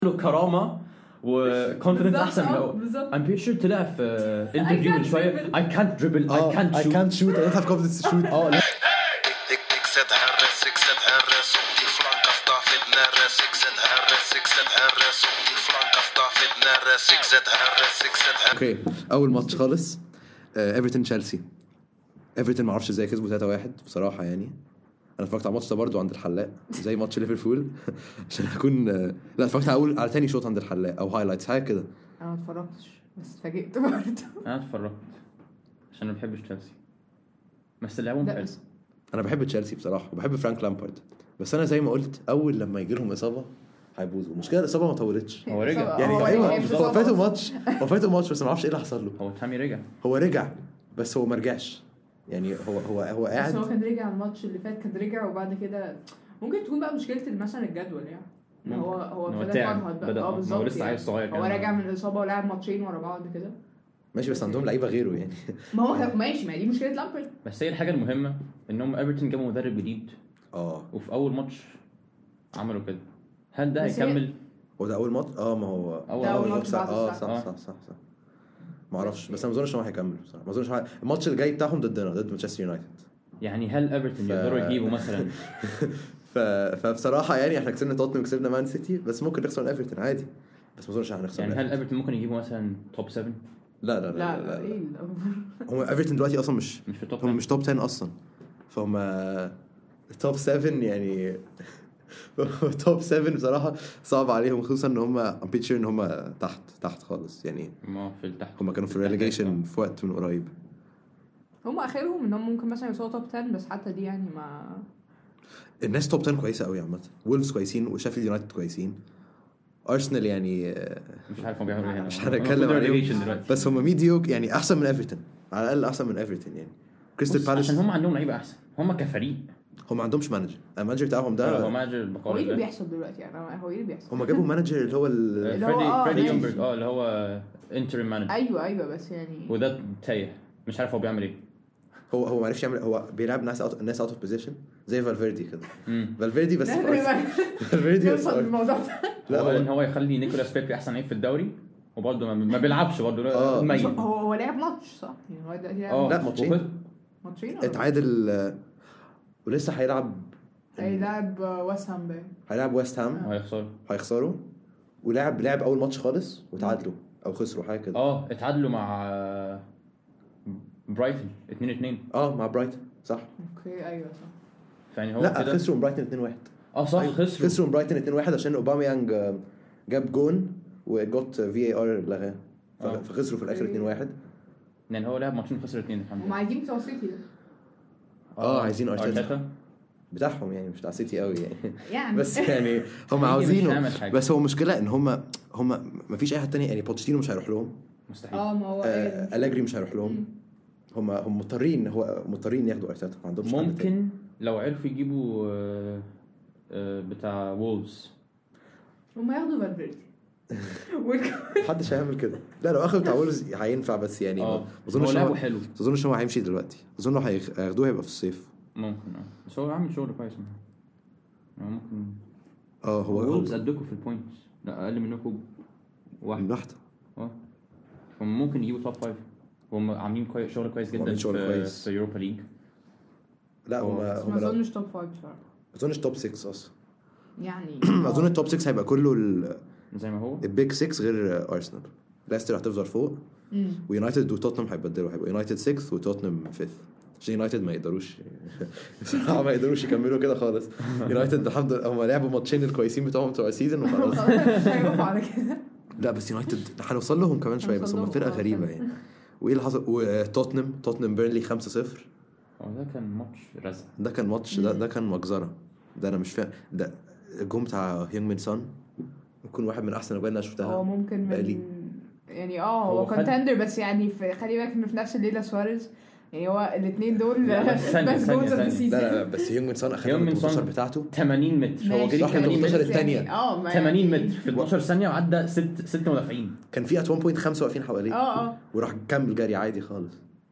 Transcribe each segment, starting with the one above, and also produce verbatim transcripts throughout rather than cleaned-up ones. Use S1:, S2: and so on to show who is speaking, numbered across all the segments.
S1: له كرامه وكونفيدنس احسن لو I'm pretty sure طلع في انترفيو من شويه I can't dribble I can't shoot
S2: I can't shoot I don't have confidence to shoot
S1: اه لا
S2: اوكي اول ماتش خالص ايفرتون تشيلسي. ايفرتون ما اعرفش ازاي كسبوا ثلاثة واحد بصراحه. يعني انا اتفرجت على الماتش ده برضو عند الحلاق زي ماتش ليفربول عشان اكون لا اتفرجت على اول على تاني شوط عند الحلاق او هايلايتس حاجه كده.
S3: انا ما اتفرجتش بس اتفاجئت برضه.
S1: انا اتفرجت عشان ما بحبش تشيلسي بس لعبهم حلو.
S2: انا بحب تشيلسي بصراحه وبحب فرانك لامبارد بس انا زي ما قلت اول لما يجي لهم اصابه هيبوظوا. المشكله الاصابه ما طولتش.
S1: هو رجع
S2: يعني
S3: هو
S2: ايوه
S3: رجع.
S2: هو فاتوا ماتش هو فاتوا ماتش بس ما اعرفش ايه اللي حصل له.
S1: هو تامي رجع
S2: هو رجع بس هو ما رجعش. يعني هو هو هو
S3: بس
S2: قاعد
S3: هو كان رجع الماتش اللي فات كان رجع وبعد كده ممكن تكون بقى مشكله مثلا الجدول يعني ان هو هو ابتدى يفرهد بقى. اه بالظبط
S1: هو لسه عيل صغير
S3: هو راجع من الاصابه ولعب ماتشين ورا بعض كده
S2: ماشي بس عندهم لعيبه غيره يعني.
S3: ما هو كان ماشي ما دي مشكله لامبرد.
S1: بس هي الحاجه المهمه انهم ايفرتون جابوا مدرب جديد
S2: اه
S1: وفي اول ماتش عملوا كده. هل ده هيكمل؟
S2: هو ده اول ماتش اه ما هو
S1: اول,
S3: أول
S1: أول
S3: ماتش
S2: صح.
S3: بعد
S2: اه
S3: الصح.
S2: صح صح صح, صح. ما اعرفش بس انا ما اظنش ان هو هيكمل بصراحه. ما اظنش هو... الماتش اللي جاي بتاعهم ضدنا ضد مانشستر يونايتد.
S1: يعني هل ايفرتون
S2: ف...
S1: يقدروا يجيبوا مثلا
S2: ف... فبصراحه يعني احنا كسبنا توتنهام وكسبنا مان سيتي بس ممكن نخسر ايفرتون عادي. بس ما اظنش هنخسر.
S1: يعني هل ايفرتون ممكن يجيبوا مثلا توب سبعة؟
S2: لا لا لا
S3: لا
S2: لا, لا, لا.
S3: ايه
S2: هم ايفرتون دلوقتي اصلا مش
S1: مش في توب
S2: هم مش توب عشرة اصلا. فهم توب سبعة يعني توب سبعة بصراحه صعب عليهم خصوصا ان هم ام بيتشر ان هم تحت تحت خالص. يعني
S1: ما في التحت
S2: هم كانوا في الريليجيشن في وقت من قريب.
S3: هم اخرهم انهم ممكن مثلا يوصلوا توب عشرة بس حتى دي يعني ما
S2: الناس توب عشرة كويسه قوي عامه. وولفز كويسين وشيفيلد يونايتد كويسين. ارسنال يعني
S1: مش عارف هم بيعملوا ايه هنا.
S2: مش هنتكلم عليهم بس هم ميديوك يعني احسن من ايفرتون على الاقل احسن من ايفرتون. يعني كريستال بالاس
S1: عشان هم عندهم لعيبه احسن. هم كفريق
S2: هم ما عندهمش مانجر. المانجر بتاعهم ده
S1: هو مانجر
S3: هو ايه اللي بيحصل دلوقتي يعني هو ايه اللي بيحصل.
S2: هم جابوا مانجر اللي هو
S3: اللي هو
S1: فريدي
S3: آه
S1: فريدي
S3: ماشي.
S1: يونبرغ اه اللي هو انتريم مانجر.
S3: ايوه ايوه بس يعني
S1: وده تايه مش عارف هو بيعمل ايه.
S2: هو هو ما عرفش يعمل. هو بيلعب ناس اوت الناس اوت اوف بوزيشن زي فالفيردي كده.
S1: امم
S2: فالفيردي بس فالفيردي بس
S3: الموضوع ده
S2: لا
S1: هو ان
S2: هو
S1: هو يخلي نيكولاس بيبي احسن لعيب في الدوري وبرضه ما, ما بيلعبش برضه
S2: آه.
S1: ميت.
S3: هو هو لعب ماتش صح يعني هو دلوقتي
S1: اه
S2: لا، ماتشين.
S1: وخد-
S3: ماتشين
S2: اتعادل ولسه هيلعب
S3: هيلعب ويست هام باين
S2: هيلعب ويست هام
S1: هيخسروا
S2: هيخسروا. ولعب لعب اول ماتش خالص وتعادلوا او خسروا حاجه كده.
S1: اه اتعادلوا مع برايتون اتنين اتنين.
S2: اه مع برايتون صح.
S3: اوكي ايوه صح.
S1: يعني هو
S2: لا
S1: كده
S2: خسروا من برايتون اتنين واحد.
S1: اه صح
S2: أيوة.
S1: خسروا
S2: خسروا من برايتون اتنين واحد عشان اوباميانج جاب جون وجوت في اي ار لغاه
S1: آه.
S2: فخسروا في الاخر اتنين واحد.
S1: يعني هو لعب ماتشين خسر اتنين الحمد
S3: هم
S1: لله.
S3: عايزين بتوع سيتي ده
S2: اه عايزين ارتيتا
S1: ارتيتا
S2: بتاعهم يعني مش بتاع سيتي قوي يعني
S3: يعني
S2: بس يعني هم
S1: هيجي مش
S2: عاوزينه.
S1: هيعمل حاجة.
S2: بس هو مشكله ان هم هم ما فيش اي حد تاني. يعني بوتشيتينو مش هيروح لهم.
S1: مستحيل.
S3: اه ما هو
S2: آه ألاجري مش هيروح لهم. هم هم مضطرين هو مضطرين ياخدوا ارتيتا. ما عندهمش حد تاني.
S1: ممكن لو عرفوا يجيبوا آه، آه، بتاع وولفز
S3: هم ياخدوا فالفيردي
S2: محدش هيعمل كده. لا لو اخذ بتاع وولفز هينفع بس يعني
S1: اه
S2: ما
S1: هو
S2: اظنش
S1: لعبه
S2: هو
S1: حلو
S2: ما اظنش هو هيمشي دلوقتي. اظن هياخدوه هيبقى في الصيف.
S1: ممكن اه بس هو عامل شغل كويس يعني ممكن.
S2: اه هو
S1: وولفز قدكوا في البوينتس لا اقل منكم واحد
S2: من واحده.
S1: اه هم ممكن يجيبوا توب فايف. هم عاملين كويس شغل كويس جدا
S2: عاملين شغل
S1: في
S2: كويس.
S1: في يوروبا ليج.
S2: لا هم
S3: ما
S2: هم لا-
S3: اظنش توب خمسة بصراحه
S2: ما اظنش توب ستة اصلا.
S3: يعني
S2: اظن التوب ستة هيبقى كله ال-
S1: زي ما هو
S2: البيج ستة غير ارسنال. ليستر هتفضل فوق
S3: امم
S2: ويونايتد وتوتنهام هيبدلوا هيبقوا يونايتد ستة وتوتنهام خامس. عشان يونايتد ما يقدروش بصراحه ما يقدروش يكملوا كده خالص. يونايتد الحمد لله هم لعبوا ماتشين الكويسين بتوعهم بتوع السيزون وخلاص.
S3: هيقفوا على كده.
S2: لا بس يونايتد هنوصل لهم كمان شويه بس هم
S3: هنوصل
S2: فرقه
S3: لهم.
S2: غريبه يعني. وايه اللي حصل وتوتنهام توتنهام بيرنلي خمسة صفر.
S1: اه ده كان ماتش رزق.
S2: ده كان ماتش ده ده كان مجزره. ده انا مش فاهم. ده الجون بتاع هيونج مين سون يكون واحد من احسن الاجوان اللي
S3: هو
S2: شفتها.
S3: ممكن
S2: بقالي.
S3: من يعني اه هو
S1: هو خد-
S3: كونتندر بس يعني في خلي بالك انه في نفس الليله سواريز يعني هو الاثنين دول
S1: لا، بس ثانية،
S3: بس
S1: ثانية،
S3: جولز اوف ذا
S1: ثانية.
S3: سيزون.
S2: لا لا لا بس هيونج مين سون اخذ
S1: هيونج
S2: من
S1: مين سون
S2: التمنتاشر بتاعته
S1: ثمانين متر هو جري
S2: صح،
S1: ثمانين
S2: التمنتاشر
S1: متر
S2: الثانية.
S3: اه ما
S1: ثمانين
S3: يعني-
S1: متر في اتناشر ثانيه وعدى ست ست مدافعين.
S2: كان في ات واحد فاصلة خمسة واقفين حواليه
S3: اه اه
S2: وراح كمل جري عادي خالص.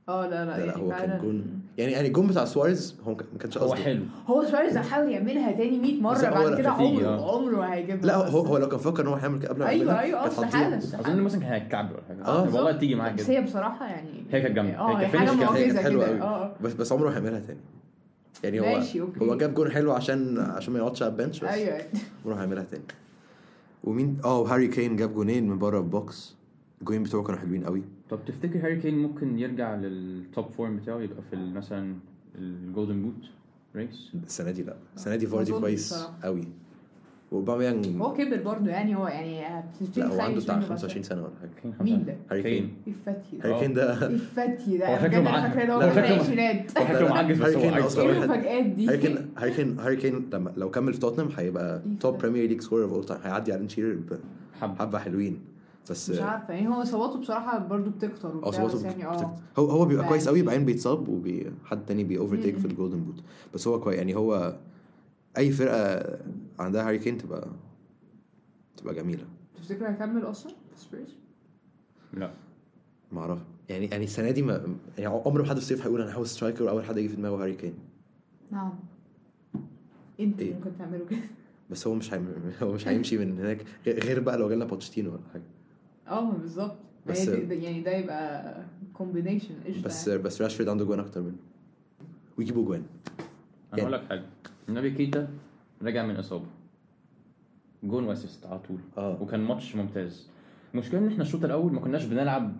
S3: اه لا لا,
S2: لا, لا
S3: يعني
S2: هو
S3: فعلا
S2: كان جون يعني يعني الجون بتاع سواريز هو ما كانش
S1: هو
S2: قصده.
S1: حلو.
S3: هو سواريز حاول يعملها تاني مية مره بعد كده عمره عمره هيجيبها.
S2: لا هو هو لو كان فكر ان هو هيعمل كده قبل ما
S3: ايوه
S2: يعملها
S3: ايوه استحاله
S1: اظن مثلا كان هيتكعب ولا حاجه.
S2: اه
S1: والله تيجي معاك
S3: كده. بس هي بصراحه يعني
S1: هي كانت جامده.
S3: اه هي حاجه معجزه
S2: حلوه قوي.
S3: اه
S2: بس بس عمره هيعملها تاني يعني. هو
S3: ماشي اوكي.
S2: هو جاب جون حلو عشان عشان ما يقعدش على البنش بس.
S3: ايوه
S2: عمره هيعملها تاني. ومين اه هاري كين جاب جونين من بره البوكس. الجونين بتوعه كانوا حلوين قوي.
S1: طب تفتكر هاري كين ممكن يرجع للتوب فورم بتاعه يبقى في مثلا الجولدن بوت ريس
S2: السنه دي؟ لا السنه دي فاردي كويس قوي. وباميانج
S3: هو كبر برضه يعني هو يعني
S2: لا هو عنده بتاع خمسة وعشرين سنه ولا حاجه.
S3: مين ده؟
S2: هاري كين.
S3: الفتي
S2: هاري كين ده
S3: الفتي ده
S1: هو شكله معجز.
S3: فاكر هو في العشرينات.
S1: هو شكله معجز بس هو
S2: اصلا
S3: المفاجآت دي.
S2: هاري كين هاري كين هاري كين لما لو كمل في توتنهام هيبقى توب بريمير ليج سكورر اوف اول تايم. هيعدي على شيرر حبه حلوين بس
S3: مش عارفه يعني. هو اصاباته بصراحه برضو بتكتر وبتاع بس يعني اه
S2: هو هو بيبقى كويس قوي بعدين بيتصاب وحد تاني بي اوفرتيك في الجولدن بوت. بس هو كويس يعني. هو اي فرقه عندها هاري كين تبقى تبقى جميله.
S3: تفتكر هيكمل اصلا في سبيرز؟
S1: لا
S2: ما اعرف يعني. يعني السنه دي ما يعني عمر ما حد في الصيف هيقول انا عاوز سترايكر واول حد يجي في دماغه هاري كين.
S3: نعم انت إيه؟ ممكن تعملوا كده
S2: بس هو مش هي... هو مش هيمشي من هناك غير بقى لو جالنا بوتشيتينو ولا حاجه.
S3: اه بالظبط. بس يعني ده يبقى كومبينيشن قشطه.
S2: بس يعني. بس راشفورد عنده جوان اكتر منه ويجيبوا جوان.
S1: انا اقول لك حاجه. النبي كيتا رجع من اصابه جون واسيست على طول
S2: آه.
S1: وكان ماتش ممتاز. المشكله ان احنا الشوط الاول ما كناش بنلعب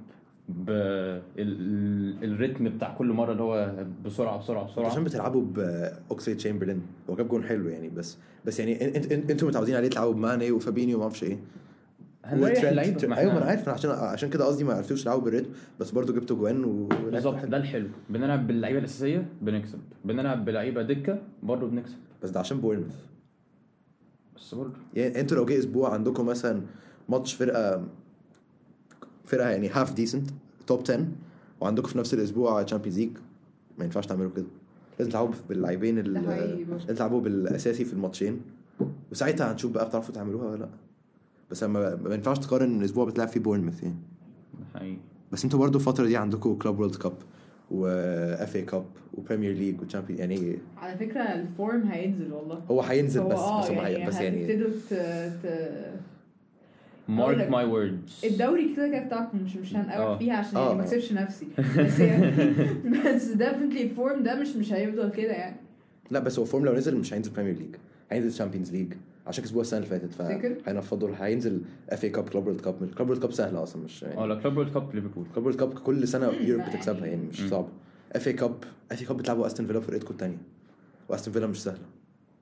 S1: بالريتم بتاع كل مره اللي هو بسرعه بسرعه بسرعه
S2: عشان بتلعبوا باوكسليد تشامبرلين. هو جاب جون حلو يعني. بس بس يعني انت انتوا متعودين عليه تلعبوا بماني وفابينيو وما اعرفش ايه.
S1: ايوه
S2: ايوه ما انا عارف. عشان عشان كده قصدي ما عرفتوش تلعبوا بالريتم بس برضو جبتوا جوان و...
S1: بالظبط. ده الحلو. بنلعب باللعيبه الاساسيه بنكسب. بنلعب بلعيبه دكه برضو بنكسب.
S2: بس ده عشان بورنموث
S1: بس برضو
S2: يعني. انتوا لو جه اسبوع عندكم مثلا ماتش فرقه فرقه يعني هاف ديسنت توب عشرة وعندكم في نفس الاسبوع تشامبيونز ليج ما ينفعش تعملوا كده. لازم تلعبوا باللاعبين اللي تلعبوا بالاساسي في الماتشين وساعتها هنشوف بقى بتعرفوا تعملوها ولا لا. بس ما ما ينفعش تقارن الاسبوع بتلعب فيه بورنموث يعني.
S1: حقيقي.
S2: بس انتوا برضو الفتره دي عندكم كلوب وورلد كاب واف اي كاب وبريمير ليج وتشامبيون يعني.
S3: على فكره الفورم هينزل والله.
S2: هو هينزل بس
S3: هو
S2: بس,
S3: يعني
S2: بس يعني
S3: هتبتدوا ت
S1: مارك ماي ووردز.
S3: الدوري كده كده بتاعكم مش مش هنقرب فيها عشان
S2: آه.
S3: يعني ما اكسبش نفسي بس يعني بس ديفنتلي الفورم ده مش مش هيفضل كده يعني.
S2: لا بس هو فورم لو نزل مش هينزل بريمير ليج هينزل تشامبيونز ليج عشان كسبوها السنه اللي فاتت فهينفضوا. هينزل اف اي كاب كلوب وورلد كاب. كلوب وورلد كاب سهله اصلا مش يعني.
S1: اه لا كلوب وورلد كاب ليفربول.
S2: كلوب وورلد كاب كل سنه يوروب بتكسبها يعني مش صعب. اف اي كاب اف اي كاب بتلعبوا استون فيلا فرقتكم الثانيه واستون فيلا مش سهله.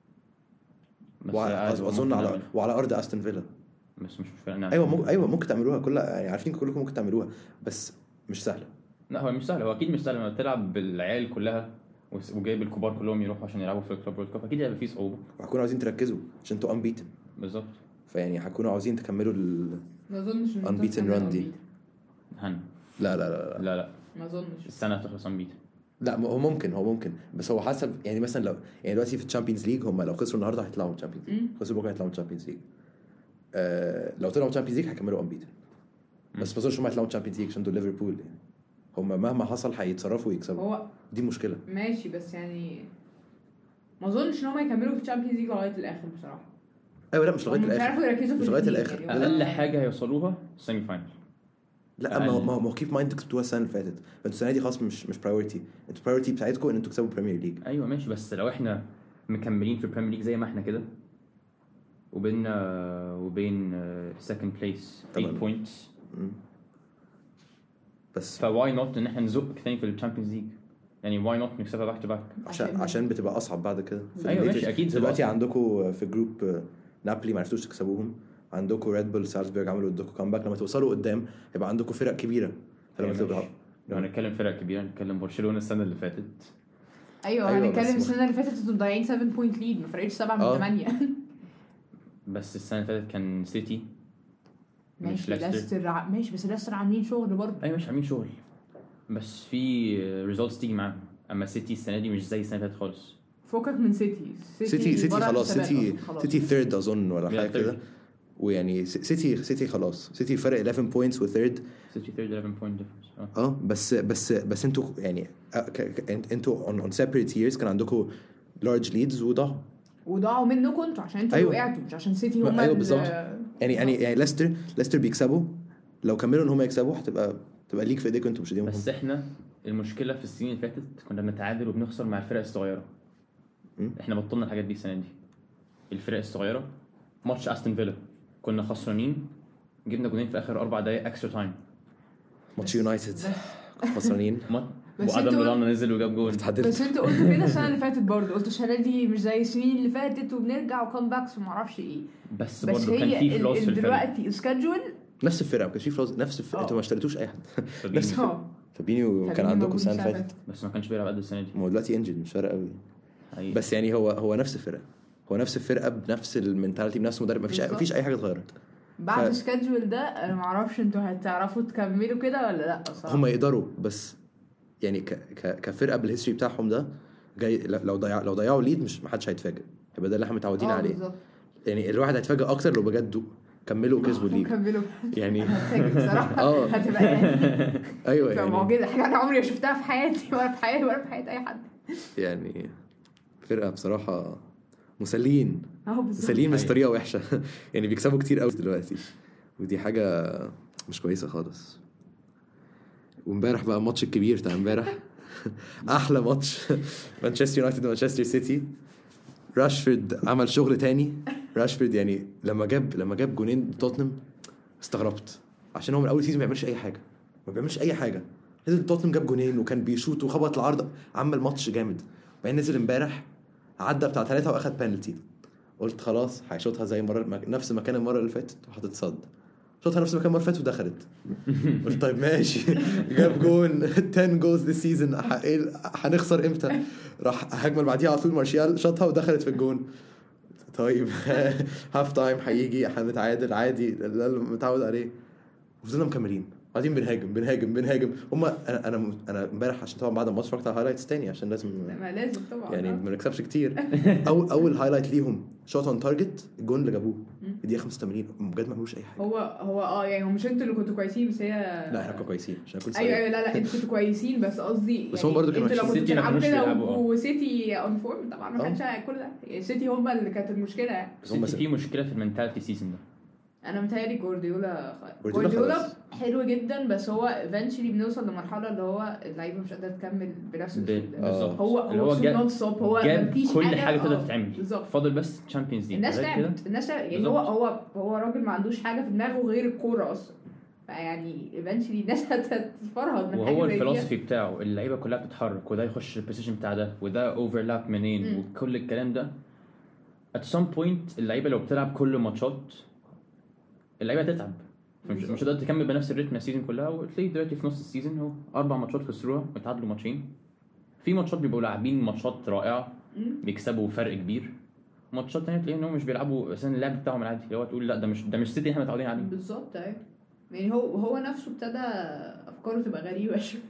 S2: واظن على وعلى ارض استون فيلا
S1: بس مش مشكله.
S2: ايوه مو... ايوه ممكن تعملوها كلها يعني. عارفين كلكم ممكن تعملوها بس مش سهله.
S1: لا هو مش سهل. هو اكيد مش سهل لما تلعب بالعيال كلها وجايب الكبار كلهم يروحوا عشان يلعبوا في الكلوب وورلد كاب. اكيد هيبقى فيه صعوبه
S2: وهتكونوا عاوزين تركزوا عشان انتوا انبيتن.
S1: بالظبط.
S2: فيعني هتكونوا عاوزين تكملوا ال
S3: ما اظنش ان
S2: انبيتن ران دي.
S1: هن
S2: لا لا لا
S1: لا لا, لا.
S3: ما اظنش
S1: السنه هتخلص انبيتن.
S2: لا هو ممكن هو ممكن بس هو حسب يعني. مثلا لو يعني دلوقتي في الشامبيونز ليج هم لو خسروا النهارده هيطلعوا من الشامبيونز ليج. خسروا بكره هيطلعوا من الشامبيونز ليج. آه لو طلعوا من الشامبيونز ليج هيكملوا انبيتن. بس ما اظنش هم هيطلعوا من الشامبيونز ليج عشان دول ليفربول يعني. هم مهما حصل هيتصرفوا ويكسبوا.
S3: هو
S2: دي مشكله.
S3: ماشي بس يعني ما اظنش ان هم يكملوا في الشامبيونز ليج لغايه الاخر بصراحه.
S2: ايوه لا مش لغايه
S3: الاخر. مش عارفوا يركزوا في
S2: مش لغايه الاخر.
S3: يعني
S1: اقل حاجه هيوصلوها سيمي فاينل.
S2: لا ما ما هو كيب مايند كسبتوها السنه اللي فاتت. فانتوا السنه دي خلاص مش مش برايورتي. انتوا برايورتي بتاعتكم ان انتوا تكسبوا بريمير ليج.
S1: ايوه ماشي. بس لو احنا مكملين في البريمير ليج زي ما احنا كده وبيننا وبين سكند بليس ثمانية بوينتس
S2: بس
S1: فواي نوت ان احنا نزق تاني في الشامبيونز ليج يعني. واي نوت نكسبها باك تو باك
S2: عشان عشان بتبقى اصعب بعد كده.
S1: ايوه ماشي اكيد.
S2: دلوقتي عندكم في جروب نابولي ما عرفتوش تكسبوهم. عندكم ريد بول سالزبورغ عملوا ادوكم كامباك. لما توصلوا قدام يبقى عندكم فرق كبيره. فلما تبقى
S1: لو هنتكلم فرق كبيره نتكلم برشلونه السنه اللي فاتت.
S3: ايوه, أيوة هنتكلم السنه اللي فاتت انتوا مضيعين سبعة بوينت ليد ما فرقتش سبعة من ثمانية.
S1: بس السنه اللي فاتت كان سيتي
S3: مش ليستر. ماشي بس ليستر عاملين شغل برضه.
S1: ايوه مش عاملين شغل بس في ريزولتس تيجي معاهم. اما سيتي السنه دي مش زي السنه اللي فاتت خالص.
S3: فوقك من سيتي.
S2: سيتي سيتي خلاص. سيتي سيتي ثيرد اظن ولا حاجه كده. ويعني سيتي سيتي خلاص سيتي فرق إحداشر بوينتس وثيرد
S1: سيتي ثيرد إحداشر بوينت ديفرنس
S2: اه بس بس بس انتوا يعني انتوا اون اون سيبريت ييرز كان عندكم لارج ليدز وضاعوا
S3: وضاعوا منكم انتوا عشان انتوا
S2: أيوة.
S3: وقعتوا مش عشان سيتي هم
S2: ايوه بالظبط يعني يعني يعني ليستر ليستر بيكسبوا لو كملوا ان هم يكسبوا هتبقى تبقى ليك في ايديكم انتوا مش ايديهم.
S1: بس احنا المشكله في السنين اللي فاتت كنا بنتعادل وبنخسر مع الفرق الصغيره. م? احنا بطلنا الحاجات دي السنه دي. الفرق الصغيره ماتش استون فيلا كنا خسرانين جبنا جولين في اخر اربع دقايق اكسترا تايم.
S2: ماتش يونايتد خسرانين
S1: وادم لولانا نزل وجاب جول.
S3: بس انتوا قلتوا كده السنه اللي فاتت برضه قلتوا السنه دي مش زي السنين اللي فاتت وبنرجع وكم باكس وما اعرفش ايه.
S1: بس, بس برضه كان في فلوس في الفريق
S3: دلوقتي سكادجول
S2: نفس الفرقه ما كانش في فلوس نفس الفرقه انتوا ما اشتريتوش اي حد
S1: نفس
S2: فابينيو كان عندكم السنه اللي فاتت
S1: بس ما كانش بيلعب قد السنه دي.
S2: هو دلوقتي انجن مش فارق قوي بس يعني هو هو نفس الفرقه هو نفس الفرقه بنفس المينتاليتي بنفس المدرب ما فيش ما فيش اي حاجه اتغيرت
S3: بعد السكادجول ف... ده انا ما اعرفش انتوا هتعرفوا تكملوا كده ولا لا صراحه.
S2: هم يقدروا بس يعني ك ك كفرقه بالهيستوري بتاعهم ده جاي لو ضيع لو ضيعوا ليد مش ما حدش هيتفاجئ يبقى ده اللي احنا متعودين عليه بالزبط. يعني الواحد هيتفاجئ اكتر لو بجد كملوا وكسبوا ليد
S3: كملوا
S2: يعني
S3: بصراحه اه هتبقى يعني
S2: ايوه يعني
S3: معجزه حاجه انا عمري ما شفتها في حياتي ولا في حياتي ولا في حياه اي حد
S2: يعني فرقه بصراحه مسلين مسلين بس طريقه وحشه يعني بيكسبوا كتير قوي دلوقتي ودي حاجه مش كويسه خالص. وامبارح بقى الماتش الكبير بتاع امبارح احلى ماتش مانشستر يونايتد ومانشستر سيتي. راشفورد عمل شغل تاني. راشفورد يعني لما جاب لما جاب جونين توتنهام استغربت عشان هو من اول سيزون ما بيعملش اي حاجه ما بيعملش اي حاجه نزل توتنهام جاب جونين وكان بيشوط وخبط العارضه عمل ماتش جامد. بعدين نزل امبارح عدى بتاع ثلاثة واخد بينالتي قلت خلاص هيشوطها زي مره نفس مكان المره اللي فاتت وهتتصد شوطها نفس مكان المره اللي فاتت ودخلت قلت طيب ماشي جاب جون عشرة جولز ذا سيزون هنخسر امتى راح هجمه بعديها على طول مارشال شاطها ودخلت في الجون. طيب هاف تايم هيجي هنتعادل عادي ده اللي متعود عليه وفضلنا مكملين قاعدين بنهاجم بنهاجم بنهاجم هم انا انا انا امبارح عشان طبعا بعد الماتش اتفرجت على هايلايتس تاني عشان لازم
S3: ما لازم طبعا
S2: يعني ما نكسبش كتير. او اول هايلايت ليهم شوت اون تارجت الجون اللي جابوه في الدقيقه خمسة وثمانين بجد ما عملوش اي حاجه.
S3: هو هو اه يعني هم مش انتوا اللي كنتوا كويسين بس هي
S2: لا احنا كنا كويسين عشان كنت
S3: ايوه ايوه لا لا انتوا كنتوا كويسين بس قصدي
S2: بس هم برضه كانوا
S3: سيتي بيلعبوا كده وسيتي اون فورم طبعا ما كانش كل ده سيتي هم اللي كانت المشكله يعني.
S1: هم في مشكله في المنتاليتي سيزون ده.
S3: انا متهيألي جوارديولا جوارديولا حلو جدا بس هو ايفنتشلي بنوصل لمرحله اللي هو اللعيبه مش قادره تكمل بنفس
S1: بالظبط.
S3: هو هو نون ستوب هو
S1: مفيش كل حاجه تقدر تتعمل فاضل بس تشامبيونز ليج.
S3: الناس تعبت الناس تعبت يعني هو هو هو راجل ما عندوش حاجه في دماغه غير الكوره اصلا فيعني ايفنتشلي الناس هتتفرهد من حاجه.
S1: وهو الفلسفي بتاعه اللعيبه كلها بتتحرك وده يخش البوزيشن بتاع ده وده اوفرلاب منين م. وكل الكلام ده at some point اللعيبه لو بتلعب كل ماتشات اللعيبه تتعب مش مش هتقدر تكمل بنفس الريتم السيزون كلها. وتلاقي دلوقتي في نص السيزون هو اربع ماتشات خسروها وتعادلوا ماتشين. في ماتشات بيبقوا لاعبين ماتشات رائعه بيكسبوا فرق كبير ماتشات ثانيه تلاقي انهم مش بيلعبوا مثلا اللعب بتاعهم العادي اللي هو تقول لا ده مش ده مش سيتي احنا متعودين عليه
S3: بالظبط. ايوه يعني هو هو نفسه ابتدى افكاره تبقى غريبه شويه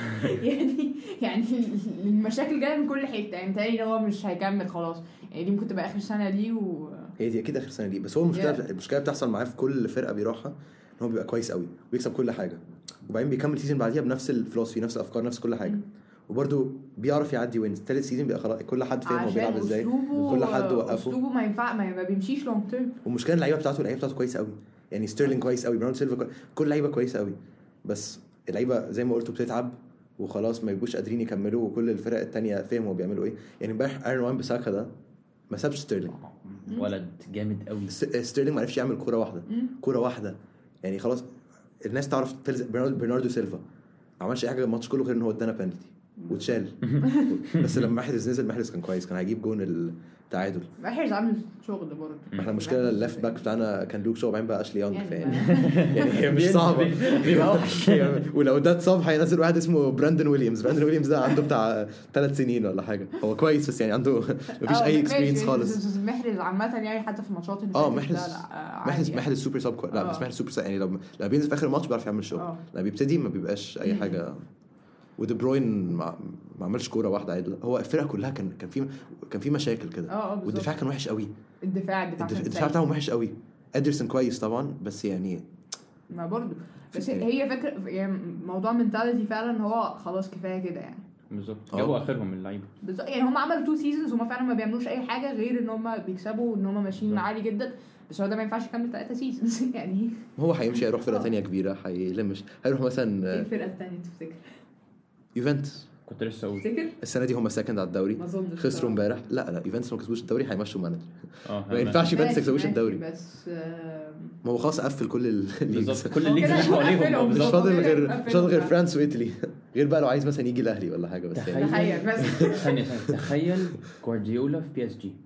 S3: يعني يعني المشاكل جايه من كل حته يعني تاني هو مش هيكمل خلاص يعني دي ممكن تبقى اخر سنه ليه و
S2: هي دي اكيد اخر سنه ليه. بس هو المشكله yeah. المشكله بتحصل معاه في كل فرقه بيروحها ان هو بيبقى كويس قوي وبيكسب كل حاجه وبعدين بيكمل سيزون بعديها بنفس الفلوسفي نفس الافكار نفس كل حاجه وبرده بيعرف يعدي وين ثالث سيزون بيبقى خلاص كل حد فاهم هو بيلعب ازاي كل حد وقفه
S3: اسلوبه ما ينفع ما بيمشيش لونج تيرم.
S2: والمشكله اللعيبه بتاعته اللعيبه بتاعته كويسه قوي يعني ستيرلينج كويس قوي براون سيلفا كل لعيبه كويسه قوي بس اللعيبه زي ما قلتوا بتتعب وخلاص ما يبقوش قادرين يكملوا وكل الفرق التانية فاهموا بيعملوا ايه. يعني امبارح ايرون وان بيساكا ده ما سابش ستيرلينج
S1: ولد جامد قوي.
S2: ستيرلينج ما عرفش يعمل كوره واحده كوره واحده يعني خلاص الناس تعرف برناردو سيلفا ما عملش اي حاجه الماتش كله غير ان هو ادانا بينالتي واتشال بس لما محرز نزل محرز كان كويس كان هيجيب جون التعادل.
S3: محرز عامل شغل برضه.
S2: احنا المشكله الليفت باك بتاعنا كان لوك شو بعدين بقى اشلي يونغ يعني يعني هي مش صعبه بيبقى وحش ولو ده اتصاب هينزل واحد اسمه براندن ويليامز. براندن ويليامز ده عنده بتاع ثلاث سنين ولا حاجه هو كويس بس يعني عنده مفيش اي اكسبيرينس خالص.
S3: محرز عامه يعني حتى في الماتشات اللي
S2: اه محرز محرز محرز سوبر ساب لا بس محرز سوبر يعني لو لما بينزل في اخر الماتش بيعرف يعمل شغل لما بيبتدي ما بيبقاش اي حاجه. ودي بروين ما عملش كوره واحده عادله. هو الفرقه كلها كان كان في كان في مشاكل كده
S3: والدفاع
S2: كان وحش قوي.
S3: الدفاع الدفاع,
S2: الدفاع بتاعهم وحش قوي ادرسون كويس طبعا بس يعني
S3: ما برضو بس هي فكره يعني موضوع منتاليتي فعلا هو خلاص كفايه كده يعني
S1: بالظبط جابوا اخرهم من اللعيبه
S3: بالظبط يعني هم عملوا تو سيزونز هم فعلا ما بيعملوش اي حاجه غير ان هم بيكسبوا ان هم ماشيين عالي جدا بس هو ده ما ينفعش يكمل ثلاثة سيزونز يعني
S2: هو هيمشي هيروح فرقه ثانيه كبيره هيلمش هيروح مثلا
S3: ايه الفرقه الثانيه تفتكر
S2: يوفنتوس
S1: كنت لسه اقول
S3: تفتكر
S2: السنه دي هم سكند على الدوري
S3: ما اظنش
S2: خسروا امبارح لا لا يوفنتوس ما كسبوش الدوري هيمشوا مانجر
S1: اه
S2: ما ينفعش يوفنتوس
S3: ماشي،
S2: يكسبوش
S3: ماشي،
S2: الدوري
S3: بس آه،
S2: ما هو خلاص قفل كل ال- الليجز
S1: بالظبط كل
S3: هو
S1: الليجز
S3: كده
S1: اللي حواليهم
S3: قفلهم.
S1: آه،
S2: مش
S1: بالظبط
S2: فاضل
S3: هو كده
S2: غير مش
S3: قفلهم
S2: فاضل غير
S3: بقى.
S2: فرانس وايطالي غير بقى لو عايز مثلا يجي الاهلي ولا حاجه بس يعني
S3: تخيل بس
S1: ثانيه ثانيه تخيل جوارديولا في بي اس جي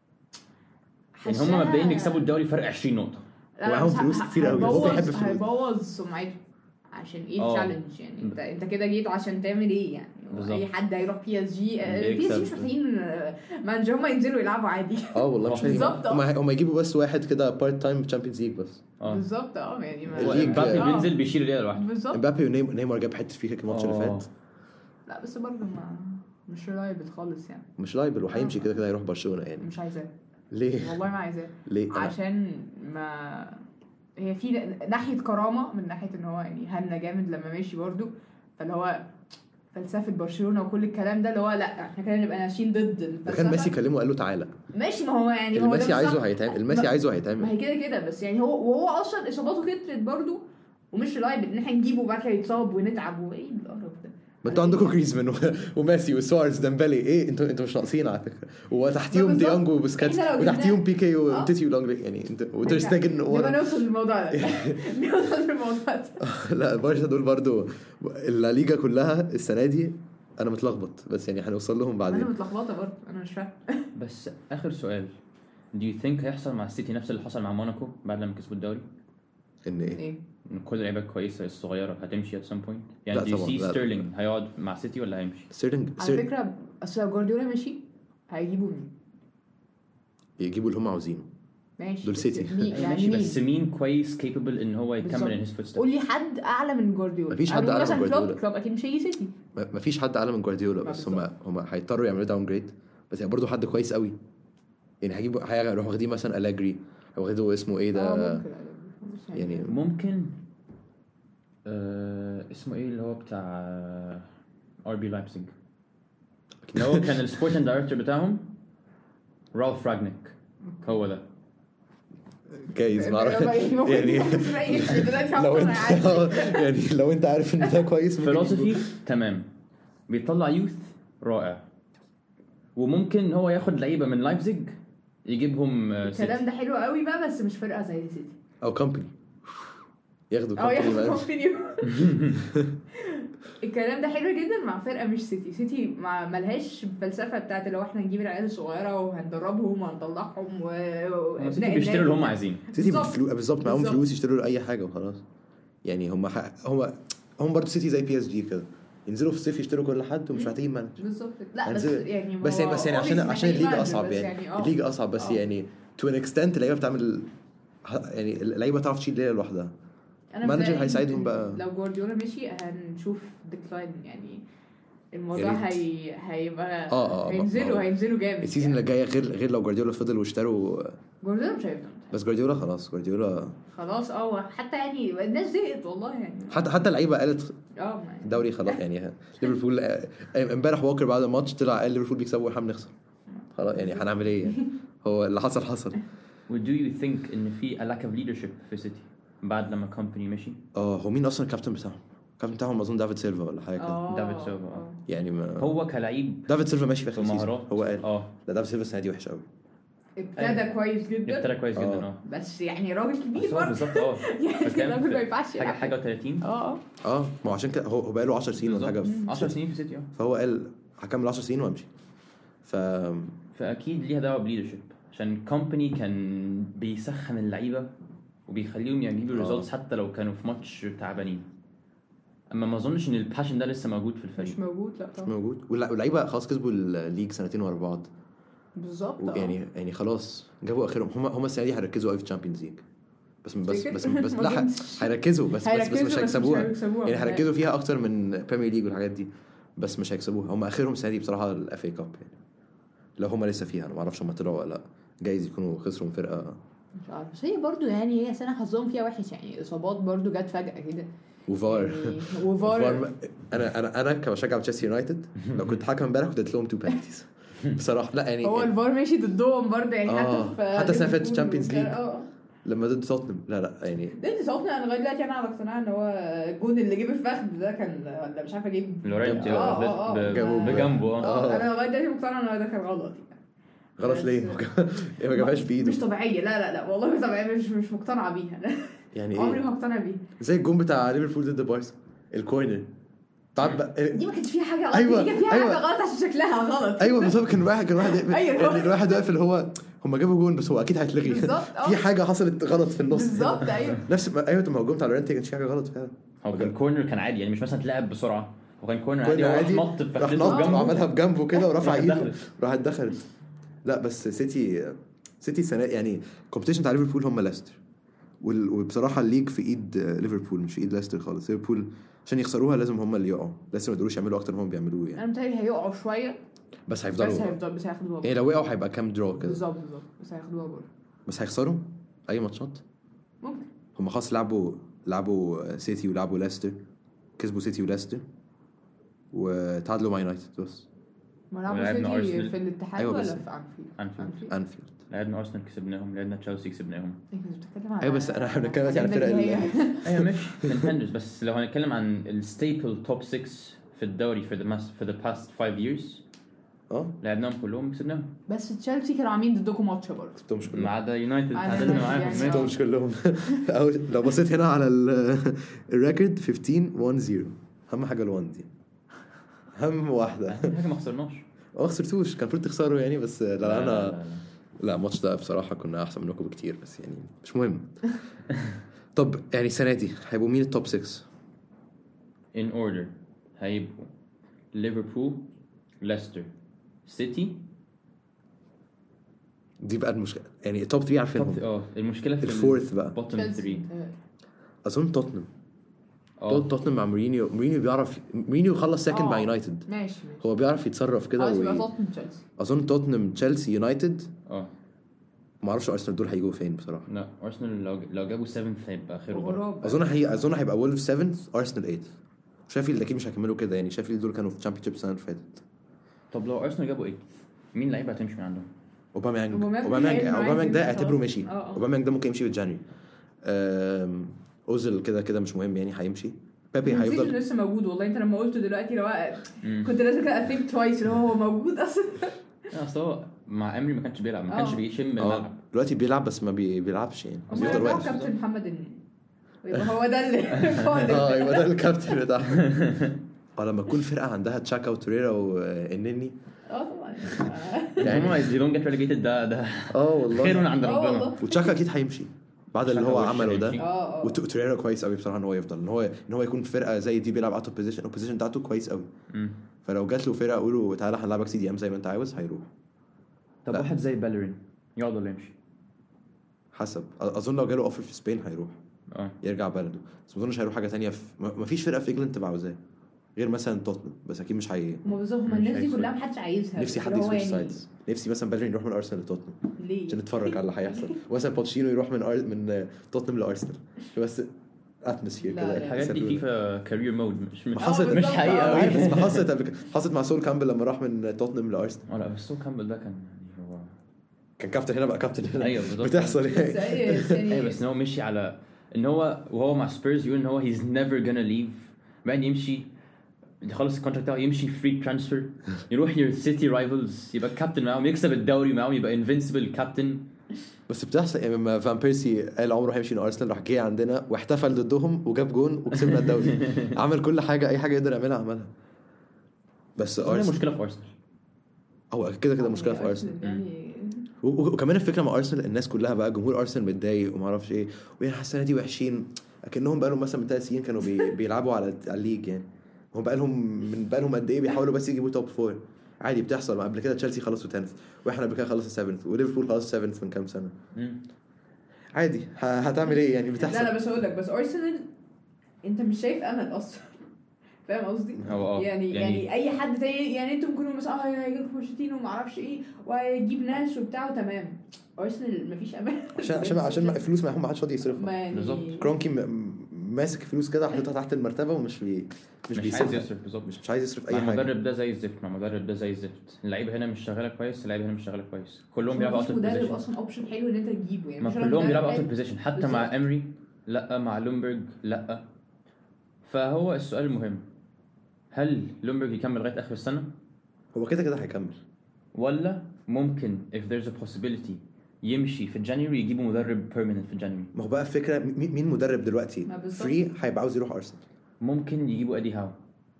S1: يعني هم مبدئيا يكسبوا الدوري فرق عشرين نقطه
S3: لا،
S2: ومعاهم
S3: بس
S2: فلوس
S3: ه-
S2: كتير قوي. هو
S3: هيبوظ-
S2: بيحب الفلوس.
S3: هيبوظ سمعته عشان ايه
S1: آه.
S3: التشالنج يعني انت انت كده جيت عشان تعمل ايه يعني
S1: بالظبط.
S3: اي حد هيروح بي اس جي بي اس جي مش
S1: بيكسب.
S3: محتاجين مانجر هم ينزلوا يلعبوا عادي
S2: اه والله مش عارف.
S3: بالظبط،
S2: هم
S3: اه.
S2: هم يجيبوا بس واحد كده بارت تايم تشامبيونز ليج بس
S1: اه
S3: بالظبط اه يعني ما-
S2: الليج-
S1: امبابي
S3: آه.
S1: بينزل بيشيل الليله لوحده
S3: بالظبط
S2: امبابي ونيمار جاب حته فيها الماتش اللي
S1: آه.
S2: فات
S3: لا بس برضه ما مش رايبل خالص يعني
S2: مش لايبل وهيمشي كده كده هيروح برشلونه يعني
S3: مش عايزاه
S2: ليه
S3: والله ما عايزاه
S2: ليه أنا-
S3: عشان ما هي في ناحيه كرامه من ناحيه ان هو يعني هنا جامد لما ماشي برضه فاللي هو فلسفه برشلونه وكل الكلام ده اللي هو لا احنا كده نبقى ماشيين ضد
S2: ده
S3: الفلسفه
S2: كان ميسي كلمه قال له تعالى
S3: ماشي ما هو يعني
S2: اللي
S3: هو ده
S2: ميسي عايزه
S3: بالظبط.
S2: هيتعمل الميسي
S3: ما-
S2: عايزه
S3: ما
S2: هيتعمل
S3: هي كده كده بس يعني هو وهو اصلا اصاباته كترت برضه ومش لايبل ان احنا نجيبه وبعد كده يتصاب ونتعب وايه القرف ده
S2: ما انتوا عندكم جريزمان و- وميسي وسوارز ديمبلي ايه انتوا انتوا مش ناقصين على فكره وتحتيهم
S3: بالظبط.
S2: ديانج وبوسكاتس
S3: احنا لو
S2: وتحتيهم
S3: جبنا-
S2: بيكي
S3: اه.
S2: وتيتي ولونجلي يعني انت وترستاجن
S3: نبقى
S2: ورا
S3: نوصل للموضوع ده نوصل للموضوع ده
S2: لا بارسا دول برضو الليجا كلها السنه دي انا متلخبط بس يعني هنوصل لهم
S3: انا
S2: بعدين
S3: متلخبطه برضه انا مش فاهم
S1: بس اخر سؤال do you think هيحصل مع السيتي نفس اللي حصل مع موناكو بعد لما كسبوا الدوري
S2: ان ايه
S3: ايه
S1: ان كل اللعيبه الكويسه الصغيره هتمشي at some point يعني
S2: لا
S1: do you
S2: طبعاً،
S1: see
S2: لا.
S1: ستيرلينج هيقعد مع سيتي ولا هيمشي
S2: ستيرلينج
S3: على
S2: ستيرلينج
S3: فكره اصل لو جوارديولا مشي هيجيبوا مين
S2: يجيبوا اللي هم عاوزينه
S3: ماشي
S2: دول
S3: بس
S2: سيتي.
S3: مين- يعني
S1: ماشي
S3: مين
S1: بس مين كويس capable ان هو
S3: بالظبط.
S1: يكمل in his footsteps
S3: قول لي حد اعلى من جوارديولا
S2: مفيش حد
S3: هنقول
S2: أعلى من
S3: مثلا كلوب
S2: جوارديولا.
S3: كلوب اكيد مش هيجي سيتي
S2: ما فيش حد اعلى من جوارديولا
S3: ما
S2: بس هم
S3: بالظبط.
S2: هم هيضطروا يعملوا داون جريد بس يعني برضه حد كويس قوي يعني هيجيبوا هيروحوا واخدين مثلا ألاجري او واخدوا اسمه ايه
S3: اه
S2: ده
S3: ممكن بس
S2: يعني
S1: ممكن آه اسمه ايه اللي هو بتاع ار بي لايبزيج اللي هو كان السبورتنج دايركتور بتاعهم رالف راجنيك هو ده
S2: جايز ما اعرف يعني
S3: يعني
S2: لو انت يعني لو انت عارف ان ده كويس ممكن
S1: فلسفي
S2: يجيبوه.
S1: تمام بيطلع يوث رائع وممكن هو ياخد لعيبه من لايبزيج يجيبهم آه، سيتي.
S3: الكلام ده حلو قوي بقى بس مش فرقه زي سيتي
S2: او كومباني ياخدوا
S3: اه
S2: كومباني
S3: ياخد
S2: بقى.
S3: كومباني الكلام ده حلو جدا مع فرقه مش سيتي سيتي ما ملهاش الفلسفه بتاعت اللي هو احنا نجيب العيال الصغيره وهندربهم وهنطلعهم و
S1: هم سيتي بيشتروا اللي هم عايزينه
S2: سيتي
S3: بالظبط.
S2: بالفلوس بالظبط معاهم
S3: بالظبط.
S2: فلوس يشتروا له اي حاجه وخلاص يعني هم ح... هم هم برضه سيتي زي بي اس جي كده ينزلوا في الصيف يشتروا كل حد ومش محتاجين مانجر
S3: بالظبط لا بس
S2: هنزل-
S3: يعني
S2: بس يعني بس يعني عشان عشان الليجا اصعب يعني
S3: آه.
S2: الليجا اصعب بس
S3: آه.
S2: يعني تو ان اكستنت اللعيبه بتعمل يعني اللعيبه تعرف تشيل ليله لوحدها
S3: أنا
S2: مانجر
S3: برأيي
S2: هيساعدهم
S3: إن
S2: بقى.
S3: لو جوارديولا مشي هنشوف ديكلاين يعني الموضوع
S2: يا ريت.
S3: هي هيبقى
S2: آه، آه،
S3: هينزلوا
S2: آه.
S3: هينزلوا جامد
S2: السيزون اللي جاي غير غير لو جوارديولا فضل واشتروا
S3: جوارديولا مش هيفضل
S2: بس جوارديولا خلاص جوارديولا
S3: خلاص اه حتى يعني الناس زهقت والله يعني
S2: حتى حتى اللعيبه قالت
S3: اه ما-
S2: الدوري خلاص يعني ليفربول امبارح ووكر بعد الماتش طلع قال ليفربول بيكسبوا واحنا بنخسر خلاص يعني هنعمل ايه يعني هو اللي حصل حصل
S1: و do you think ان في a lack of leadership في سيتي بعد لما كومباني مشي
S2: اه هو مين اصلا الكابتن بتاعهم الكابتن بتاعهم اظن دافيد سيلفا ولا حاجه كده
S3: اه
S1: دافيد سيلفا، آه.
S2: يعني ما
S1: هو كلعيب
S2: دافيد سيلفا ماشي في اخر السيزون
S1: مهارات
S2: هو قال
S1: اه
S2: لا دافيد سيلفا السنه دي وحش قوي
S3: ابتدى كويس جدا
S1: ابتدى كويس جدا
S2: آه.
S1: اه
S3: بس يعني راجل كبير
S1: بس هو
S3: برضه
S1: بالظبط اه
S3: يعني
S1: فكان
S3: الراجل ما
S1: في
S3: ينفعش
S1: حاجه
S3: يلعب.
S1: حاجه و30
S3: اه اه
S2: اه ما هو عشان كده هو هو بقى له عشر سنين ولا حاجه في-
S1: عشر سنين في سيتي اه
S2: فهو قال هكمل عشر سنين وامشي ف
S1: فاكيد ليها دعوه بليدرشيب عشان كومباني كان بيسخن اللعيبه وبيخليهم يجيبوا
S2: آه.
S1: ريزلتس حتى لو كانوا في ماتش تعبانين اما ما اظنش ان الباشن ده لسه موجود في
S3: مش
S1: الفريق
S3: موجود لا طبعا
S2: موجود واللع- واللعيبه خلاص كسبوا الليج سنتين ورا بعض
S3: بالظبط اه.
S2: يعني يعني خلاص جابوا اخرهم هم هم السنه دي هيركزوا قوي في الشامبيونز ليج بس بس
S3: تفتكر؟
S2: بس بس
S3: ما
S2: لا
S3: أظنش.
S2: هيركزوا بس بس بس
S3: هيركزوا
S2: مش هيكسبوها
S3: هيكسبوها.
S2: يعني هيركزوا فيها اكتر من بريمير ليج والحاجات دي بس مش هيكسبوها هم اخرهم السنه دي بصراحه الاف اي كاب يعني لو هم لسه فيها انا ما اعرفش هم طلعوا ولا لا جايز يكونوا خسروا من فرقه
S3: مش عارف بس هي برضو يعني هي سنه حظهم فيها وحش يعني اصابات برضو جت فجاه كده
S2: وفار
S3: يعني وفار
S2: وفار انا انا انا كمشجع تشيلسي يونايتد لو كنت حكم امبارح كنت اديت لهم تو بنالتيز بصراحه. لا يعني
S3: هو الفار ماشي ضدهم برضو يعني
S2: آه.
S3: حتى في
S2: حتى السنة اللي فاتت Champions League.
S3: اه
S2: لما ضد توتنهام لا لا يعني
S3: ضد توتنهام انا لغايه دلوقتي انا على اقتناع ان هو الجون اللي جه الفخذ ده كان ولا مش عارفه جيب
S1: لورينتي
S3: آه، آه، آه.
S1: ب- بجنبه اه
S3: اه انا لغايه دلوقتي مقتنعه ان ده كان غلط يعني.
S2: غلط ليه؟ إيه ما جابهاش بايده
S3: مش طبيعيه لا لا لا والله مش طبيعيه مش مش مقتنعه بيها
S2: يعني
S3: عمري
S2: ايه
S3: ما هقتنع بيها
S2: زي الجون بتاع ليفربول ضد بارسا الكورنر طب
S3: دي ما كانش فيها حاجه غلط
S2: أيوة،
S3: دي كان فيها
S2: أيوة.
S3: حاجه غلط عشان شكلها غلط
S2: ايوه بالظبط كان واحد كان واحد
S3: أيوة.
S2: يعني الواحد واقف اللي هو هم جابوا جون بس هو اكيد هيتلغي
S3: بالظبط، آه.
S2: في حاجه حصلت غلط في النص
S3: بالظبط ايوه
S2: نفس ما ايوه ما هو الجون بتاع لورينتي كانش فيه حاجه غلط فعلا
S1: هو كان كورنر كان عادي يعني مش مثلا تلعب بسرعه هو كان كورنر عادي
S2: كورنر
S1: هو راح
S2: عادي
S1: نط في
S2: راح
S1: فخذته
S2: نط
S1: بجنبه
S2: وعملها بجنبه كده ورفع
S1: راحت
S2: ايده
S1: دخلت.
S2: راحت دخلت. لا بس سيتي سيتي السنه يعني الكومبيتيشن بتاع ليفربول هم ليستر وال- وبصراحه الليج في ايد ليفربول مش في ايد ليستر خالص. ليفربول عشان يخسروها لازم هم اللي يقعوا لسه ما يقدروش يعملوا اكتر ما هم بيعملوه يعني
S3: انا متهيألي هيقعوا شويه
S2: بس
S3: بس
S2: هيفضلوا
S3: هيفضل بس هياخدوها
S2: يعني لو وقعوا هيبقى كام درو كده
S3: بالظبط بالظبط بس هياخدوها برضه
S2: بس هيخسروا اي ماتشات
S3: ممكن
S2: هم خلاص لعبوا لعبوا سيتي ولعبوا ليستر كسبوا سيتي وليستر وتعادلوا مع يونايتد بس
S3: ما لعبوا
S1: ولعبنا
S3: سيتي
S1: أرسنال.
S3: في الاتحاد
S2: أيوة
S3: ولا
S2: بس-
S3: في انفيلد
S1: أنفيلد.
S2: انفيلد.
S1: لعبنا ارسنال كسبناهم لعبنا تشيلسي كسبناهم
S3: إيه كنت بتتكلم عن
S2: ايوه بس انا احنا بنتكلم دلوقتي على الفرق اللي
S1: ايوه ماشي كونتندرز بس لو هنتكلم عن الستيبل توب ستة في الدوري for the mas- for the past five years
S2: اه
S1: لعبناهم كلهم كسبناهم
S3: بس تشيلسي كانوا عاملين ضدكم ماتش برضه
S2: كسبتهمش
S1: ما
S2: كلهم
S1: عدا يونايتد
S3: عدا
S1: تعادلنا
S3: يونايتد
S1: معاهم
S3: يعني.
S1: ماشي.
S2: كسبتهمش كلهم أو لو بصيت هنا على ال- الريكورد خمستاشر واحد صفر اهم حاجه الوان دي اهم واحده
S1: أهم حاجه ما خسرناش
S2: ما خسرتوش كان المفروض تخسروا يعني بس لا, لا انا
S1: لا, لا.
S2: لا الماتش ده بصراحه كنا احسن منكم بكتير بس يعني مش مهم. طب يعني السنه دي هيبقوا مين التوب ستة؟
S1: in order هيبقوا ليفربول ليستر سيتي
S2: دي بقى المشكله يعني التوب ثلاثة عارفينهم
S1: اه المشكله في
S2: الفورث بقى
S1: بوتtom ثلاثة
S2: اظن توتنهام
S1: اه
S2: توتنهام مع مورينيو مورينيو بيعرف مورينيو خلص سكند مع يونايتد
S3: ماشي ماشي
S2: هو بيعرف يتصرف كده
S3: خلاص يبقى
S2: وي...
S3: توتنهام تشيلسي
S2: اظن توتنهام تشيلسي يونايتد
S1: اه
S2: ما اعرفش ارسنال دول هيجوا فين بصراحه
S1: لا ارسنال لو لو جابوا سبعة هيبقى خير وبركه
S3: غراب
S2: اظن هي اظن هيبقى وولف سبعة ارسنال ثمانية شايفيلد اكيد مش هيكملوا كده يعني شايفيلد دول كانوا في الشامبيونشيب السنه اللي فاتت.
S1: طب لو ارسنال جابوا ايه مين لعيبه هتمشي من عندهم
S2: اوباميانج
S3: أوباميانج
S2: اوباميانج
S3: هيعمل معاك
S2: اوباميانج ده
S3: إمتى
S2: اعتبره
S3: خلاص؟
S2: مشي
S3: آه، آه.
S2: اوباميانج ده ممكن يمشي في جانيوري. أم... اوزل كده كده مش مهم يعني هيمشي. بيبي
S3: هيفضل
S2: هيفضل
S3: لسه موجود والله انت لما قلته دلوقتي لو
S1: مم.
S3: كنت لازم كده اثينك توايس اللي هو موجود اصلا
S1: اصل هو مع امري ما كانش بيلعب ما كانش
S3: اه.
S1: بيشم
S2: اه
S1: الملعب
S2: دلوقتي بيلعب بس ما بي... بيلعبش يعني بس
S3: هم
S2: بيفضل
S3: يرجعوا
S2: واقف.
S3: كابتن محمد النني ويبقى هو ده اللي هو
S2: اه
S3: ده
S2: يبقى ده الكابتن بتاعهم. اه لما تكون فرقه عندها تشاكا وتوريرا والنني
S3: اه طبعا
S1: يعني هم they don't get relegated ده ده
S2: اه والله
S1: خير من عند
S3: اه
S1: ربنا
S3: والله
S2: وتشاكا اكيد هيمشي بعد اللي
S1: تشاكا
S2: هو
S1: وش
S2: عمله ده.
S1: هيمشي.
S3: اه اه
S2: وتوريرا كويس قوي بصراحه ان هو يفضل ان هو ان هو يكون في فرقه زي دي بيلعب اوت اوف بوزيشن البوزيشن بتاعته كويس قوي
S1: مم.
S2: فلو جات له فرقه قولوا تعالى هنلعبك سي دي ام زي ما انت عاوز هيروح.
S1: طب
S2: لا.
S1: واحد زي بالرين يقعد ولا يمشي
S2: حسب اظن لو جاله اوفر في سبين هيروح
S1: اه
S2: يرجع بلده بس ما اظنش هيروح حاجه تانية في ما فيش فرقه في انجلند تبقى عاوزاه غير مثلا توتنهام بس اكيد مش هي
S3: هم بالظبط هم
S1: مش
S3: الناس دي
S1: هيفرق.
S3: كلها محدش عايزها
S2: نفسي
S3: بس
S2: حد
S3: اللي هو
S2: يسويتش
S3: يعني
S2: سايدز نفسي مثلا بالرين يروح من ارسنال لتوتنهام
S3: ليه
S2: عشان نتفرج على اللي هيحصل مثلا بوتشينو يروح من أر... من توتنهام لارسنال بس اتموسفير
S3: لا،
S2: كده
S3: لا.
S1: الحاجات دي فيفا كارير مود مش
S2: ما
S1: مش
S2: حصلت
S1: مش
S3: بالظبط.
S1: حقيقه
S3: آه.
S2: عارف
S1: قوي
S2: بس ما حصلت قبل كده حصلت مع سول كامبل لما راح من توتنهام لارسنال
S1: اه لا بس سو كامبل ده كان يعني هو
S2: كان كابتن هنا بقى كابتن هنا
S1: ايوه بالظبط
S2: بتحصل
S3: بس
S2: يعني
S3: ايه بس يعني
S1: ايوه بس ان هو مشي على ان هو وهو مع سبيرز يقول ان هو he's never gonna leave بعدين يمشي يخلص الكونتراكت بتاعه يمشي فري ترانسفير يروح يور سيتي رايفلز يبقى كابتن معاهم يكسب الدوري معاهم يبقى انفنسبل كابتن
S2: بس بتحصل يعني لما فان بيرسي قال عمره هيمشي من ارسنال راح جه عندنا واحتفل ضدهم وجاب جون وكسبنا الدوري عمل كل حاجه اي حاجه يقدر يعملها عملها بس
S1: هي
S2: ارسنال
S1: مشكله في ارسنال
S2: هو كده كده مشكله في ارسنال
S3: يعني
S2: و- و- وكمان الفكره مع ارسنال الناس كلها بقى جمهور ارسنال متضايق وما اعرفش ايه ويعني السنه دي وحشين اكنهم بقى لهم مثلا من ثلاث سنين كانوا بي... بيلعبوا على على الليج يعني هم بقى لهم من بقى لهم قد ايه بيحاولوا بس يجيبوا توب فور عادي بتحصل قبل كده تشيلسي خلصوا تنث واحنا قبل كده خلصوا سبعث وليفربول خلصوا سبعث من كام سنه عادي ه... هتعمل ايه يعني بتحصل
S3: لا لا بس اقول لك بس ارسنال انت مش شايف امل اصلا فاهم قصدي؟
S1: هو اه
S3: يعني, يعني يعني اي حد تاني يعني انتوا ممكن مثلا اه هيجيب بوشيتينو وما اعرفش ايه وهيجيب ناس وبتاع وتمام. ارسنال مفيش امان
S2: عشان عشان عشان الفلوس معاهم ما حدش راضي يصرفها
S3: يعني
S1: بالظبط.
S2: كرونكي م- ماسك فلوس كده حاططها تحت المرتبه ومش بي مش,
S1: مش
S2: بيصرف
S1: عايز يصرف بالظبط.
S2: مش مش عايز يصرف
S1: مع
S2: اي حاجه.
S1: المدرب ده زي الزفت مع المدرب ده زي الزفت اللعيبه هنا مش شغاله كويس اللعيبه هنا مش شغاله كويس كلهم بيلعبوا اوت اوف
S3: مدرب
S1: بوزيشن
S3: اصلا اوبشن حلو ان انت تجيبه يعني
S1: ما
S3: مش
S1: كلهم بيلعبوا اوت
S3: حلو.
S1: اوف بوزيشن حتى
S3: بالظبط.
S1: مع امري لا مع لومبرج لا. فهو السؤال المهم هل لومبرج يكمل لغايه اخر السنه
S2: هو كده كده هيكمل
S1: ولا ممكن if there's a possibility يمشي في جانيوري يجيبوا مدرب permanent في جانيوري.
S2: ما هو بقى الفكره مين مين مدرب دلوقتي
S3: ما بالظبط.
S2: فري هيبقى عاوز يروح ارسنال.
S1: ممكن يجيبوا ادي هاو.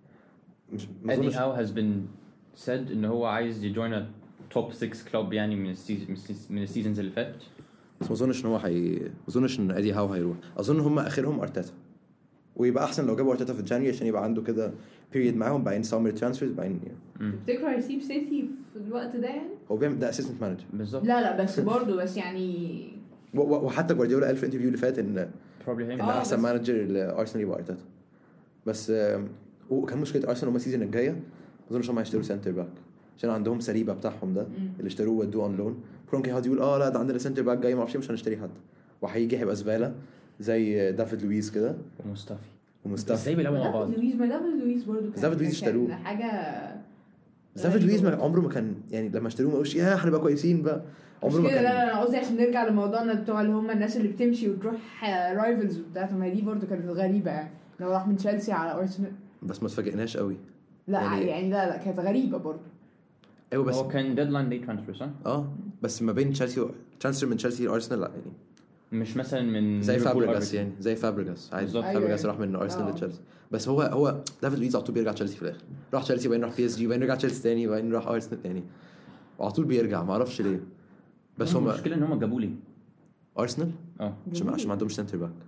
S2: مش ما
S1: ادي
S2: اظنش
S1: هاو has been said ان هو عايز يجوين توب ستة كلوب يعني من السيزون من السيزونز اللي فاتت.
S2: بس ما اظنش ان هو هي ما اظنش ان ادي هاو هيروح. اظن هم اخرهم ارتيتا ويبقى احسن لو جابوا ارتيتا في جانيوري عشان يبقى عنده كده بيريد معاهم بعدين سامر ترانسفيرز بعدين يعني.
S3: تفتكر هيسيب سيتي في الوقت ده يعني؟
S2: هو بيعمل ده اسيستنت مانجر
S1: بالظبط.
S3: لا لا بس برضه بس يعني
S2: و- و- وحتى جوارديولا قال في الانترفيو اللي فات ان
S1: probably
S2: ان
S1: him.
S3: آه،
S2: احسن
S3: بس-
S2: مانجر لارسنال يبقى ارتيتا. بس آم، وكان مشكله ارسنال هم السيزون الجايه ما اظنش هم هيشتروا سنتر باك عشان عندهم سليبه بتاعهم ده اللي اشتروه ودوه اون لون. كرونكي هاد يقول اه لا ده عندنا سنتر باك جاي ما اعرفش مش هنشتري حد وهيجي هيبقى زباله زي دافيد لويس كده
S1: ومصطفى
S2: ومصطفى.
S1: ازاي بيلعبوا مع بعض.
S3: دافيد لويس ما دافيد لويس برضه كان
S2: دافيد لويس
S3: كان
S2: اشتروه.
S3: حاجه
S2: بس دافيد لويس ما عمره ما كان يعني لما اشتروه ما قالوش يا هنبقى كويسين بقى عمره ما
S3: كده. لا
S2: كان.
S3: لا انا قصدي عشان نرجع لموضوعنا بتوع اللي هم الناس اللي بتمشي وتروح رايفلز بتاعتهم ما دي برضه كانت غريبه يعني لو راح من تشيلسي على ارسنال.
S2: بس ما اتفاجئناش قوي.
S3: لا
S2: يعني-
S3: يعني, يعني لا لا كانت غريبه برضه.
S2: ايوه بس
S1: هو كان ديدلاين دي ترانسفير صح؟
S2: اه بس ما بين تشيلسي و... ترانسفير من تشيلسي لارسنال لا يعني
S1: مش مثلا من
S2: زي
S1: ليفربول
S2: فابريجاس
S1: أرسنال.
S2: يعني زي فابريجاس عادي.
S1: بالظبط.
S2: فابريجاس
S3: أيوة.
S2: راح من ارسنال
S3: آه.
S2: لتشيلسي. بس هو هو دافيد لويس على طول بيرجع تشيلسي في الاخر. راح تشيلسي وبعدين راح بي اس جي وبعدين رجع تشيلسي تاني وبعدين راح ارسنال يعني وعلى طول بيرجع ما اعرفش ليه. بس هم
S1: المشكله ان هم جابوا لي
S2: ارسنال
S1: اه
S2: عشان عشان ما عندهمش سنتر باك.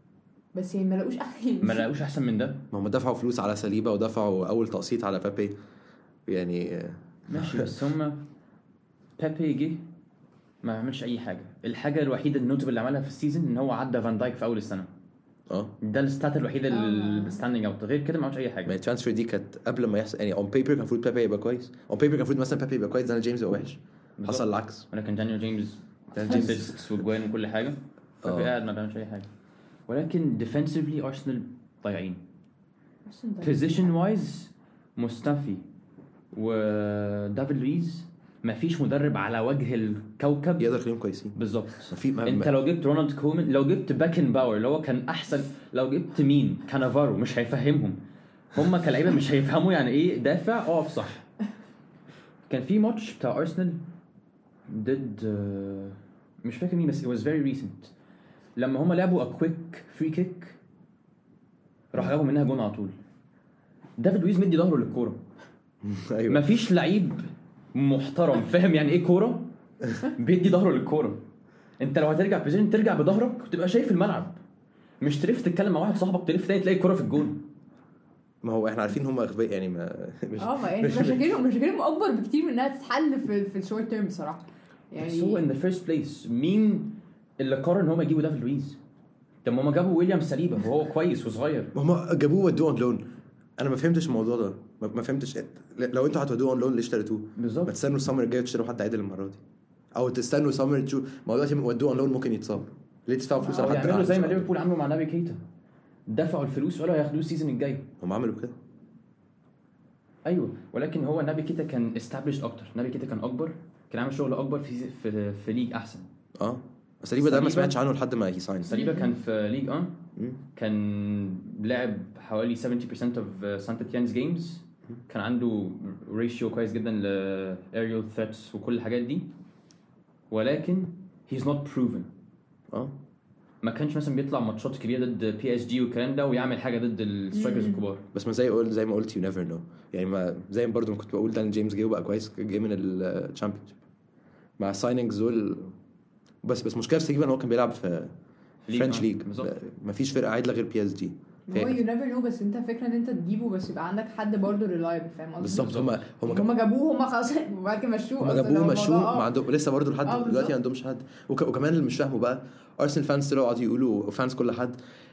S3: بس يعني ما لقوش احسن
S1: ما لقوش احسن من ده.
S2: ما هم دفعوا فلوس على سليبه ودفعوا اول تقسيط على بابي يعني آه،
S1: ماشي بس هم بيبي يجي ما عملش اي حاجه. الحاجه الوحيده النوتبل اللي عملها في السيزون ان هو عدى فان دايك في اول السنه.
S2: اه
S1: ده الستات الوحيده
S3: آه.
S1: اللي ستاندينج اوت غير كده ما عملش اي
S2: ما
S1: حاجه.
S2: الترانسفير دي كانت قبل ما يحصل يعني اون بيبر كان المفروض بابي يبقى كويس. اون بيبر كان المفروض مثلا بابي يبقى كويس داني جيمس يبقى وحش.
S1: بالظبط.
S2: حصل العكس.
S1: ولكن دانيال جيمس
S2: دانيال جيمس
S1: اسيستس وجوان وكل حاجه
S2: آه.
S1: بيبي قاعد ما بيعملش اي حاجه. ولكن ديفنسيفلي ارسنال ضايعين. بوزيشن وايز مصطفى ودافيد لويز ما فيش مدرب على وجه الكوكب
S2: يقدر يخليهم كويسين.
S1: بالظبط.
S2: ما في ما
S1: انت لو جبت رونالد كومان لو جبت باكن باور اللي هو كان احسن لو جبت مين كانافارو مش هيفهمهم. هم كلاعيبه مش هيفهموا يعني ايه دافع اقف صح. كان في ماتش بتاع ارسنال ضد مش فاكر مين بس it was very recent لما هم لعبوا a quick free kick راح جابوا منها جون على طول. دافيد لويز مدي ظهره للكوره.
S2: ايوه
S1: مفيش لعيب محترم فاهم يعني ايه كوره بيدي ظهره للكوره. انت لو هترجع بوزيشن ترجع بظهرك وتبقى شايف الملعب مش تلف تتكلم مع واحد صاحبك تلف تاني تلاقي الكوره في الجون.
S2: ما هو احنا عارفين هم اغبياء يعني ما مش
S3: اه ما يعني مشاكلهم مشاكلهم اكبر بكتير من انها تتحل في في الشورت تيرم بصراحه يعني.
S1: بس هو in the first place مين اللي قرر ان هم يجيبوا دافيد لويز؟ طب ما هم جابوا ويليام سليبا وهو كويس وصغير.
S2: ما هم جابوه ودوه اون لون. انا ما فهمتش الموضوع ده ما ما فهمتش لو انتوا هتودوه اون لون ليه اشتريتوه؟ ما
S1: بالظبط.
S2: تستنوا السمر الجاي تشتروا حد عادل المره دي او تستنوا سمر تشوف ما هو دلوقتي ودوه اون لون ممكن يتصاب ليه تدفعوا فلوس
S1: او
S2: على حد
S1: يعملوا زي ما
S2: قاعد؟
S1: ليفربول عملوا مع نابي كيتا دفعوا الفلوس وقالوا هياخدوه السيزون الجاي.
S2: هم عملوا كده
S1: ايوه ولكن هو نابي كيتا كان established اكتر. نابي كيتا كان اكبر كان عامل شغل اكبر في في, في ليج احسن.
S2: اه سليبا ده ما
S1: سليبا-
S2: سمعتش عنه لحد ما هي ساين.
S1: سليبا كان في ليج اه
S2: مم.
S1: كان لعب حوالي سبعين بالمية of سانت تيانز جيمز. كان عنده ريشيو كويس جدا ل aerial threats وكل الحاجات دي ولكن he's not proven.
S2: اه
S1: ما كانش مثلا بيطلع ماتشات كبيره ضد بي اس جي والكلام ده ويعمل حاجه ضد السترايكرز الكبار.
S2: بس ما زي قول زي ما قلت يو نيفر نو يعني ما زي ما برضو ما كنت بقول دان جيمس جه وبقى كويس جه من الشامبيونشيب مع السايننجز دول. بس بس مشكله في سليبا ان هو كان بيلعب في
S1: ليج،
S2: فرنش
S1: آه،
S2: ليج
S1: بالظبط.
S2: ما فيش فرقه عادله غير بي اس جي.
S3: هو يو نيفر نو بس انت فكره ان انت تجيبه بس يبقى عندك حد برضه ريلايبل فاهم قصدي.
S2: بالظبط هم هم
S3: هم جابوه هم خلاص وبعد كده مشوه
S2: هم
S3: أصلاً.
S2: جابوه
S3: هو
S2: مشوه
S3: الموضوع-
S2: ما عندهم لسه برضه لحد
S3: آه،
S2: دلوقتي
S3: بالظبط.
S2: ما عندهمش حد وك... وكمان اللي مش فاهمه بقى ارسنال فانز طلعوا قعدوا يقولوا فانز كل حد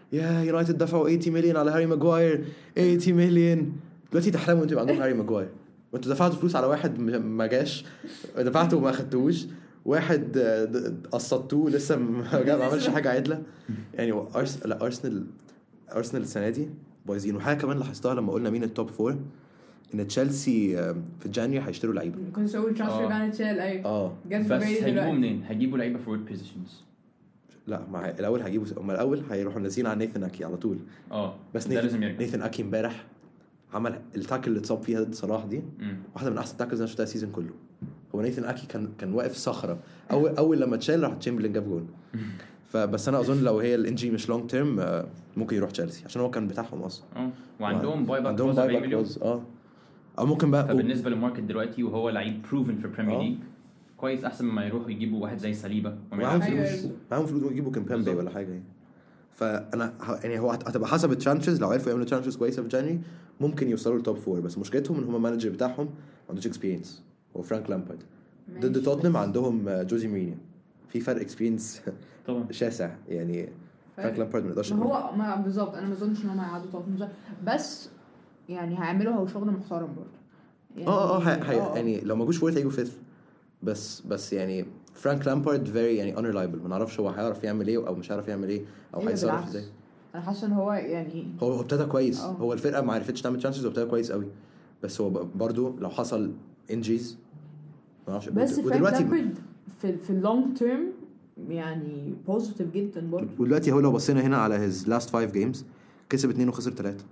S2: يا يونايتد دفعوا ثمانين مليون على هاري ماجواير ثمانين مليون دلوقتي تحلموا انتوا يبقى عندكم هاري ماجواير وانتوا دفعتوا فلوس على واحد ما جاش دفعتوا وما اخدتوش واحد قسطتوه لسه ما عملش حاجه عدله يعني أرس... لا ارسنال ارسنال السنه دي بايظين. وحاجه كمان لاحظتها لما قلنا مين التوب فور ان تشيلسي في جانيوري هيشتروا لعيبه
S3: كنت اقول ترانسفير بان تشيل ايوه
S2: اه
S1: بس هيجيبوا منين؟ هيجيبوا لعيبه فورورد بوزيشنز.
S2: لا مع الاول هيجيبوا هم الاول هيروحوا نازلين على نيثن اكي على طول
S1: اه
S2: بس نيثن, نيثن اكي امبارح عمل التاكل اللي اتصاب فيها ضد صلاح دي مم. واحده من احسن التاكلز انا شفتها السيزون كله. هو نيثن اكي كان كان واقف صخره اول اول لما تشيل راح تشامبرلين جاب جول فبس انا اظن لو هي الانجي مش لونج تيرم ممكن يروح تشيلسي عشان هو كان بتاعهم اصلا
S1: اه وعندهم باي باك
S2: عندهم باي باك اه او ممكن بقى
S1: فبالنسبه للماركت دلوقتي وهو لعيب بروفن في البريمير ليج كويس احسن مما يروحوا يجيبوا واحد زي صليبه
S2: معاهم فلوس معاهم فلوس يجيبوا كامبامبي ولا حاجه يعني. فانا يعني هو هتبقى حسب الترانشز لو عرفوا يعملوا ترانشز كويسه في جانيوري ممكن يوصلوا للتوب فور بس مشكلتهم ان هم المانجر بتاعهم ما عندوش اكسبيرينس هو فرانك لامبارد. ضد توتنهام عندهم جوزي مورينيو في فرق اكسبيرينس طبعا شاسع يعني فرانك لامبارد ما يقدرش
S3: هو ما بالظبط انا ما اظنش ان هم هيعدوا توتنهام بس يعني هيعملوا هو شغل محترم برضه
S2: يعني اه اه يعني لو ما جوش فورت هيجوا فيث بس بس يعني فرانك لامبارد فيري يعني unreliable ما نعرفش هو هيعرف يعمل ايه او مش هيعرف يعمل ايه او هيتصرف ازاي.
S3: انا حاسه ان هو يعني
S2: هو هو ابتدى كويس أوه. هو الفرقه ما عرفتش تعمل تشانسز وابتدى كويس قوي بس هو برضو لو حصل انجيز ما اعرفش
S3: بس ودلوقتي في في اللونج تيرم يعني بوزيتيف جدا برضو.
S2: ودلوقتي هو لو بصينا هنا على his last five games كسب اتنين وخسر ثلاثة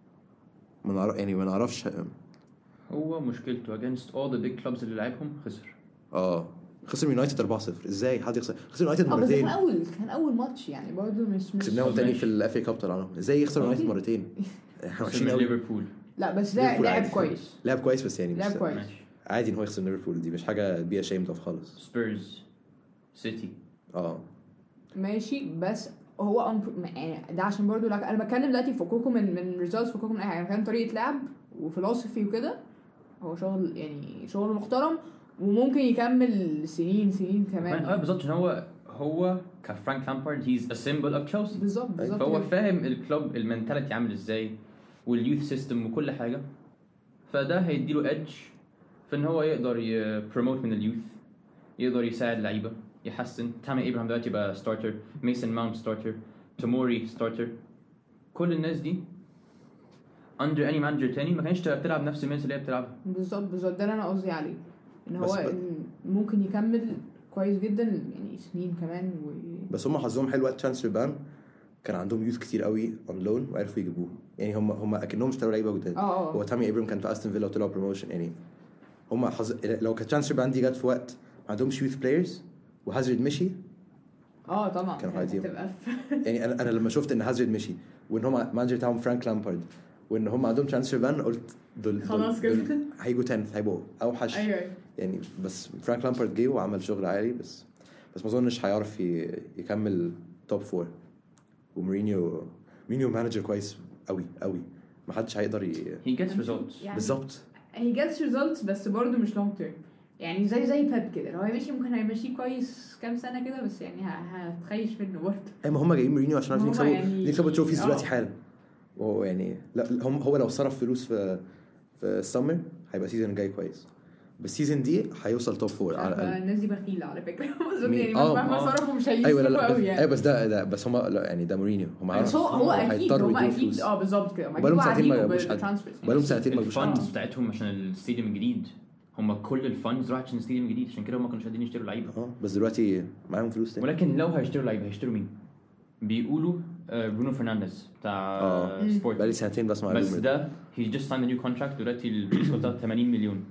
S2: ما نعرف يعني ما نعرفش
S1: هو مشكلته against all the big clubs اللي لعبهم خسر
S2: اه خسر يونايتد أربعة صفر ازاي حد يخسر خسر يونايتد مرتين
S3: اه بس كان اول كان اول ماتش يعني برضو مش مش
S2: كسبناهم تاني في الاف اي كاب طلعناهم ازاي يخسر يونايتد مرتين
S1: احنا وحشين قوي ليفربول
S3: لا بس ده لعب كويس
S2: لعب كويس بس يعني
S3: لعب كويس
S2: عادي ان هو يخسر ليفربول دي مش حاجه بيها شيم ده خالص.
S1: سبيرز سيتي
S2: اه
S3: ماشي بس هو أمب... يعني ده عشان برضو لك... انا بتكلم دلوقتي فكوكم من من ريزلتس فكوكم من اي حاجه كان طريقه لعب وفلسفي وكده هو شغل يعني شغل محترم وممكن يكمل سنين سنين كمان
S1: اه بالظبط عشان هو هو كفرانك لامبارد هيز ا سيمبل اوف تشيلسي
S3: بالظبط بالظبط
S1: فهو فاهم الكلوب المنتاليتي عامل ازاي واليوث سيستم وكل حاجه فده هيديله ايدج في ان هو يقدر يبروموت من اليوث يقدر يساعد لعيبه يحسن تامي ابراهام دلوقتي بقى ستارتر ميسون ماونت ستارتر توموري ستارتر كل الناس دي under any manager تاني ما كانش تلعب نفس المينس اللي هي بتلعبها
S3: بالظبط بالظبط ده اللي انا قصدي عليه ان هو إن ممكن يكمل كويس جدا يعني سنين كمان و...
S2: بس هم حظهم حلو وقت ترانسفير بان كان عندهم يوث كتير قوي اون لون وعرفوا يجيبوه يعني هم هم اكنهم اشتروا لعيبه جداد هو تامي ابراهام كان في استون فيلا وطلع بروموشن يعني هم حظ... لو كانت ترانسفير بان دي جت في وقت ما عندهمش يوث بلايرز وهازارد مشي
S3: اه طبعا
S2: كانوا هتبقى يعني انا انا لما شفت ان هازارد مشي وان هم مانجر بتاعهم فرانك لامبارد وان هم عندهم ترانسفير بان قلت دول
S3: خلاص كده
S2: هيجوا تاني هيبقوا اوحش
S3: ايوه
S2: يعني بس فرانك لامبارد جه وعمل شغل عالي بس بس ما اظنش هيعرف يكمل توب فور. ومورينيو مورينيو مانجر كويس قوي قوي ما حدش هيقدر ي...
S1: he gets results
S3: يعني
S2: بالظبط
S3: he gets results بس برضه مش long term يعني زي زي بيب كده لو هيمشي ممكن هيمشي كويس كام سنه كده بس يعني هتخيش منه برضه
S2: اي ما هم جايين مورينيو عشان عارفين يكسبوا يعني... يكسبوا تروفيز دلوقتي حالا وهو يعني لا هم هو لو صرف فلوس في في السمر هيبقى سيزون جاي كويس بس السيزون دي هيوصل توب فور
S3: على الاقل الناس دي بخيله على فكره يعني
S2: اه
S3: مهما صرفوا مش هيجيبوا
S2: ايوه لا
S3: قوي يعني
S2: ايوه بس ده, ده بس هم يعني ده مورينيو هم
S3: عارفين هو هو اكيد هم اكيد اه بالظبط كده
S2: بقالهم سنتين ما جابوش بقالهم سنتين ما
S1: جابوش الفاندز بتاعتهم عشان الستاديوم الجديد هم كل الفاندز راحت عشان الستاديوم الجديد عشان كده هم ما كانوش قادرين يشتروا لعيبه
S2: اه بس دلوقتي معاهم فلوس تاني
S1: ولكن لو هيشتروا لعيبه هيشتروا مين بيقولوا برونو فرنانديز بتاع
S2: آه. سبورت بقالي سنتين بس مع
S1: بس ده he just signed a new contract دلوقتي البريس كوتا ثمانين مليون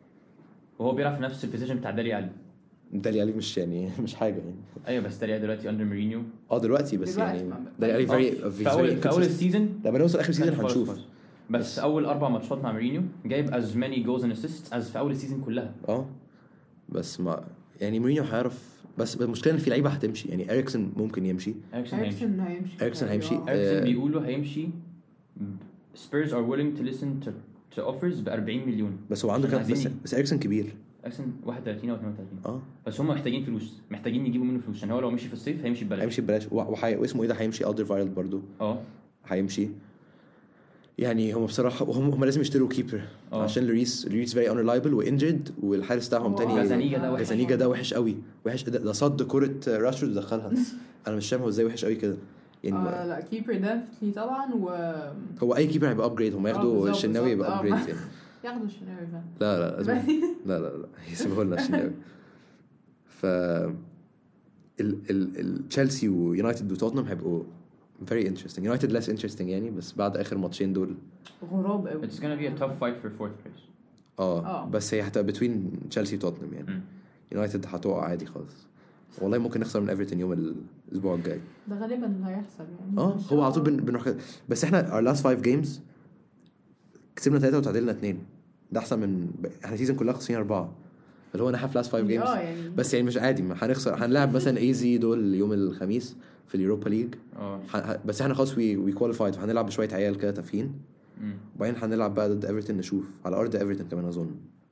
S1: وهو بيلعب في نفس البوزيشن بتاع دالي علي
S2: دالي علي مش يعني مش حاجه يعني
S1: ايوه بس دالي علي دلوقتي اندر مورينيو
S2: اه دلوقتي بس
S3: دلوقتي
S2: يعني دالي علي فيري
S1: في اول في اول السيزون
S2: لما نوصل اخر سيزون هنشوف
S1: بس, بس اول اربع ماتشات مع مورينيو جايب as many goals and assists as في اول السيزون كلها
S2: اه بس ما يعني مورينيو هيعرف بس المشكله ان في لعيبه هتمشي يعني اريكسن ممكن يمشي
S3: اريكسن هيمشي
S2: اريكسن هيمشي
S1: اريكسن بيقولوا هيمشي Spurs are willing to listen to to offers ب أربعين مليون
S2: بس هو عنده كام بس, بس اريكسن كبير
S1: اصلا واحد وثلاثين او اثنين وثلاثين
S2: اه
S1: بس هم محتاجين فلوس محتاجين يجيبوا منه فلوس عشان هو لو مشي في الصيف هيمشي ببلاش
S2: هيمشي ببلاش وحي... واسمه ايه ده هيمشي الدرفايلد برضو
S1: اه
S2: هيمشي يعني هم بصراحه هم, هم لازم يشتروا كيبر
S1: أوه.
S2: عشان لوريس لوريس فيري انرلايبل وانجرد والحارس بتاعهم
S3: أوه.
S2: تاني
S1: جازانيجا ده وحش.
S2: جازانيجا ده وحش قوي وحش ده, ده صد كره راشفورد ودخلها انا مش فاهم هو ازاي وحش قوي كده يعني
S3: آه لا كيبر ده طبعا و
S2: هو اي كيبر هيبقى ابجريد هم ياخدوا الشناوي يبقى ابجريد يعني
S3: ياخدوا الشناوي فعلا
S2: لا لا لازم لا لا لا يسيبوا لنا الشناوي ف ال ال ال تشيلسي ويونايتد وتوتنهام هيبقوا very interesting United less interesting يعني بس بعد اخر ماتشين دول
S3: غراب قوي
S1: it's gonna be a tough fight for fourth place
S2: اه
S3: آه.
S2: بس هي هتبقى between تشيلسي وتوتنهام يعني يونايتد هتقع عادي خالص والله ممكن نخسر من ايفرتون يوم الاسبوع الجاي
S3: ده غالبا هيحصل يعني
S2: اه هو على طول بن... بنروح كده بس احنا our last five games كسبنا ثلاثة وتعادلنا اثنين ده احسن من احنا سيزون كلها خسرين اربعة اللي هو نحف last five games
S3: اه يعني
S2: بس يعني مش عادي ما هنخسر هنلعب مثلا ايزي دول يوم الخميس في اليوروبا ليج
S1: اه
S2: ح... بس احنا خلاص وي وي كواليفايد فهنلعب بشويه عيال كده تافهين وبعدين هنلعب بقى ضد ايفرتون نشوف على ارض ايفرتون كمان اظن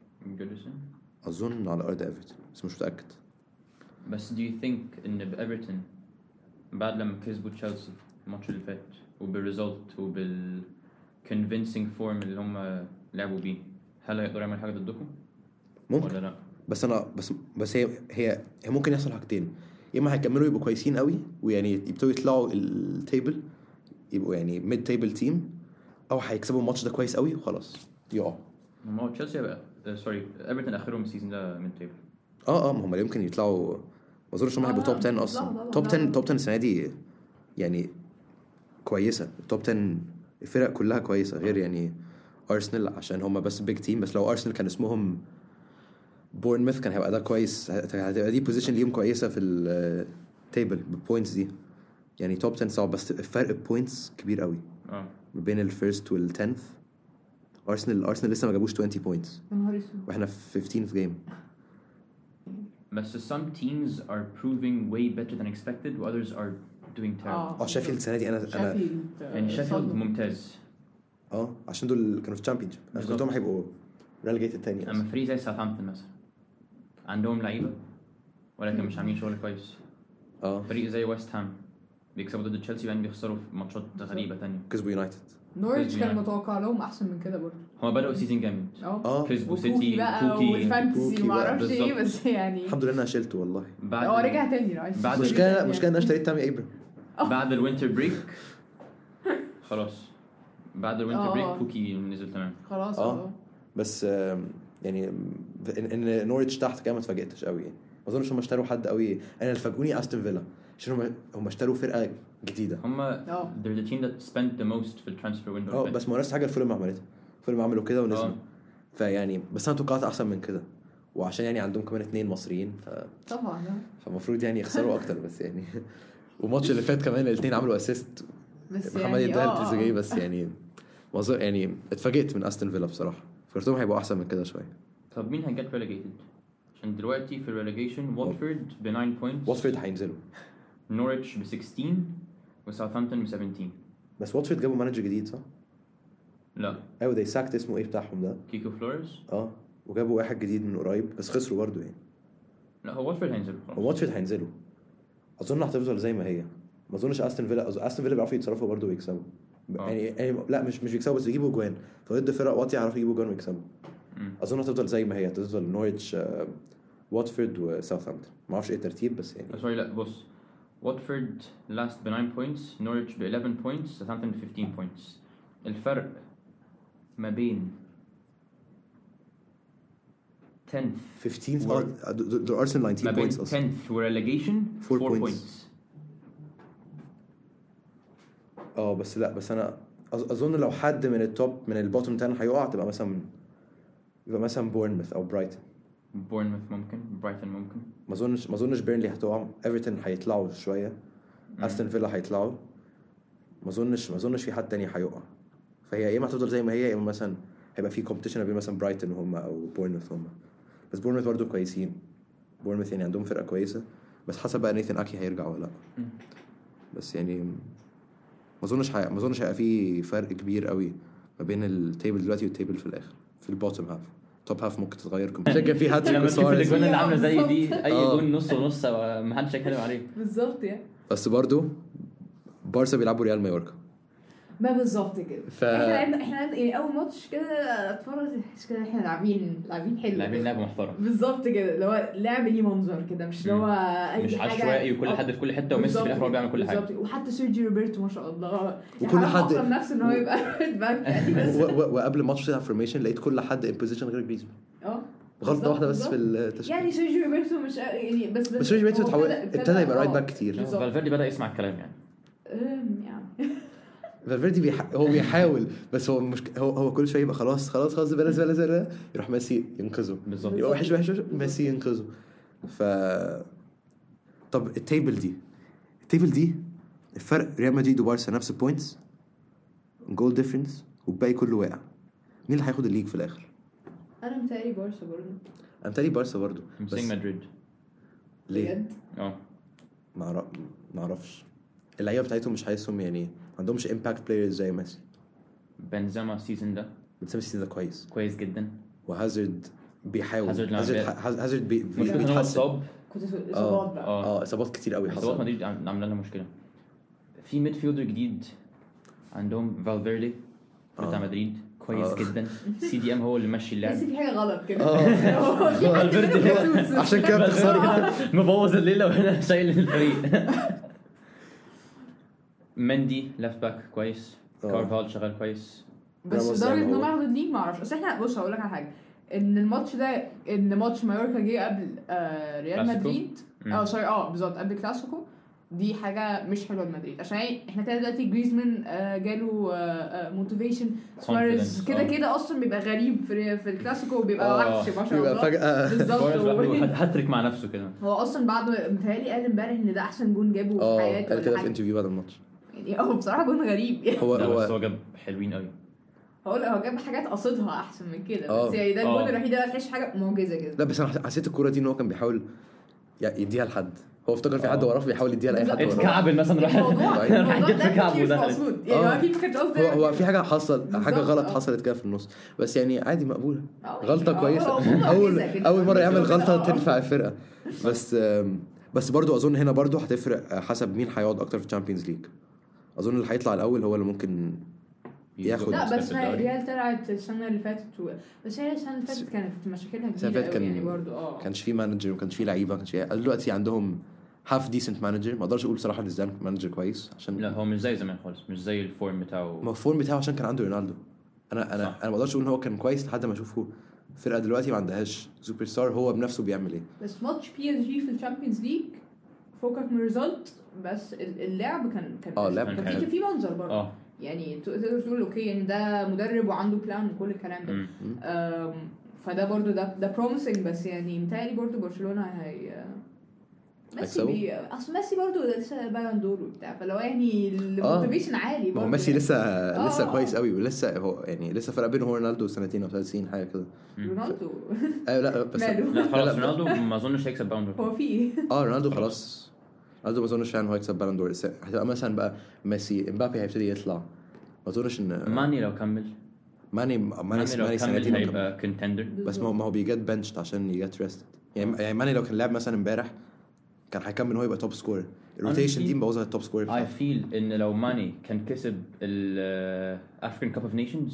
S2: اظن على ارض ايفرتون بس مش متاكد
S1: بس do you think ان بايفرتون بعد لما كسبوا تشيلسي الماتش اللي فات وبالريزلت وبال convincing form اللي هم لعبوا بيه هل هيقدروا يعملوا حاجه ضدكم
S2: ممكن
S1: ولا لا
S2: بس انا بس بس هي هي, هي ممكن يحصل حاجتين يا اما هيكملوا يبقوا كويسين قوي ويعني يبتدوا يطلعوا التيبل يبقوا يعني ميد تيبل تيم او هيكسبوا الماتش ده كويس قوي وخلاص يقعوا
S1: ما هو تشيلسي بقى سوري ايفرتون اخرهم السيزون ده من تيبل
S2: اه اه ما هم يمكن يطلعوا ما اظنش هم هيبقوا توب عشرة اصلا توب عشرة توب عشرة السنه دي يعني كويسه توب عشرة الفرق كلها كويسه غير يعني ارسنال عشان هم بس بيج تيم بس لو ارسنال كان اسمهم بورنموث كان هيبقى ده كويس هتبقى دي بوزيشن ليهم كويسه في التيبل بالبوينتس دي يعني توب عشرة صعب بس الفرق بوينتس كبير قوي
S1: اه
S2: ما بين الفيرست والتنث ارسنال ارسنال لسه ما جابوش عشرين بوينتس واحنا في خمستاشر جيم
S1: بس some teams are proving way better than expected و others are doing terrible
S2: اه شيفيلد السنه دي انا انا
S1: يعني شيفيلد ممتاز
S2: اه عشان دول كانوا في تشامبيونشيب انا كنتهم هيبقوا ريليجيتد تاني
S1: اما فريق زي ساوثهامبتون مثلا عندهم لعيبه ولكن مش عاملين شغل كويس
S2: اه
S1: فريق زي ويست هام بيكسبوا ضد تشيلسي وبعدين بيخسروا في ماتشات غريبه تانية
S2: كسبوا يونايتد
S3: نوريتش كان متوقع لهم احسن من كده برضه
S1: هما بدأوا سيزون جامد
S2: اه
S1: كسبوا سيتي
S3: بوكي والفانتسي وما اعرفش ايه بس يعني
S2: الحمد لله انا شلته والله
S1: بعد
S3: هو رجع تاني عايز
S1: بعد
S2: مشكله مشكله انا اشتريت تامي ابراهيم
S1: بعد الوينتر بريك خلاص بعد الوينتر
S3: آه.
S1: بريك بوكي نزل تمام
S3: خلاص
S2: اه
S3: اه
S2: بس آم، يعني ان, إن نوريتش تحت كده ما اتفاجئتش قوي يعني ما اظنش هم اشتروا حد قوي انا اللي فاجئوني استون فيلا عشان هم هم اشتروا فرقه جديده
S1: هما
S3: اه
S1: they're the team that spent the most في الترانسفير ويندو
S2: اه بس ما نفس حاجه الفيلم عملتها الفيلم عملوا كده ونزلوا
S1: آه.
S2: فيعني بس انا توقعت احسن من كده وعشان يعني عندهم كمان اتنين مصريين ف...
S3: طبعا
S2: فالمفروض يعني يخسروا اكتر بس يعني والماتش اللي فات كمان الاثنين عملوا اسيست
S3: بس
S2: محمد
S3: يعني
S2: يدال
S3: اه
S2: تريزيجيه
S3: اه
S2: بس يعني وظ- يعني اتفاجئت من استون فيلا بصراحه فكرتهم هيبقوا احسن من كده شويه
S1: طب مين هيجت ريليجيتد عشان دلوقتي في الريليجيشن واتفورد ب تسعة بوينتس
S2: واتفورد هينزلوا
S1: نوريتش ب ستاشر وساوثهامبتون ب سبعتاشر
S2: بس واتفورد جابوا مانجر جديد صح؟
S1: لا
S2: ايوه ده ساكت اسمه ايه بتاعهم ده
S1: كيكو فلوريز
S2: اه وجابوا واحد جديد من قريب بس خسروا برضو يعني
S1: لا هو واتفورد هينزل خلاص
S2: هو واتفورد هينزلوا اظن هتفضل زي ما هي ما اظنش استون فيلا أظن استون فيلا بيعرفوا يتصرفوا برضو ويكسبوا
S1: آه.
S2: يعني, يعني لا مش مش بيكسبوا بس يجيبوا جوان فضد فرق واطيه يعرفوا يجيبوا جوان ويكسبوا
S1: مم.
S2: اظن هتفضل زي ما هي هتفضل نوريتش آه، واتفورد وساوثهامبتون ما اعرفش ايه الترتيب بس يعني
S1: سوري لا بص واتفورد لاست ب تسعة بوينتس نوريتش ب حداشر بوينتس ساوثهامبتون ب خمستاشر بوينتس الفرق ما بين tenth
S2: خمستاشر
S1: Word.
S2: اه دول دول ارسنال
S1: ما
S2: تسعتاشر
S1: بين
S2: بوينتس اصلا
S1: tenth وريليجيشن
S2: Four
S1: four
S2: points.
S1: points
S2: اه بس لا بس انا أظ- اظن لو حد من التوب من البوتوم عشرة هيقع تبقى مثلا يبقى مثلا بورنموث او برايتون
S1: بورنموث ممكن برايتون ممكن
S2: ما اظنش ما اظنش بيرنلي هتقع ايفرتون هيطلعوا شويه استون فيلا هيطلعوا ما اظنش ما اظنش في حد تاني هيقع فهي يا اما هتفضل زي ما هي يا اما مثلا هيبقى في كومبيتيشن بين مثلا برايتون وهم او بورنموث هم بس بورنموث برضه كويسين بورنموث يعني عندهم فرقه كويسه بس حسب بقى نيثن اكي هيرجع ولا لا
S1: مم.
S2: بس يعني ما اظنش هي... ما اظنش هيبقى في فرق كبير قوي ما بين التيبل دلوقتي والتيبل في الاخر في البوتوم هاف توب هاف ممكن تتغير عشان كان في هاتريك
S1: لما تشوف
S2: وسواريز
S1: الاجوان اللي عامله زي دي اي
S2: آه.
S1: جون نص ونص ما حدش هيتكلم عليه
S3: بالظبط يعني.
S2: بس برضو بارسا بيلعبوا ريال مايوركا
S3: ما بالظبط كده
S2: ف...
S3: احنا لعبنا احنا لعبنا يعني اول ماتش كده اتفرج احس كده احنا لاعبين لاعبين حلو
S1: لاعبين لعب محترم
S3: بالظبط كده اللي هو لعب ليه منظر كده مش اللي هو اي
S1: مش
S3: حاجه
S1: عشوائي وكل
S3: آه،
S1: حد في كل حته وميسي في الاخر هو بيعمل كل حاجه
S3: بالظبط. وحتى سيرجي روبرتو ما شاء الله
S2: وكل
S3: يعني
S2: حد-
S3: اكرم نفسه ان هو يبقى رايت باك يعني بس
S2: و... و... وقبل الماتش بتاع فورميشن لقيت كل حد ان بوزيشن غير جريزمان
S3: اه
S2: غلطه واحده بس
S3: بالظبط.
S2: في التشكيل
S3: يعني سيرجي روبرتو مش يعني بس
S2: بس سيرجي روبرتو
S3: هو
S2: اتحول-
S3: ابتدى-
S2: ابتدى يبقى رايت
S3: آه،
S2: باك كتير.
S3: بالظبط.
S1: فالفيردي بدا يسمع الكلام يعني
S3: أم، يعني
S2: فالفيردي بيح... هو بيحاول بس هو مش هو هو كل شويه يبقى خلاص خلاص خلاص بلاش بلاش بلاش يروح ميسي ينقذه
S1: بالظبط
S2: يبقى وحش وحش وحش ميسي ينقذه. ف طب التيبل دي التيبل دي الفرق ريال مدريد وبارسا نفس البوينتس جول ديفرنس والباقي كله واقع. مين اللي هياخد الليج في الاخر؟
S3: انا متهيألي بارسا برضه
S2: انا متهيألي بارسا برضو
S1: I'm
S2: بس
S1: saying مدريد
S2: ليه؟
S3: بجد
S1: اه
S2: ما أعرف- ما اعرفش اللعيبه بتاعتهم مش حاسسهم يعني ما عندهمش امباكت بلايرز زي ميسي.
S1: بنزيما السيزون ده
S2: بس ميسي ده كويس
S1: كويس جدا
S2: وهازارد بيحاول
S1: هازارد لما
S2: هازارد
S1: بي-
S2: هاز- هازارد بي- بي-
S1: مشكلة ان هو
S2: بيتحسن.
S1: اتصاب
S3: كنت اصابات بقى
S1: اه
S2: اه اصابات كتير قوي
S1: اصابات
S2: حصلت.
S1: مدريد عم- عامله لها مشكله. في ميد فيلدر جديد عندهم فالفيردي بتاع
S2: آه.
S1: مدريد كويس
S2: آه.
S1: جدا. سي دي ام هو اللي ماشي
S3: بس
S1: اللعب
S3: في حاجه غلط كده
S2: اه
S3: هو في حد
S1: فالفيردي
S3: منهم جاسوس.
S2: عشان كده بتخسري.
S1: مبوظ الليله وهنا شايل الفريق. مندي ليفت باك كويس
S2: آه.
S1: كارفال شغال كويس
S3: بس
S2: راموس
S3: لدرجه
S2: زي
S3: ان
S2: ما
S3: هم
S2: هو.
S3: ياخدوا الليج ما اعرفش. اصل احنا بص هقول لك على حاجه ان الماتش ده ان ماتش مايوركا جه قبل آه ريال
S1: كلاسيكو؟
S3: مدريد
S1: مم.
S3: اه سوري اه بالظبط قبل كلاسيكو. دي حاجه مش حلوه لمدريد عشان احنا كده دلوقتي جريزمان آه جاله موتيفيشن سواريز
S1: Confidence،
S3: كده
S1: آه.
S3: كده اصلا بيبقى غريب في في الكلاسيكو وبيبقى
S1: آه.
S3: وحش ما شاء
S2: يبقى
S3: الله
S2: فجأة
S3: بالظبط
S1: سواريز
S3: و-
S1: لوحده هاتريك مع نفسه كده.
S3: هو اصلا بعد متهيألي قال امبارح ان ده احسن جون جابه في
S2: اه
S3: حياته
S2: قال
S3: ولا
S2: كده في
S3: حاجة.
S2: انترفيو بعد الماتش.
S3: يعني هو بصراحه جون غريب يعني
S2: هو
S1: لا بس
S2: هو
S1: هو جاب حلوين قوي.
S3: هو لا هو جاب حاجات قصدها احسن من كده
S2: آه.
S3: بس يعني ده
S1: آه.
S3: الجون الوحيد اللي تحس حاجه معجزه كده.
S2: لا بس انا حسيت الكوره دي ان هو كان بيحاول ي- يديها لحد. هو افتكر في حد
S1: آه.
S2: وراه بيحاول يديها لاي حد
S3: بالظبط.
S2: وراه.
S1: اتكعبل مثلا راح
S3: الموضوع
S2: راح
S3: الموضوع
S1: جت في
S3: ده
S1: كعبه
S3: تفكير مش
S1: ودخلت.
S3: مقصود يعني
S2: آه.
S3: هو اكيد ما كانش قصده
S2: هو هو في حاجه حصل حاجه
S3: بالظبط،
S2: غلط
S3: آه.
S2: حصلت كده في النص بس يعني عادي مقبوله.
S3: آه،
S2: غلطه
S3: يعني
S2: كويسه
S3: هو الموضوع
S2: اول
S3: كده كده.
S2: اول مره يعمل
S3: بس هو كده،
S2: غلطه
S3: آه.
S2: تنفع الفرقه. بس آم، بس برضو اظن هنا برضو هتفرق حسب مين هيقعد اكتر في الشامبيونز ليج. اظن اللي هيطلع الاول هو اللي ممكن ياخد.
S3: لا بس
S1: في الدوري.
S3: ريال طلعت السنه اللي فاتت و... بس هي السنه اللي فاتت كانت مشاكلها
S2: السنة
S3: كبيره
S2: اللي فاتت
S3: قوي
S2: كان-
S3: يعني برضه اه
S2: كانش في مانجر وما كانش في لعيبه ما كانش في دلوقتي عندهم هاف ديسنت مانجر. ما اقدرش اقول بصراحه ان زيدان مانجر كويس عشان
S1: لا هو مش زي زمان خالص مش زي الفورم
S2: ما
S1: بتاعه.
S2: هو الفورم بتاعه عشان كان عنده رونالدو. انا انا
S1: صح.
S2: انا ما اقدرش اقول ان هو كان كويس لحد ما اشوفه فرقه دلوقتي ما عندهاش سوبر ستار هو بنفسه بيعمل ايه.
S3: بس ماتش بي اس جي في الشامبيونز ليج فوقك من الريزلت بس ال- اللعب كان كان
S2: اه اللعب
S3: كان
S1: كان
S3: في
S1: حلو.
S3: في منظر برضه
S1: اه
S3: يعني ت- تقدر تقول اوكي يعني ده مدرب وعنده بلان وكل الكلام ده.
S1: مم.
S3: أم، فده برضو ده ده بروميسنج بس يعني متهيألي برضو برشلونة هي ميسي
S2: هيكسبوا؟
S3: بي اصل ميسي برضو ده لسه بالون دور وبتاع فلو يعني الموتيفيشن عالي
S2: ما هو
S3: برضو
S2: ميسي
S3: يعني.
S2: لسه
S3: آه.
S2: لسه كويس قوي ولسه هو يعني لسه فرق بينه هو رونالدو سنتين او ثلاث سنين حاجه كده.
S3: رونالدو
S2: ايوه لا بس
S3: ماله؟
S1: لا خلاص
S2: لا، لا.
S1: رونالدو ما اظنش هيكسب باوندر.
S3: هو في ايه؟
S2: اه رونالدو خلاص. رونالدو ما اظنش يعني هو يكسب بالون دور. هتبقى مثلا بقى ميسي امبابي هيبتدي يطلع. ما اظنش ان
S1: ماني لو كمل
S2: ماني ماني
S1: ماني لو
S2: ماني
S1: كمل
S2: سنتين وكمل.
S1: هيبقى كونتندر.
S2: بس ما هو ما هو بيجت بنشت عشان يجت ريستد يعني يعني ماني لو كان لعب مثلا امبارح كان هيكمل هو يبقى توب سكور. الروتيشن
S1: Honestly,
S2: دي مبوظه التوب سكور
S1: I
S2: بتاعه.
S1: feel ان لو ماني كان كسب ال African Cup of Nations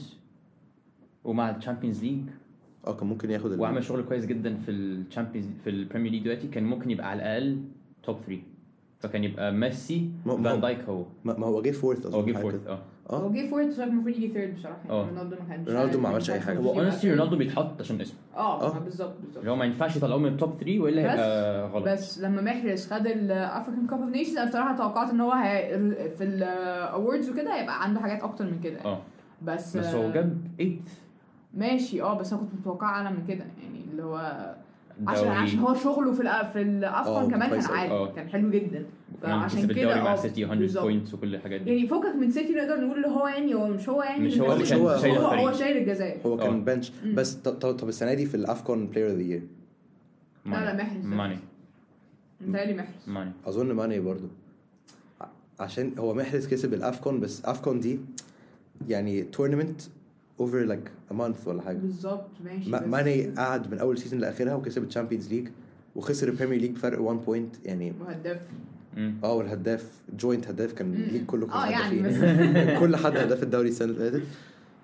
S1: ومع الشامبيونز ليج
S2: اه كان ممكن ياخد ال-
S1: وعمل شغل كويس جدا في الشامبيونز في البريمير ليج دلوقتي كان ممكن يبقى على الاقل توب ثلاثة. فكان يبقى ميسي
S2: ما- ما-
S1: فان دايك هو
S2: ما ما هو جه فورث
S1: هو جه فورث. اه
S2: اه
S3: هو جه فورت بصراحه المفروض يجي ثيرد بصراحه يعني
S1: آه.
S3: رونالدو ما كانش
S2: رونالدو ما عملش أي حاجة.
S1: هو اونستلي رونالدو بيتحط عشان اسمه.
S3: اه
S2: آه.
S3: ما بالظبط بالظبط
S1: اللي هو ما ينفعش يطلعوه من التوب ثلاثة والا
S3: بس-
S1: هيبقى غلط.
S3: بس لما محرز خد الافريكان كاب اوف نيشنز انا بصراحه توقعت ان هو هي في الاووردز وكده هيبقى عنده حاجات اكتر من كده يعني.
S1: اه
S3: بس
S1: بس هو جاب ثمانية
S3: ماشي اه بس انا كنت متوقعه اعلى من كده يعني اللي هو عشان
S1: دوري.
S3: عشان هو شغله في الأ- في الافكون
S2: آه،
S3: كمان كان
S2: كويس أوي.
S3: عالي
S1: آه.
S3: كان حلو جدا
S1: كمان
S3: فعشان
S1: كسب
S3: كده
S1: الدوري مع
S3: آه،
S1: سيتي مية
S3: بالظبط.
S1: بوينتس وكل الحاجات دي.
S3: يعني فوقك من سيتي نقدر نقول اللي هو يعني هو مش هو يعني
S1: مش هو اللي
S2: كان
S3: هو
S2: شايل
S3: هو,
S1: الفريق.
S3: هو شايل الجزائر
S2: هو كان
S1: آه.
S2: بنش
S3: مم.
S2: بس ط- ط- طب السنه دي في الافكون بلاير اوف ذا يير
S3: لا، لا، محرز.
S1: ماني
S3: متهيألي محرز
S1: ماني
S2: اظن ماني برضو ع- عشان هو محرز كسب الافكون بس افكون دي يعني تورنمنت over like a month ولا حاجه.
S3: بالظبط ماشي.
S2: ما- ماني قعد من اول سيزون لاخرها وكسب الشامبيونز ليج وخسر البريمير ليج بفرق واحد بوينت يعني.
S3: مهدف.
S1: مم.
S2: اه والهداف جوينت هداف كان
S3: مم.
S2: الليج كله كان
S3: اه يعني
S2: هدافين. كل حد هداف الدوري السنه اللي فاتت.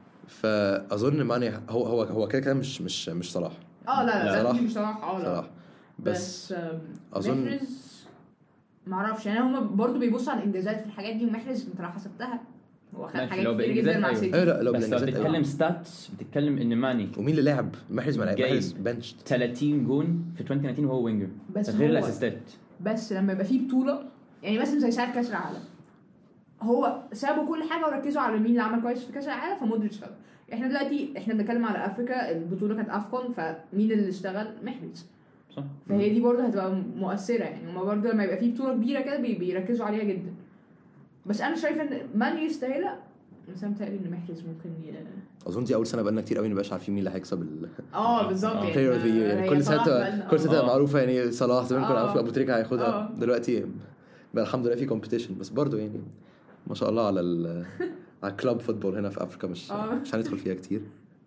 S2: فاظن ماني هو هو هو كده كده مش مش مش صلاح
S3: اه لا لا
S2: صلاح.
S3: لا مش صلاح اه لا
S2: صراحه. بس
S3: بس آم،
S2: أظن-
S3: محرز معرفش يعني هما برضو بيبصوا على الانجازات في الحاجات دي ومحرز انت لو حسبتها هو خد
S1: ماشي،
S3: حاجات
S1: لو
S3: كتير
S1: بإنجازات
S3: جدا مع
S1: أيوة.
S3: سيتي.
S2: ايوه لا لو
S1: بس لو
S2: بالإنجازات أيوة.
S1: بتتكلم ستاتس بتتكلم ان ماني
S2: ومين اللي لعب محرز ما لعب
S1: جايب.
S2: محرز بنش
S1: ثلاثين جون في ألفين وتسعتاشر وهو وينجر
S3: بس
S1: غير
S3: هو-
S1: الاسيستات.
S3: بس لما يبقى فيه بطوله يعني مثلا زي ساعه كاس العالم هو سابوا كل حاجه وركزوا على مين اللي عمل كويس في كاس العالم فمودريتش خد. احنا دلوقتي احنا بنتكلم على افريكا البطوله كانت افكون فمين اللي اشتغل محرز.
S1: صح.
S3: فهي دي برضه هتبقى مؤثره يعني هما برضه لما يبقى فيه بطوله كبيره كده بي- بيركزوا عليها جدا. بس انا شايفه ان مان يستاهلها بس انا متهيألي ان محرز ممكن ي...
S2: اظن دي اول سنه بقالنا كتير قوي مبقاش عارفين مين اللي هيكسب ال
S3: اه بالظبط
S1: آه.
S3: يعني
S2: player of the year.
S3: هي
S2: كل
S3: صلاح
S2: سنه
S3: بقالنا-
S2: كل سنه
S1: آه.
S2: معروفه يعني صلاح زمان كنا
S3: آه.
S2: عارفين ابو تريكه هياخدها.
S3: آه.
S2: دلوقتي بقى الحمد لله في كومبيتيشن بس برضو يعني ما شاء الله على ال على الكلاب فوتبول هنا في افريكا مش
S3: آه.
S2: مش هندخل فيها كتير.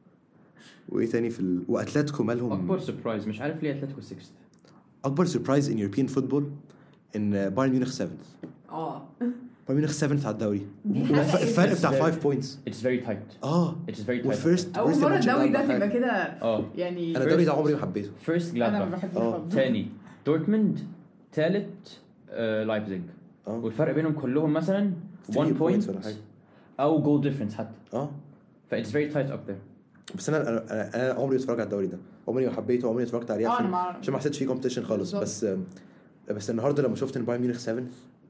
S2: وايه تاني في ال... واتلتيكو مالهم
S1: اكبر سربرايز مش عارف ليه اتلتيكو ستة.
S2: اكبر سربرايز ان يوروبيان فوتبول ان بايرن ميونخ سبعة.
S3: اه
S2: بايرن ميونخ سبعة على الدوري.
S3: دي حاجة
S2: الفرق بتاع
S1: إيه؟
S2: خمسة بوينتس.
S1: It's very tight.
S2: اه
S1: It's very tight.
S2: وفيرست
S3: اول مره الدوري ده تبقى كده
S1: اه
S3: يعني
S2: انا الدوري ده عمري ما حبيته.
S1: فيرست
S3: انا ما
S1: جلادباخ
S3: بحبوش
S2: آه.
S3: خالص.
S1: تاني دورتموند ثالث لايبزيج
S2: اه
S1: والفرق بينهم كلهم مثلا واحد
S2: three
S1: بوينت
S2: points ولا حاجة.
S1: او جول ديفرنس حتى.
S2: اه
S1: ف it's very tight up there.
S2: بس انا انا انا, أنا عمري ما اتفرجت على الدوري ده عمري ما حبيته عمري ما اتفرجت عليه
S3: اه انا
S2: عشان
S3: ما
S2: عشان ما حسيتش فيه كومبيتيشن خالص.
S3: بالظبط.
S2: بس بس النهارده لما شفت ان بايرن ميونخ سبعة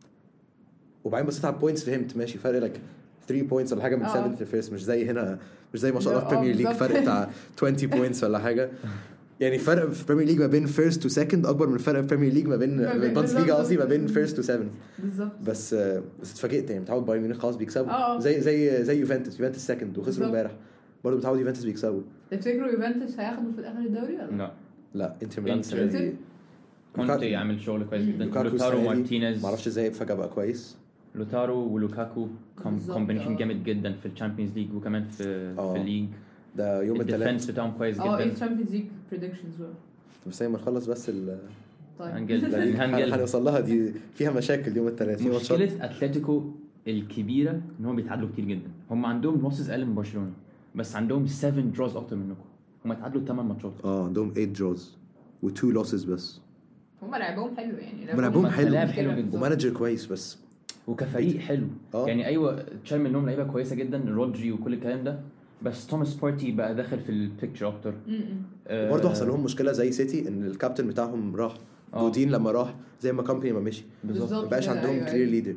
S2: وبعدين بصيت على البوينتس فهمت ماشي فرق لك ثلاثة بوينتس ولا حاجه من
S3: آه.
S2: سبعة في الفيرست مش زي هنا مش زي ما شاء الله في
S3: آه،
S2: بريمير ليج
S3: بالظبط.
S2: فرق بتاع عشرين بوينتس ولا حاجه. يعني فرق في بريمير ليج ما بين فيرست وسكند اكبر من فرق في بريمير ليج ما بين
S3: ما بين-
S2: بانس ليج
S3: بالظبط.
S2: قصدي ما بين فيرست وسبعة.
S3: بالظبط
S2: بس بس اتفاجئت يعني متعود بايرن ميونخ خلاص بيكسبوا
S3: آه.
S2: زي زي زي يوفنتوس يوفنتوس سكند وخسروا
S3: بالظبط.
S2: امبارح برضه متعود يوفنتوس بيكسبوا.
S3: تفتكروا يوفنتوس هياخدوا في الاخر الدوري ولا
S1: لا
S2: لا انتر ميلان
S1: إنتر.
S2: السنة دي
S1: كونتي يعمل شغل كويس جدا.
S2: لوكاكو
S1: لوتارو
S2: السنة دي
S1: مارتينيز
S2: ما اعرفش ازاي فجاه بقى كويس.
S1: لوتارو ولوكاكو
S3: بالظبط،
S1: كومبينيشن
S3: آه.
S1: جامد جدا في الشامبيونز ليج وكمان في
S2: آه.
S1: في الليج.
S2: ده يوم الثلاث.
S1: الديفنس بتاعهم كويس
S3: اه ايه
S1: جدا.
S3: الشامبيونز ليج بريدكشنز بقى
S2: بس ما نخلص بس ال
S3: طيب
S1: هنجل
S2: لأن
S1: هنجل
S2: هنوصل لها دي فيها مشاكل يوم الثلاث. في ماتشات
S1: مشكلة اتلتيكو الكبيرة ان هم بيتعادلوا كتير جدا. هم عندهم لوسز اقل من برشلونة بس عندهم سبعة دروز اكتر منكم. هم اتعادلوا ثمانية ماتشات.
S2: اه عندهم ثمانية جوز و2 لوسز بس.
S3: هم لعبهم حلو يعني
S2: هم لعبهم حلو.
S1: لعب حلو جدا.
S2: ومانجر كويس بس
S1: وكفريق حلو.
S2: آه.
S1: يعني ايوه تشال منهم لعيبه كويسه جدا رودري وكل الكلام ده بس توماس بارتي بقى داخل في البيكتشر اكتر. آه،
S2: برضه حصل لهم مشكله زي سيتي ان الكابتن بتاعهم راح.
S1: آه.
S2: جودين لما راح زي ما كومباني ما مشي
S1: بالظبط.
S2: ما بقاش
S3: كده،
S2: عندهم
S3: أيوة،
S2: كلير
S3: أيوة.
S2: ليدر.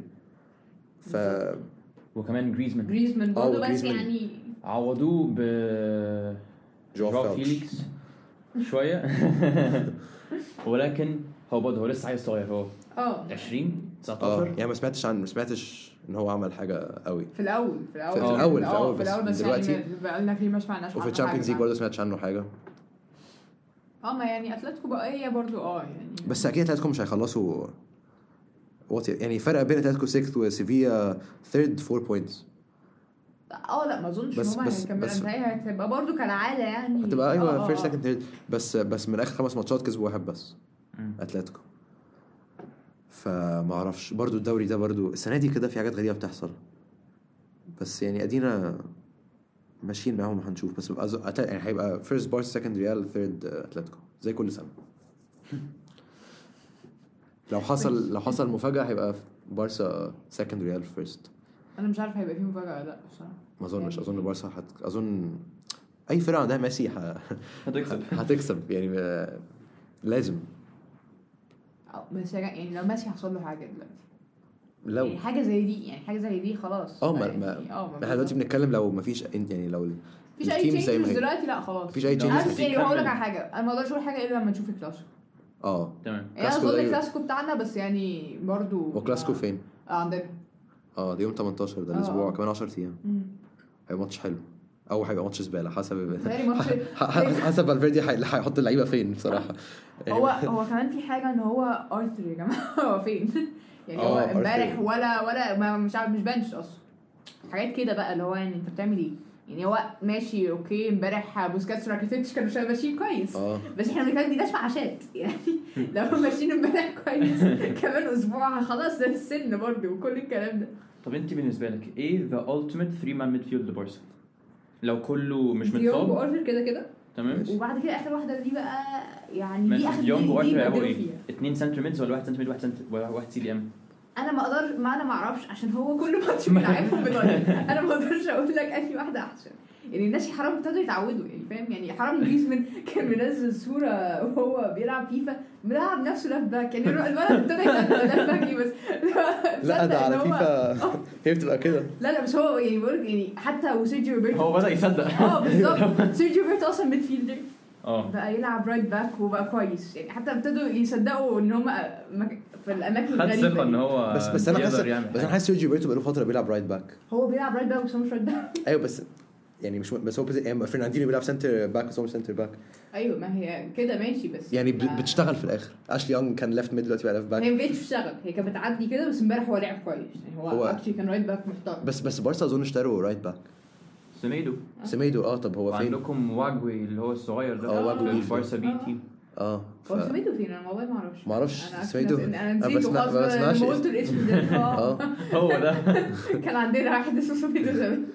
S2: ف
S1: وكمان جريزمان
S3: جريزمان برضه بس
S2: جريزمان.
S3: يعني
S1: عوضوه ب
S2: جواو
S1: جواو
S2: فيليكس.
S1: فيليكس شويه. ولكن هو برضه هو لسه عيل صغير. هو
S3: اه
S1: عشرين
S2: اه
S1: تسعتاشر.
S2: يعني ما سمعتش عن ما سمعتش ان هو عمل حاجه قوي.
S3: في الاول في الاول
S2: في
S1: الأول،
S2: في الأول،
S3: آه،
S2: بس
S3: في الاول بس
S2: دلوقتي-
S3: يعني بقالنا كتير ما سمعناش
S2: وفي
S3: عنه
S2: الشامبيونز ليج
S3: حاجة.
S2: برضه سمعتش عنه حاجه.
S3: اه ما يعني اتلتيكو بقى هي برضه اه يعني
S2: بس اكيد اتلتيكو مش هيخلصوا وات يعني فرق بين اتلتيكو ستة وسيفيا ثيرد أربعة بوينتس.
S3: اه لا ما اظنش
S2: بس-
S3: ان هم
S2: بس-
S3: هيكملوا.
S2: بس-
S3: هي هتبقى برضه كالعاده يعني
S2: هتبقى
S3: آه،
S2: ايوه
S3: آه،
S2: فيرست
S3: آه.
S2: سكند ثيرد بس بس من اخر خمس ماتشات كسبوا واحد بس
S1: مم.
S2: اتلتيكو. فما اعرفش برضو الدوري ده برضو السنه دي كده في حاجات غريبه بتحصل بس يعني ادينا ماشيين معاهم هنشوف. بس أز... أت... يعني هيبقى فيرست بارس سكند ريال ثيرد اتلتيكو زي كل سنه. لو حصل لو حصل مفاجاه هيبقى بارسا سكند ريال فيرست.
S3: انا مش عارف هيبقى فيه مفاجاه ولا لا بصراحه.
S2: ما اظنش
S3: يعني-
S2: اظن بارسا هت... اظن اي فرقه عندها ميسي ه...
S1: هتكسب.
S2: هتكسب يعني آه، لازم
S3: آه، بس يعني لو ماشي حصل له حاجه دلوقتي
S2: لو
S3: يعني حاجه زي دي يعني حاجه زي دي خلاص
S2: اه ما
S3: يعني
S2: ما
S3: اه ما
S2: احنا دلوقتي بنتكلم لو ما فيش يعني لو
S3: مفيش اي
S2: التيم زي ما
S3: تشينجز
S2: هي.
S3: دلوقتي لا خلاص.
S2: مفيش اي
S1: لا،
S2: changes.
S3: بس يعني هقول لك
S1: كمل.
S3: على حاجه انا ما اقدرش اقول حاجه الا لما نشوف الكلاسيكو.
S2: اه
S1: تمام.
S3: يعني انا
S2: كلاسيكو
S3: اظن
S2: ده-
S3: الكلاسيكو بتاعنا بس يعني برضو
S2: هو كلاسيكو فين؟
S3: اه عندنا
S2: اه ده يوم تمنتاشر ده
S3: آه.
S2: الاسبوع كمان عشرة ايام.
S3: مم.
S2: هيبقى ماتش حلو او هيبقى ماتش زباله حسب
S3: تاني ماتش
S2: حسب فالفيردي هيحط اللعيبه فين بصراحه.
S3: هو هو كمان في حاجه ان هو ارثر يا جماعه هو فين يعني هو
S2: آه،
S3: امبارح
S2: أرثر.
S3: ولا ولا ما مش عارف مش بنش اصلا حاجات كده بقى اللي هو يعني انت بتعمل ايه يعني هو ماشي اوكي امبارح بوسكاتس راكيتيتش كانوا شايفين ماشيين كويس
S2: اه
S3: بس احنا بنتكلم دي ناس معاشات يعني لو ماشيين امبارح كويس كمان اسبوع خلاص ده السن برضه وكل الكلام ده.
S1: طب انت بالنسبه لك ايه ذا التيميت ثري مان ميدفيلد لبارسا لو كله مش
S3: ديونج
S1: متصاب؟
S3: وارثر كده كده
S1: تمام.
S3: وبعد كده اخر واحده دي بقى يعني دي
S1: ماشي.
S3: اخر
S1: ديونج
S3: دي
S1: وارثر هيبقوا
S3: بدلوا
S1: ايه؟
S3: فيها.
S1: اتنين سنتر ميدز ولا واحد سنتر ميد واحد سنتر واحد سي دي ام؟
S3: انا ما اقدر ما انا ما اعرفش عشان هو كل ماتش بيلعبهم بطريقه انا ما اقدرش اقول لك انهي واحده احسن يعني الناس حرام ابتدوا يتعودوا يعني فاهم يعني حرام جريزمان كان منزل صوره وهو بيلعب فيفا بيلعب نفسه لافت باك يعني الولد ابتدى يلعب لافت باك بس
S2: لا ده على فيفا هي بتبقى كده.
S3: لا لا بس هو يعني بقول يعني حتى وسيرجيو روبرتو
S1: هو بدأ يصدق.
S3: اه بالظبط سيرجيو روبرتو اصلا ميد فيلدر
S1: اه
S3: بقى يلعب رايت باك وبقى كويس يعني حتى ابتدوا يصدقوا ان هم في الاماكن
S1: خد
S3: الغريبه
S1: ثقه ان هو
S2: بس بس انا حاسس
S1: يقدر يعمل
S2: بس انا
S1: حاجة.
S2: حاسس سيرجيو روبرتو بقاله فتره بيلعب رايت باك.
S3: هو بيلعب رايت باك بس هو مش رايت باك.
S2: ايوه بس يعني مش بس هو يعني فرناندينيو بيلعب سنتر باك بس هو مش سنتر باك.
S3: ايوه ما هي كده ماشي بس
S2: يعني
S3: ما-
S2: بتشتغل في الاخر. اشلي يونج كان ليفت ميد دلوقتي بقى ليفت باك.
S3: هي ما بقتش تشتغل هي كانت بتعدي كده بس امبارح هو لعب كويس يعني هو,
S2: هو-
S3: هو اكشلي كان رايت باك محترم.
S2: بس بس بارسا اظن اشتروا رايت باك.
S1: سميدو
S2: سميدو اه طب هو فين؟
S1: وعندكم واجوي اللي هو الصغير ده
S2: اه، واجوي.
S1: في البارسا بي تيم.
S2: اه ف...
S3: هو سميدو فين انا والله ما اعرفش
S2: ما اعرفش
S3: أنا عارفة
S2: سميدو.
S3: إن- انا
S2: أنا
S3: نسيته
S2: بسمع-
S3: خلاص
S2: ما بسمعش
S3: لما قلت الاسم ده
S2: اه
S1: هو ده.
S3: كان عندنا واحد اسمه سميدو زمان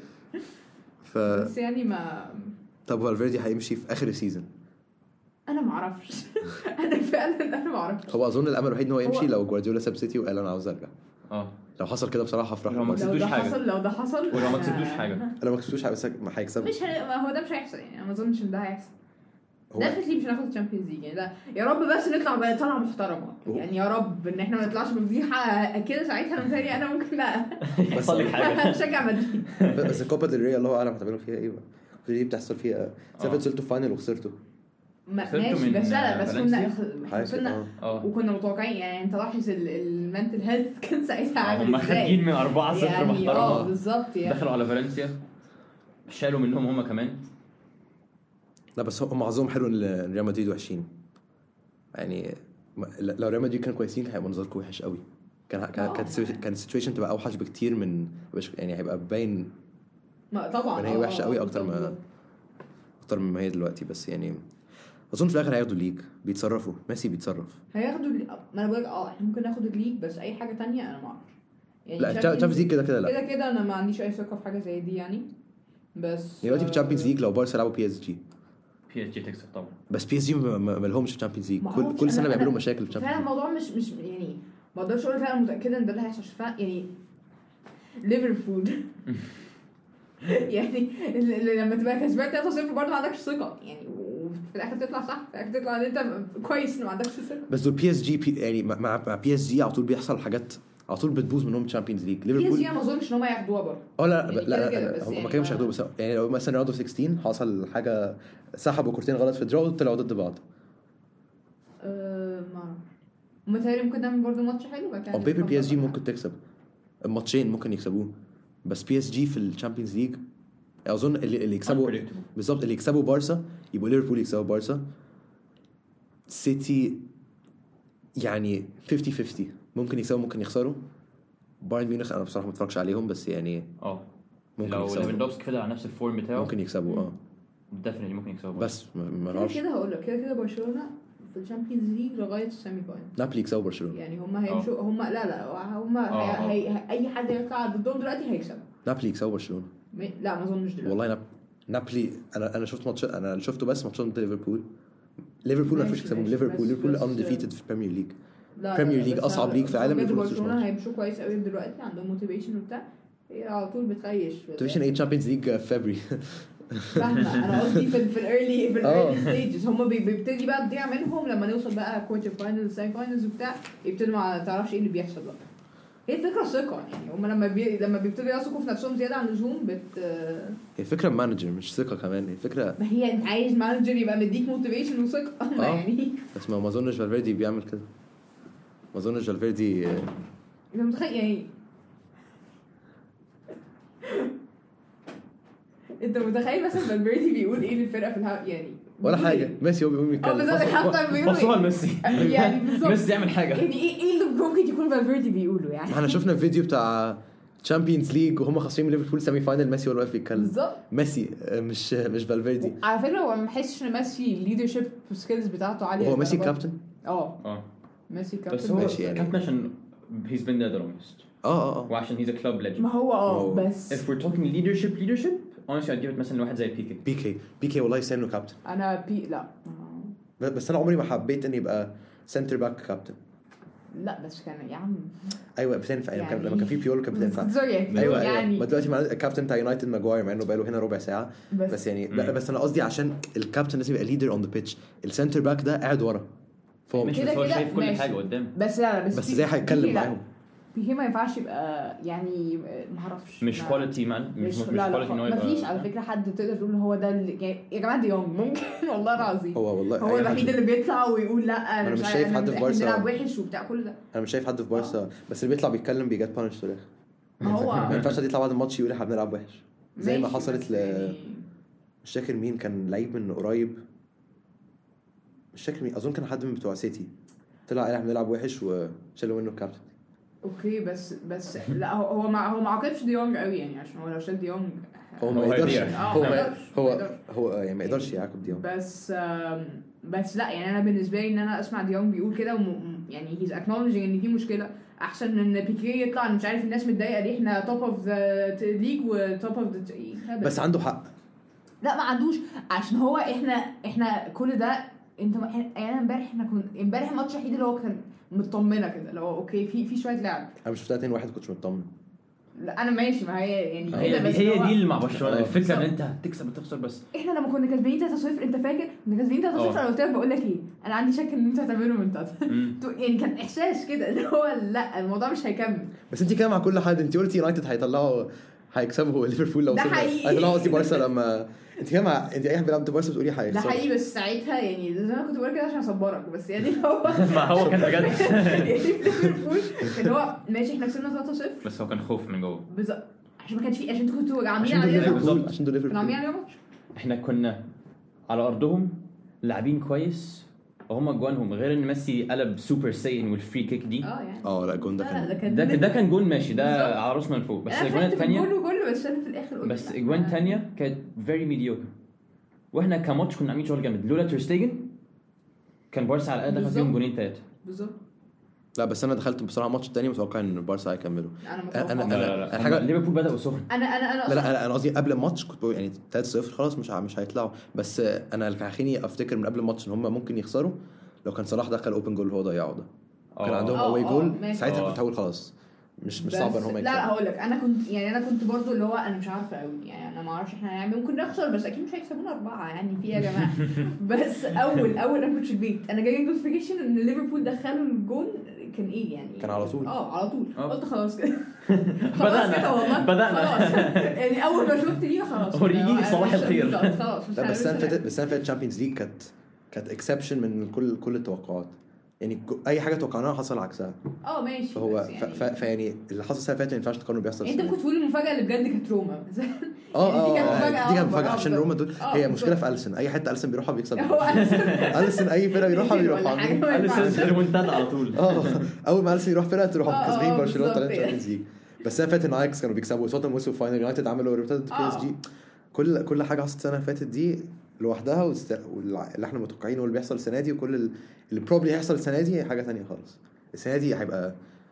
S2: ف
S3: بس يعني ما
S2: طب فالفيردي هيمشي في اخر السيزون.
S3: انا ما اعرفش انا فعلا انا ما اعرفش
S2: هو اظن الامل الوحيد ان هو يمشي
S3: هو-
S2: لو جوارديولا ساب سيتي وقال انا عاوز ارجع.
S1: اه
S2: لو حصل كده بصراحه هفرح
S1: لو ما
S2: له.
S3: لو
S1: كسبتوش
S3: ده
S1: حاجة.
S3: حصل لو ده حصل
S1: ولو ما
S3: أنا-
S1: كسبتوش حاجه
S2: لو ما كسبتوش هيكسب هيكسب
S3: مش ه... هو ده مش هيحصل يعني انا ما اظنش ان ده هيحصل
S2: هو
S3: ديفنتلي مش هناخد الشامبيونز ليج يعني ده يا رب بس نطلع بطلعه محترمه يعني يا رب ان احنا ما نطلعش بفضيحه كده ساعتها متهيألي انا ممكن لا
S1: يحصل لك حاجه.
S3: هشجع مدريد
S2: بس الكوبا ديل ري الله اعلم هتعملوا فيها ايه بقى. دي بتحصل فيها سافر
S1: آه.
S2: وصلتوا فاينل وخسرتوا.
S3: ما-
S1: خسرتوا
S3: ماشي
S1: من
S3: بس لا لا بس
S1: فالنسيا؟
S3: كنا
S2: حاجه
S3: كنا
S2: اه
S1: اه
S3: وكنا متوقعين يعني انت لاحظ المنتل هيلث كان ساعتها عامل
S1: هم
S3: ازاي
S1: خارجين من أربعة صفر
S3: يعني اه
S1: محترمه
S3: بالظبط يعني
S1: دخلوا على فالنسيا شالوا منهم هم كمان.
S2: لا بس هم معظمهم حلو ان ريال مدريد وحشين يعني. ما- لو ريال مدريد كانوا كويسين هيبقى منظركم وحش قوي. كان كان
S3: آه.
S2: كانت كان السيتويشن تبقى اوحش بكتير من يعني هيبقى باين
S3: ما طبعا
S2: يعني هي
S3: آه،
S2: وحشه
S3: آه،
S2: قوي
S3: آه،
S2: اكتر ما
S3: بالظبط.
S2: اكتر مما هي دلوقتي. بس يعني اظن في الاخر هياخدوا الليج بيتصرفوا. ميسي بيتصرف.
S3: هياخدوا اللي... ما انا بقولك اه احنا ممكن ناخد الليج بس اي حاجه تانية انا ما اعرفش يعني
S2: لا تشامبيونز ليج كده كده لا.
S3: كده كده انا ما عنديش اي ثقه في حاجه زي دي يعني بس
S2: دلوقتي في
S3: آه،
S2: تشامبيونز ليج لو بارسا لعبوا بي اس جي
S1: بي اس جي تكسب طبعا.
S2: بس بي اس جي ما لهمش تشامبيونز ليج
S3: ما
S2: كل
S3: أعرفش،
S2: كل
S3: أنا-
S2: سنه
S3: أنا
S2: بيعملوا مشاكل في
S3: فعلا
S2: الشامبيونز
S3: الموضوع مش مش يعني ما اقدرش اقول فعلا متاكده ان ده اللي هيحصل فعلا يعني ليفربول يعني ال- ال- لما تبقى كسبان ثلاثة صفر برضه ما عندكش ثقه يعني وفي الاخر تطلع صح في الاخر تطلع ان انت كويس ان ما عندكش ثقه.
S2: بس دول بي اس جي بي يعني مع مع بي اس جي على طول بيحصل حاجات على طول بتبوظ منهم تشامبيونز ليج.
S3: بي اس
S2: ليفربول
S3: جي ما اظنش ان هم ياخدوها برضه
S2: اه لا
S3: يعني
S2: لا
S3: كده
S2: لا,
S3: كده
S2: لا,
S3: بس
S2: هم
S3: يعني
S2: ما كانوا مش
S3: ما-
S2: هياخدوه. بس يعني لو مثلا راوند اوف ستاشر حصل حاجه سحبوا كورتين غلط في دراو طلعوا ضد بعض.
S3: أه ما اعرف متهيألي ممكن نعمل برضه ماتش حلو بعد كده
S2: او بيبر
S3: نفكر
S2: بي اس جي
S3: بقى.
S2: ممكن تكسب الماتشين ممكن يكسبوه. بس بي اس جي في الشامبيونز ليج اظن اللي, اللي يكسبوا
S1: Unpredictable.
S2: بالظبط اللي يكسبوا بارسا يبقوا ليفربول يكسبوا بارسا. سيتي يعني خمسين خمسين ممكن يكسبوا ممكن يخسروا. بايرن ميونخ انا بصراحه ما اتفرجش عليهم بس يعني
S1: اه
S2: ممكن
S1: لو
S2: يكسبوا
S1: ليفاندوفسكي فضل على نفس الفورم بتاعه
S2: ممكن يكسبوا اه
S1: ديفينتلي ممكن يكسبوا.
S2: بس ما- ما
S3: كده
S2: نعرفش.
S3: كده هقول لك كده كده برشلونه في الشامبيونز ليج لغايه السيمي فاينل
S2: نابولي يكسبوا برشلونه.
S3: يعني هم هيمشوا هم لا لا هم
S1: آه.
S3: هي... هي... اي حد يطلع ضدهم دلوقتي هيكسب
S2: نابولي يكسبوا برشلونه
S3: م- لا ما اظنش دلوقتي
S2: والله. ناب... نابولي انا انا شفت ماتش انا شفته بس ماتشات ضد ليفربول. ليفربول ما
S3: ماشي،
S2: فيش يكسبوا
S3: ماشي،
S2: ليفربول.
S3: بس-
S2: ليفرول
S3: بس-
S2: انديفيتد في البريمير ليج.
S3: لا
S2: Premier
S3: لا،
S2: League
S3: بس
S2: أصعب
S3: أنا-
S2: ليج في العالم،
S3: بجد
S2: ليفربول
S3: برشلونه
S2: ماتش.
S3: هيمشوا كويس قوي دلوقتي عندهم موتيفيشن وبتاع هي على طول بتخيش
S2: ديفيشن ايه تشامبيونز ليج في فبراير.
S3: فاهمه انا قصدي في في الايرلي في
S2: آه.
S3: الايرلي ستيجز هم بيبتدي بقى تضيع منهم لما نوصل بقى كوارتر فاينلز سيمي فاينلز وبتاع يبتدوا ما تعرفش ايه اللي بيحصل بقى. هي الفكره ثقه يعني هم لما بي... لما بيبتدوا يثقوا في نفسهم زياده عن اللزوم بت
S2: هي الفكره مانجر مش ثقه كمان. هي الفكره
S3: ما هي انت عايز مانجر يبقى مديك موتيفيشن وثقه ما
S2: آه.
S3: يعني
S2: بس ما ما اظنش فالفيردي بيعمل كده. ما اظنش فالفيردي
S3: انت متخيل يعني انت متخيل مثلا فالفيردي بيقول ايه للفرقه في الها يعني
S2: ولا
S3: بيقول
S2: حاجه.
S3: إيه؟
S2: ميسي هو بيقوم
S3: اه
S2: يتكلم.
S3: بالظبط حتى بيقول
S1: بصوها
S3: إيه؟
S1: لميسي
S3: يعني بالظبط
S1: ميسي يعمل حاجه.
S3: يعني ايه ايه اللي ممكن يكون فالفيردي بيقوله يعني
S2: احنا شفنا الفيديو بتاع تشامبيونز ليج وهم خاسرين من ليفربول سيمي فاينل، ميسي هو اللي واقف بيتكلم.
S3: بالظبط
S2: ميسي مش مش فالفيردي.
S3: على فكره هو ما بحسش ان ميسي الليدرشيب سكيلز بتاعته عاليه.
S2: هو ميسي كابتن.
S3: اه
S1: اه
S3: ميسي
S1: بس
S3: كابتن
S1: هو
S2: ماشي يعني.
S1: كابتن عشان he's been there the longest.
S2: اه اه اه
S1: وعشان he's a club legend.
S3: ما هو اه
S2: هو-
S3: بس
S1: if we're talking leadership leadership honestly I'd give it مثلا لواحد زي بيكي.
S2: بي كي بي كي والله يستاهل انه كابتن.
S3: انا بي لا
S2: بس انا عمري ما حبيت اني يبقى سنتر باك كابتن.
S3: لا بس كان يا عم
S2: ايوه بتنفع يعني
S3: يعني-
S2: لما كان في بيول كان بتنفع.
S3: سوري
S2: ايوه
S3: يعني
S2: ايوه ما دلوقتي مع الكابتن بتاع يونايتد ماجواير مع انه بقاله هنا ربع ساعه بس, بس يعني
S1: مم.
S2: بس انا قصدي عشان الكابتن لازم يبقى ليدر اون ذا بيتش. السنتر باك ده قاعد ورا فهو
S1: مش
S3: كده
S1: بس هو
S3: كده
S1: شايف كل
S3: ماشي.
S1: حاجه قدام.
S3: بس لا لا بس
S2: بس
S3: بي-
S2: ازاي هيتكلم
S3: بيكي لا.
S2: معاهم؟
S3: بيكي ما ينفعش يبقى يعني ما اعرفش
S1: مش
S3: ما-
S1: كواليتي مان مش
S3: مش
S1: مش
S3: لا
S1: كواليتي
S3: لا
S1: نوع
S3: ما فيش على فكره حد تقدر تقول هو ده اللي يعني يا جماعه دي يونج ممكن والله العظيم
S2: هو والله
S3: هو
S2: أي
S3: الوحيد
S2: حد-
S3: اللي بيطلع ويقول لا انا
S2: أنا مش
S3: عارف-
S2: شايف
S3: أنا
S2: حد في
S3: إحنا
S2: بارسا.
S3: بنلعب وحش وبتاع كل ده.
S2: انا مش شايف حد في بارسا بس اللي بيطلع بيتكلم بيجات بانش في الاخر.
S3: ما
S2: ما
S3: هو
S2: ينفعش حد يطلع بعد الماتش يقول احنا بنلعب وحش زي ما
S3: ماشي،
S2: حصلت
S3: بس
S2: ل
S3: يعني
S2: مش فاكر مين كان لعيب من قريب مش فاكر مين اظن كان حد من بتوع سيتي طلع قال احنا بنلعب وحش وشالوا منه الكابتن.
S3: اوكي بس بس لا هو هو ما هو ما عاقبش ديونج قوي يعني عشان هو لو شال ديونج
S2: هو
S1: هو
S2: ما يقدرش
S1: هيضيع.
S3: آه،
S2: هو
S3: ما
S2: ما
S3: يقدرش، ما
S2: هو
S3: يقدرش.
S2: هو يعني ما يقدرش يعاقب ديونج.
S3: بس آم، بس لا يعني انا بالنسبه لي ان انا اسمع ديونج بيقول كده وم- يعني هيز اكنولجينج ان في مشكله احسن من ان بيكي يطلع مش عارف الناس متضايقه ليه احنا توب اوف ذا ليج وتوب اوف ذا
S2: بس عنده حق.
S3: لا ما عندوش عشان هو احنا احنا كل ده انت ما- يعني انا امبارح احنا كنا امبارح الماتش الوحيد اللي هو كان مطمنه كده اللي هو اوكي في في شويه لعب.
S2: انا مش شفتها اتنين واحد كنتش مطمن.
S3: لا انا ماشي ما هي يعني
S1: هي
S3: كده
S1: دي
S3: بس
S1: هي
S3: هو
S1: دي اللي مع برشلونه
S2: آه.
S1: الفكره ان
S3: بالظبط.
S1: انت هتكسب وتخسر بس
S3: احنا لما كنا كسبانين ثلاثة صفر انت فاكر كنا كسبانين ثلاثة صفر
S1: اه.
S3: انا قلت لك بقول لك ايه انا عندي شك ان انتوا هتعملوا من ثلاثة
S1: مم.
S3: يعني كان احساس كده اللي هو لا الموضوع مش هيكمل.
S2: بس انت كده مع كل حد انت قلتي يونايتد هيطلعوا هيكسبوا ليفربول لو
S3: ده
S2: وصلنا-
S3: حقيقي.
S2: هيطلعوا قصدي بارسا لما انت كده مع انت اي حد بيلعب ضد بارسا بتقولي
S3: ده
S2: هيخسروا.
S3: حقيقي بس ساعتها يعني زي ما كنت بقول كده عشان اصبرك بس يعني هو
S1: ما هو كان بجد
S3: يعني في ليفربول اللي هو ماشي احنا كسبنا ثلاثة صفر
S1: بس هو كان خوف من جوه.
S3: بالظبط عشان ما كانش في عشان انتوا كنتوا عاملين
S2: عشان دول
S3: علينا
S1: بالظبط.
S2: ليفربول عشان دول
S3: كانوا عاملين
S2: ليفربول
S3: علينا ماتش.
S1: احنا كنا على ارضهم لاعبين كويس وهم جوانهم غير ان ميسي قلب سوبر ساين والفري كيك دي
S3: اه يعني
S2: اه لا الجون ده
S3: لا لا،
S2: كان
S3: ده كان
S1: ده ده كان جون ماشي ده
S3: بالظبط.
S1: على راسنا من فوق بس
S3: أنا
S1: الاجوان
S3: فرحت
S1: الثانيه
S3: بالجول وكله بس انا في الاخر قلت
S1: بس
S3: لا.
S1: اجوان الثانيه كانت فيري ميديوكر واحنا كماتش كنا عاملين شغل جامد لولا تيرستيجن كان بارسا على الاقل دخل
S3: بالظبط.
S1: فيهم جونين ثلاثه.
S3: بالظبط
S2: لا بس انا دخلت بصراحه الماتش الثاني متوقع ان بارسا هيكملوا.
S3: انا
S2: أنا-
S3: متوقع
S2: أنا-
S1: لا لا لا
S2: الحاجة-
S1: هم ليفربول بدأوا سخن.
S3: انا انا انا
S2: لا لا
S3: أصلاً-
S2: انا انا قصدي قبل الماتش كنت بقول يعني ثلاثة صفر خلاص مش ع- مش هيطلعوا بس انا اللي خليني افتكر من قبل الماتش ان هم ممكن يخسروا لو كان صلاح دخل اوبن جول اللي هو ضيعه ده. كان
S1: آه.
S2: عندهم
S3: آه،
S2: اواي
S3: آه،
S2: جول
S3: ماشي.
S2: ساعتها
S1: آه.
S2: كنت هقول خلاص مش مش
S3: بس-
S2: صعب ان هم
S3: لا لا
S2: يكسبوا.
S3: هقول لك انا كنت يعني انا كنت برضو اللي هو انا مش عارفه قوي يعني انا ما اعرفش احنا هنعمل ممكن نخسر بس اكيد مش هيكسبونا اربعه يعني في يا جماعه بس اول اول انا كنت في البيت انا جاي نوتيفيكيشن ان ليفربول دخلوا الجون كان ايه يعني
S2: كان على طول.
S3: اه على طول
S1: آه.
S3: قلت خلاص كده خلاص
S1: بدأنا.
S3: كده والله
S1: بدأنا.
S3: خلاص يعني اول ما شفت دي خلاص
S1: وريني صباح
S3: مش-
S1: الخير.
S3: بالظبط، خلاص مش
S2: لا بس السنه اللي
S3: هنعمل
S2: فاتت بس السنه اللي فاتت الشامبيونز ليج كانت كانت اكسبشن من كل كل التوقعات يعني ك- اي حاجه توقعناها حصل عكسها.
S3: اه ماشي
S2: فهو
S3: بس
S2: ف-
S3: يعني
S2: ف- فيعني اللي حصل السنه اللي فاتت ما ينفعش تقارنه بيحصل
S3: انت
S2: السنة
S3: كنت تقول المفاجاه اللي بجد كانت روما
S2: اه
S3: يعني دي كانت
S2: اه
S3: مفاجأة
S2: دي كانت
S3: أكبر،
S2: مفاجاه
S3: آه،
S2: عشان
S3: بالظبط.
S2: روما دول
S3: آه،
S2: هي مشكله
S3: بالظبط.
S2: في اليسون اي حته اليسون بيروحها بيكسب.
S3: هو أليسون.
S2: اليسون اي فرقه بيروحها
S3: ولا
S2: بيروحوا
S3: حاجة.
S2: عاملين
S3: ما ينفعش.
S1: اليسون ريمونتادا على طول.
S2: اه اول ما اليسون يروح فرقه تروح
S3: آه،
S2: كاسبين
S3: آه،
S2: برشلونه
S3: بالظبط
S2: طالعين تشامبيونز ليج. بس السنه اللي فاتت اياكس كانوا بيكسبوا توتنهام وصلوا فاينل يونايتد عملوا ريمونتادا بي اس جي. كل كل حاجه حصلت السنه اللي فاتت دي لوحدها والست- واللي احنا متوقعينه واللي بيحصل السنه دي وكل ال- اللي بروبلي هيحصل السنه دي حاجه ثانيه خالص. السنه دي هيبقى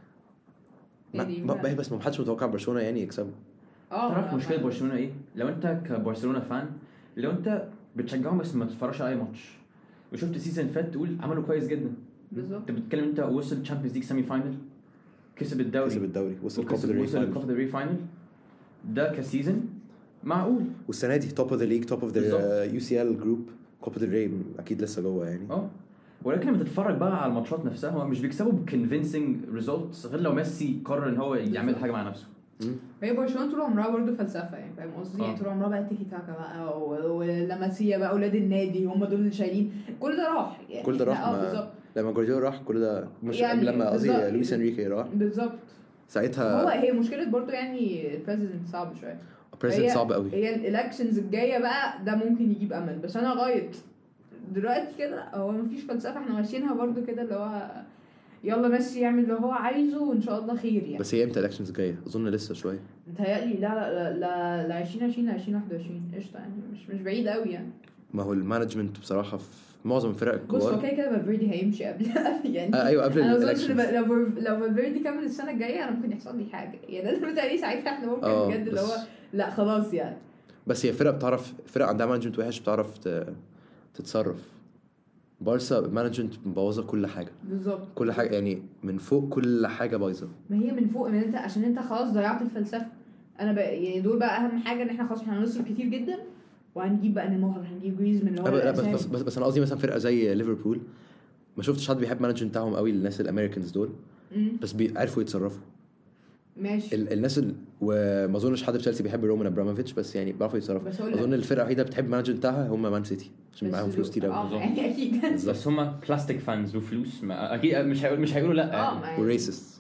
S2: ما
S3: يعني
S2: ما
S3: ما-
S2: ما- بس ما حدش متوقع برشلونه يعني يكسبوا.
S3: اه
S1: تعرف
S3: ما-
S1: مشكله
S3: ما-
S1: برشلونه ايه؟ لو انت كبرشلونه فان لو انت بتشجعهم بس ما تتفرجش على اي ماتش وشفت سيزون فات تقول عملوا كويس جدا.
S3: بالظبط.
S1: انت بتتكلم انت وصل تشامبيونز ليج سيمي فاينل كسب الدوري
S2: كسب الدوري وصل كوبا
S1: وكسب
S2: ديل ري
S1: وصل
S2: فاينل.
S1: الكوبا ديل ري فاينل ده كسيزون معقول.
S2: والسنه دي توب اوف ذا ليج توب اوف ذا
S1: بالظبط.
S2: يو سي ال جروب كوبا ديل ري اكيد لسه جوه يعني.
S1: اه ولكن لما تتفرج بقى على الماتشات نفسها هو مش بيكسبوا بكونفينسنج ريزولتس غير لو ميسي قرر ان هو يعمل حاجه مع نفسه.
S3: هي برشلونه طول عمرها برضه فلسفه يعني فاهم قصدي
S1: آه.
S3: يعني طول عمرها بقى تيكي تاكا بقى و- ولاماسيا بقى اولاد النادي هم دول اللي شايلين كل ده راح يعني
S2: كل ده راح
S3: اه
S2: ما-
S3: بالظبط
S2: لما جوارديولا راح كل ده مش
S3: يعني
S2: لما قصدي
S3: بالظبط.
S2: لويس انريكي راح
S3: بالظبط. هو
S2: ساعتها
S3: هي مشكله برضه يعني البريزيدنت صعب شويه
S2: بريزنت
S3: هي-
S2: صعب قوي.
S3: هي الالكشنز الجايه بقى ده ممكن يجيب امل بس انا لغايه دلوقتي كده هو مفيش فلسفه احنا ماشيينها برضه كده اللي هو يلا ميسي يعمل اللي هو عايزه وان شاء الله خير يعني.
S2: بس هي امتى الالكشنز جايه؟ اظن لسه شويه.
S3: متهيألي لا لا لا لا عشرين عشرين ل عشرين واحد وعشرين قشطه يعني مش مش بعيد قوي يعني.
S2: ما هو المانجمنت بصراحه في معظم الفرق الكبار.
S3: بص هو كده كده فالفيردي هيمشي قبل يعني.
S2: آه ايوه قبل
S3: الالكشن. لو لو فالفيردي كمل السنه الجايه انا ممكن يحصل لي حاجه يعني. انا متهيألي ساعتها احنا ممكن بجد اللي هو لا خلاص يعني.
S2: بس هي فرق بتعرف، فرق عندها مانجمنت وحش بتعرف تتصرف. بارسا مانجمنت مبوظه كل حاجه
S3: بالظبط
S2: كل حاجه يعني من فوق كل حاجه بايظه.
S3: ما هي من فوق من انت عشان انت خلاص ضيعت الفلسفه. انا بقى يعني دول بقى اهم حاجه ان احنا خلاص احنا هنصرف كتير جدا وهنجيب بقى نيمار هنجيب جريزمان اللي هو
S2: لا بس, بس بس بس انا قصدي مثلا فرقه زي ليفربول ما شفتش حد بيحب مانجمنت بتاعهم قوي. الناس الامريكانز دول
S3: مم.
S2: بس بيعرفوا يتصرفوا
S3: ماشي.
S2: ال- الناس ال... وما اظنش حد في تشيلسي بيحب رومان ابراموفيتش بس يعني بيعرفوا يتصرفوا. اظن الفرقه الوحيده بتحب مانجمنت بتاعها هم مان سيتي عشان معاهم فلوس كتير قوي.
S3: اه يعني اكيد
S1: بس هم بلاستيك فانز وفلوس ما اكيد مش هيقول مش هيقولوا لا
S3: اه
S2: وريسست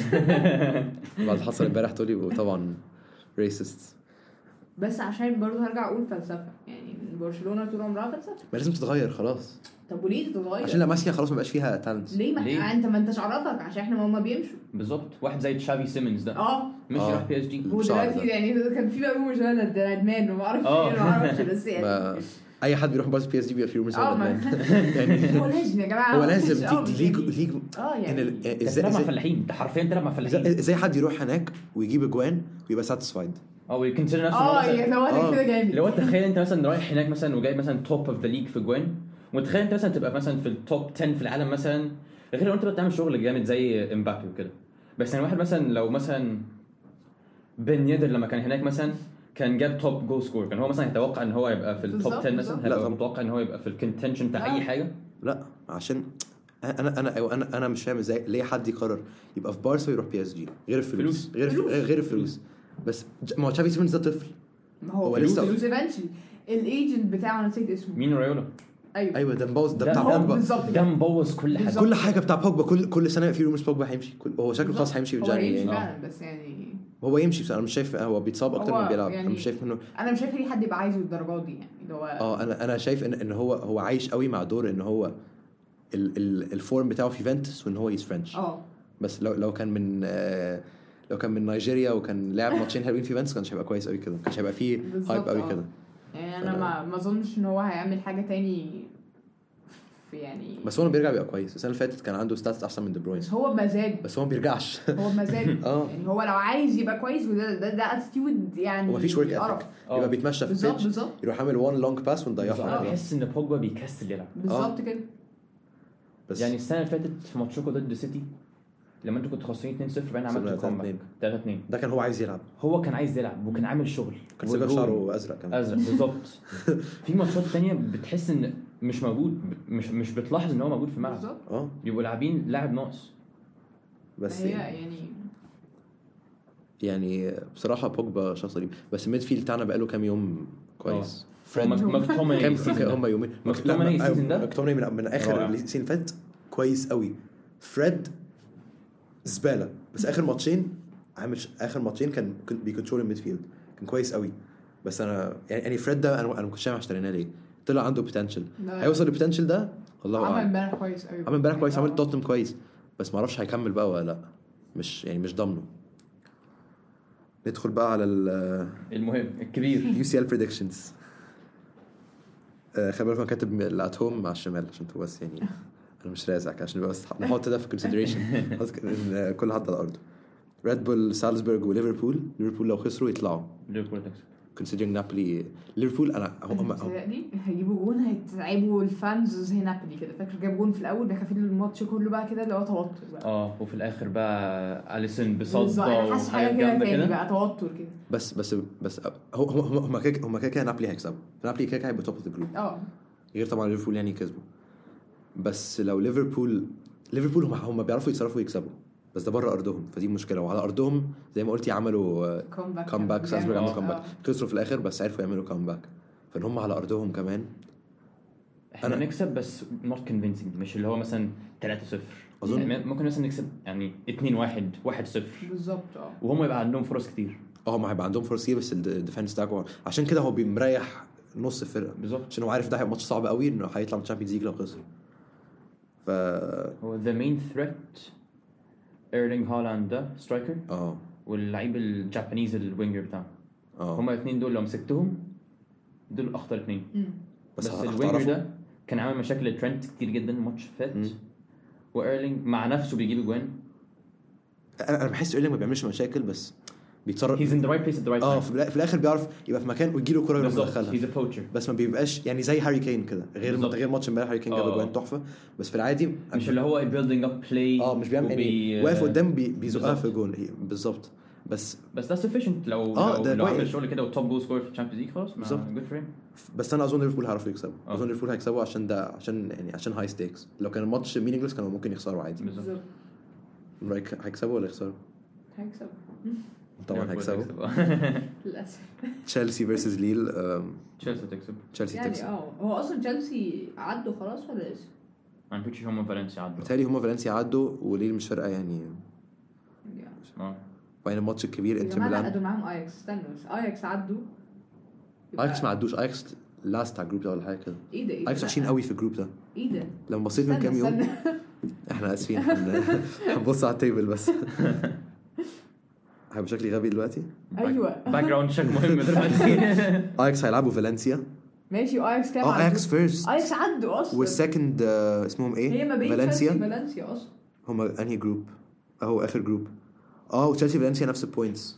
S2: بعد حصل امبارح تقولي وطبعا ريسست.
S3: بس عشان برضه هرجع اقول فلسفه يعني برشلونه طول عمرها فلسفه.
S2: ما لازم تتغير خلاص.
S3: طب وليه تتغير؟
S2: عشان لاماسيا خلاص ما بقاش فيها تالنت.
S3: ليه ما
S1: ليه؟
S3: انت ما انتش عرفك عشان احنا ما بيمشوا
S1: بالظبط. واحد زي تشافي سيمنز ده
S3: اه
S1: مش
S2: آه.
S1: يروح بي اس جي
S3: ودلوقتي يعني كان في بقى رومرز انا ده ندمان وما اعرفش ايه ما اعرفش بس يعني
S2: ما اي حد بيروح بارس بي اس جي بيبقى فيه رومرز
S3: اه ما-
S2: يعني
S3: هو لازم يا جماعه
S2: هو لازم
S3: آه،
S2: دي ليج ليج
S3: اه يعني
S1: ازاي
S2: ازاي
S1: تلعب مع
S2: ازاي
S1: فلاحين انت حرفيا تلعب مع فلاحين
S2: ازاي حد يروح هناك ويجيب اجوان ويبقى ساتيسفايد
S1: او يكونسيدر نفسه
S3: اه
S1: مثلا
S3: يعني لو
S2: آه.
S3: انا كده جامد
S1: لو انت تخيل انت مثلا رايح هناك مثلا وجايب مثلا توب اوف ذا ليج في جوان وتخيل انت مثلا تبقى مثلا في التوب عشرة في العالم مثلا غير لو انت بتعمل شغل جامد زي امبابي وكده. بس يعني واحد مثلا لو مثلا بن يدر لما كان هناك مثلا كان جاب توب جول سكور كان هو مثلا يتوقع ان هو يبقى في التوب
S3: بالظبط،
S1: عشرة مثلا
S3: بالظبط.
S2: لا
S1: هيبقى
S2: طبعا.
S1: متوقع ان هو يبقى في الكونتنشن بتاع
S3: لا.
S1: اي حاجه.
S2: لا عشان انا انا انا انا مش فاهم ازاي ليه حد يقرر يبقى في بارسا ويروح بي اس جي غير الفلوس
S1: فلوس.
S2: غير
S3: فلوس.
S2: غير الفلوس. بس ج- ما هو تشافي سيمنز ده طفل.
S3: ما هو
S2: هو
S3: فلوس
S2: لسه-
S3: فلوس ايفنشلي الايجنت بتاعه انا نسيت اسمه
S1: مين رايولا
S3: ايوه
S2: ايوه ده مبوظ ده
S1: ده-
S2: بتاع
S1: ده
S2: بوجبا.
S3: بالظبط
S1: ده مبوظ كل حاجه.
S3: بالظبط.
S2: كل حاجه بتاع بوجبا كل كل سنه في رومرز بوجبا هيمشي كل هو شكله خلاص هيمشي في
S3: هو
S2: الجاني
S3: هيمشي
S2: يعني.
S3: فعلا بس يعني
S2: هو يمشي بس انا مش شايف هو بيتصاب اكتر
S3: هو
S2: من بيلعب.
S3: يعني-
S2: انا مش شايف انه
S3: انا مش شايف ليه حد يبقى عايزه الدرجات دي يعني اللي هو
S2: اه انا انا شايف ان ان هو هو عايش قوي مع دور ان هو ال ال الفورم بتاعه في يوفنتوس وان هو يز فرنش.
S3: اه
S2: بس لو لو كان من آه لو كان من نيجيريا وكان لعب ماتشين حلوين في يوفنتوس كانش هيبقى كويس قوي كده. كانش هيبقى فيه
S3: بالظبط،
S2: هايب قوي
S3: آه.
S2: كده.
S3: يعني انا
S2: فأنا-
S3: ما ما اظنش ان هو هيعمل حاجه تاني في يعني
S2: بس هو لما بيرجع بيبقى كويس. السنه اللي فاتت كان عنده ستاتس احسن من دي بروين
S3: بس هو بمزاج
S2: بس هو ما بيرجعش.
S3: هو بمزاج
S2: اه
S3: يعني هو لو عايز يبقى كويس وده ده, ده اتيتيود يعني
S2: هو مفيش ورك
S3: قرف.
S2: اثيك يبقى بيتمشى في
S3: بالظبط
S2: البيتش
S3: بالظبط
S2: يروح عامل وان لونج باس
S1: انا
S2: ونضيعها.
S1: بحس ان بوجبا بيكسل يلعب.
S3: بالظبط كده
S2: بس
S1: يعني السنه اللي فاتت في ماتشكم ضد سيتي لما انتوا كنتوا خاسرين اتنين صفر باين عملتوا
S2: تلاتة
S1: كومباك
S2: اتنين.
S1: تلاتة اتنين
S2: ده كان هو عايز يلعب.
S1: هو كان عايز يلعب وكان عامل شغل
S2: كان سيبك
S1: والجول
S2: شعره ازرق كمان.
S1: ازرق بالظبط. في ماتشات تانية بتحس ان مش موجود مش مش بتلاحظ ان هو موجود في الملعب
S3: بالظبط
S2: اه
S1: يبقوا لاعبين لاعب ناقص.
S2: بس
S3: هي
S2: يعني,
S3: يعني
S2: يعني بصراحه بوجبا شخص غريب. بس الميد فيلد بتاعنا بقاله كام يوم كويس.
S1: فريد ماكتوماني
S2: كام
S1: السيزون
S2: كام
S1: ده.
S2: هم يومين
S1: ماكتوماني السيزون ده
S2: ماكتوماني من, من اخر
S1: رائع.
S2: السيزون اللي فات كويس قوي. فريد زباله بس اخر ماتشين عامل ش- اخر ماتشين كان بيكنترول الميد فيلد كان كويس قوي. بس انا يعني يعني فريد ده انا انا ما كنتش فاهم اشتريناه ليه. طلع عنده بوتنشال
S3: لا.
S2: هيوصل للبوتنشال ده الله
S3: عمل
S2: اعلم.
S3: امبارح كويس قوي
S2: عمل امبارح كويس عمل
S3: آه.
S2: توتنهام كويس بس ما اعرفش هيكمل بقى ولا لا. مش يعني مش ضامنه. ندخل بقى على ال
S1: المهم الكبير
S2: يو سي ال بريدكشنز. خلي بالك انا كاتب الات هوم مع الشمال عشان تبقى بس يعني انا مش رازعك عشان بس نحط ده في كونسيدريشن ان كل حد على الارض. ريد بول سالزبورغ وليفربول. ليفربول لو خسروا يطلعوا
S1: ليفربول تكسب.
S2: considering نابولي ليفربول انا هم هم
S3: متهيألي هيجيبوا جون هيتعبوا الفانز زي نابولي كده. فاكر جاب جون في الاول ده خافين الماتش كله بقى كده اللي هو توتر بقى.
S1: اه وفي الاخر بقى اليسون
S3: بالظبط
S1: بصدى
S3: انا حاسس حاجه
S1: وحاجات
S3: كده
S1: جامده
S3: تاني
S1: كده.
S3: بقى توتر كده.
S2: بس بس بس هم هم هم كده هم كده نابولي هيكسبوا. نابولي كده هيبقى توب اوف ذا جروب
S3: اه
S2: غير طبعا ليفربول يعني كسبوا. بس لو ليفربول ليفربول هم هم بيعرفوا يتصرفوا ويكسبوا بس ده بره ارضهم فدي مشكله. وعلى ارضهم زي ما قلتي عملوا
S3: كومباك
S2: كومباك سالزبورغ عملوا
S3: آه.
S2: كومباك خسروا في الاخر بس عرفوا يعملوا كومباك. فان هم على ارضهم كمان
S1: احنا
S2: أنا-
S1: نكسب بس not convincing مش اللي هو مثلا تلاتة صفر.
S2: أظن-
S1: يعني ممكن مثلا نكسب يعني اتنين واحد واحد صفر
S3: بالظبط اه
S1: وهم يبقى عندهم فرص كتير.
S2: اه هم هيبقى عندهم فرص كتير بس الديفنس بتاعهم عشان كده هو بيمريح نص الفرقه
S1: بالظبط.
S2: عشان هو عارف ده هيبقى ماتش صعب قوي انه هيطلع من الشامبيونز ليج لو خسر. ف
S1: هو the main threat ايرلينج هالاند ده سترايكر
S2: اه
S1: واللعيب الجابانيز الوينجر بتاعه
S2: اه
S1: هما الاثنين دول لو مسكتهم دول اخطر اثنين.
S2: بس,
S1: بس
S2: بس
S1: الوينجر ده كان عامل مشاكل لترنت كتير جدا ماتش فات وايرلينج مع نفسه بيجيب اجوان.
S2: انا بحس ايرلينج ما بيعملش مشاكل بس بيتصرف
S1: he's in the right place at the right
S2: اه
S1: time.
S2: في الاخر بيعرف يبقى في مكان ويجي له كوره يروح
S1: بالظبط
S2: يدخلها.
S1: he's a poacher.
S2: بس ما بيبقاش يعني زي هاري كين كده غير
S1: بالظبط.
S2: غير ماتش امبارح هاري كين جاب
S1: آه.
S2: اجوان تحفه بس في العادي
S1: مش اللي هو building up play
S2: اه مش بيعمل يعني واقف قدام بي بيزقها في جول بالظبط. بس
S1: بس ده sufficient لو
S2: آه
S1: لو, لو عمل
S2: كويس.
S1: شغل كده وتوب جول سكور في الشامبيونز ليج خلاص
S2: بالظبط.
S1: good for him.
S2: بس انا اظن ليفربول هيعرفوا يكسبوا
S1: آه.
S2: اظن ليفربول هيكسبوا عشان ده عشان يعني عشان هاي ستيكس. لو كان الماتش مينينجلس كانوا ممكن يخسروا عادي.
S1: بالظبط
S2: رايك هيكسبوا ولا يخسروا؟
S3: هيكسب
S2: طبعا هيكسبوا.
S3: للاسف.
S2: تشيلسي فيرسز ليل.
S1: تشيلسي تكسب
S2: تشيلسي
S3: يعني
S2: تكسب.
S3: اه هو اصلا تشيلسي عدوا خلاص ولا لسه؟
S1: انا بيتشي هم فالنسيا عدوا
S2: بالتالي هما فالنسيا عدوا وليل مش فارقه يعني.
S1: اه
S2: وبعدين الماتش الكبير
S3: يا
S2: انتر
S3: جماعه لا
S2: ميلان.
S3: قدوا معاهم اياكس. استنوا بس اياكس عدوا. يبقى-
S2: اياكس ما عدوش. اياكس لاست على الجروب ده ولا حاجه كده.
S3: ايه ده ايه ده؟
S2: اياكس عايشين قوي في الجروب ده.
S3: ايه ده؟
S2: لما بصيت من
S3: استنى-
S2: كام يوم
S3: استنى.
S2: احنا اسفين هن- هنبص على التيبل بس. هيبقى شكلي غبي دلوقتي.
S3: ايوه
S1: باك جراوند شيك مهم دلوقتي.
S2: اياكس هيلعبوا فالنسيا.
S3: ماشي واياكس كام
S2: اه
S3: عدوا؟
S2: اياكس فيرست
S3: اياكس عدوا اصلا.
S2: والسكند آه اسمهم ايه؟
S3: هي ما بين تشيلسي
S2: فالنسيا.
S3: وفالنسيا اصلا.
S2: هما انهي جروب؟ اهو اخر جروب. اه وتشيلسي فالنسيا نفس البوينتس.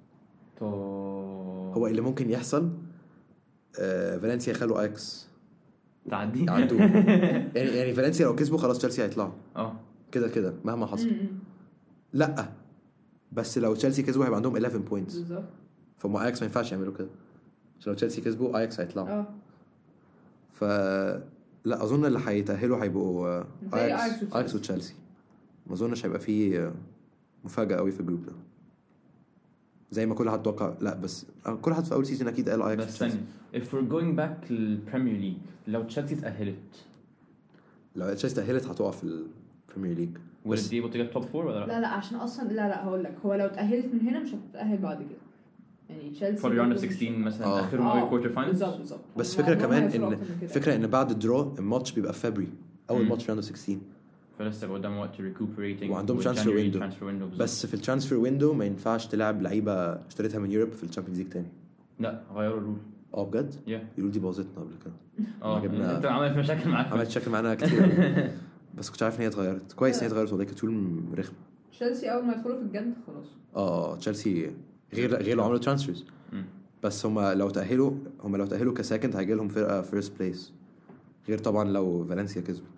S2: هو اللي ممكن يحصل آه فالنسيا يخلوا اياكس
S1: تعدي
S2: يعدوا. يعني يعني فالنسيا لو كسبوا خلاص تشيلسي هيطلعوا
S1: اه
S2: كده كده مهما حصل.
S3: م-م.
S2: لا بس لو تشيلسي كسبوا هيبقى عندهم إحداشر بوينتس.
S3: بالظبط.
S2: فما اياكس ما ينفعش يعملوا كده عشان لو تشيلسي كسبوا اياكس هيطلعوا.
S3: اه
S2: ف لا اظن اللي هيتاهلوا هيبقوا آه،
S3: زي
S2: اياكس
S3: أياكس وتشيلسي.
S2: اياكس وتشيلسي. ما اظنش هيبقى فيه آه، مفاجاه قوي في الجروب ده زي ما كل حد توقع. لا بس آه، كل حد في اول سيزون اكيد قال اياكس
S1: بس
S2: وتشيلسي.
S1: ثاني if we're going back للبريمير ليج لو تشيلسي تأهلت
S2: لو تشيلسي تاهلت هتقع في البريمير ليج.
S1: will it be able to get top four ولا لا؟
S3: لا لا عشان اصلا لا لا هقول لك هو لو اتأهلت من هنا مش هتتأهل بعد كده. يعني تشيلسي
S1: for the round of
S3: برضه مش-
S1: sixteen مثلا
S2: آه.
S1: اخرهم
S3: آه،
S1: قوي كوارتر فاينلز.
S3: بالظبط بالظبط.
S2: بس
S3: هم
S2: فكره
S3: عمرهم
S2: كمان
S3: هيوصلوا
S2: ان
S3: أكتر من كده.
S2: فكره ان بعد الدرو الماتش بيبقى في فبراير اول
S1: مم.
S2: ماتش راوند ستاشر
S1: فلسه قدام وقت recuperating
S2: وعندهم transfer
S1: January
S2: window.
S1: transfer window بالظبط.
S2: بس في الترانسفير ويندو ما ينفعش تلعب لعيبه اشتريتها من يوروب في الشامبيونز ليج تاني.
S1: لا غيروا الرول.
S2: اه بجد
S1: yeah
S2: الرول دي باظتنا قبل كده.
S1: اه
S2: جبنا-
S1: انت عملت مشاكل معاك.
S2: عملت شكل معانا كتير بس كنت عارف ان هي اتغيرت كويس. ان هي اتغيرت والله كانت رول رخمه.
S3: تشيلسي اول ما يدخلوا في الجد خلاص.
S2: اه تشيلسي غير غير لو عملوا ترانسفيرز.
S1: مم.
S2: بس هم لو تاهلوا هم لو تاهلوا كسكند هيجي لهم فرقه فيرست بليس غير طبعا لو فالنسيا كسبت.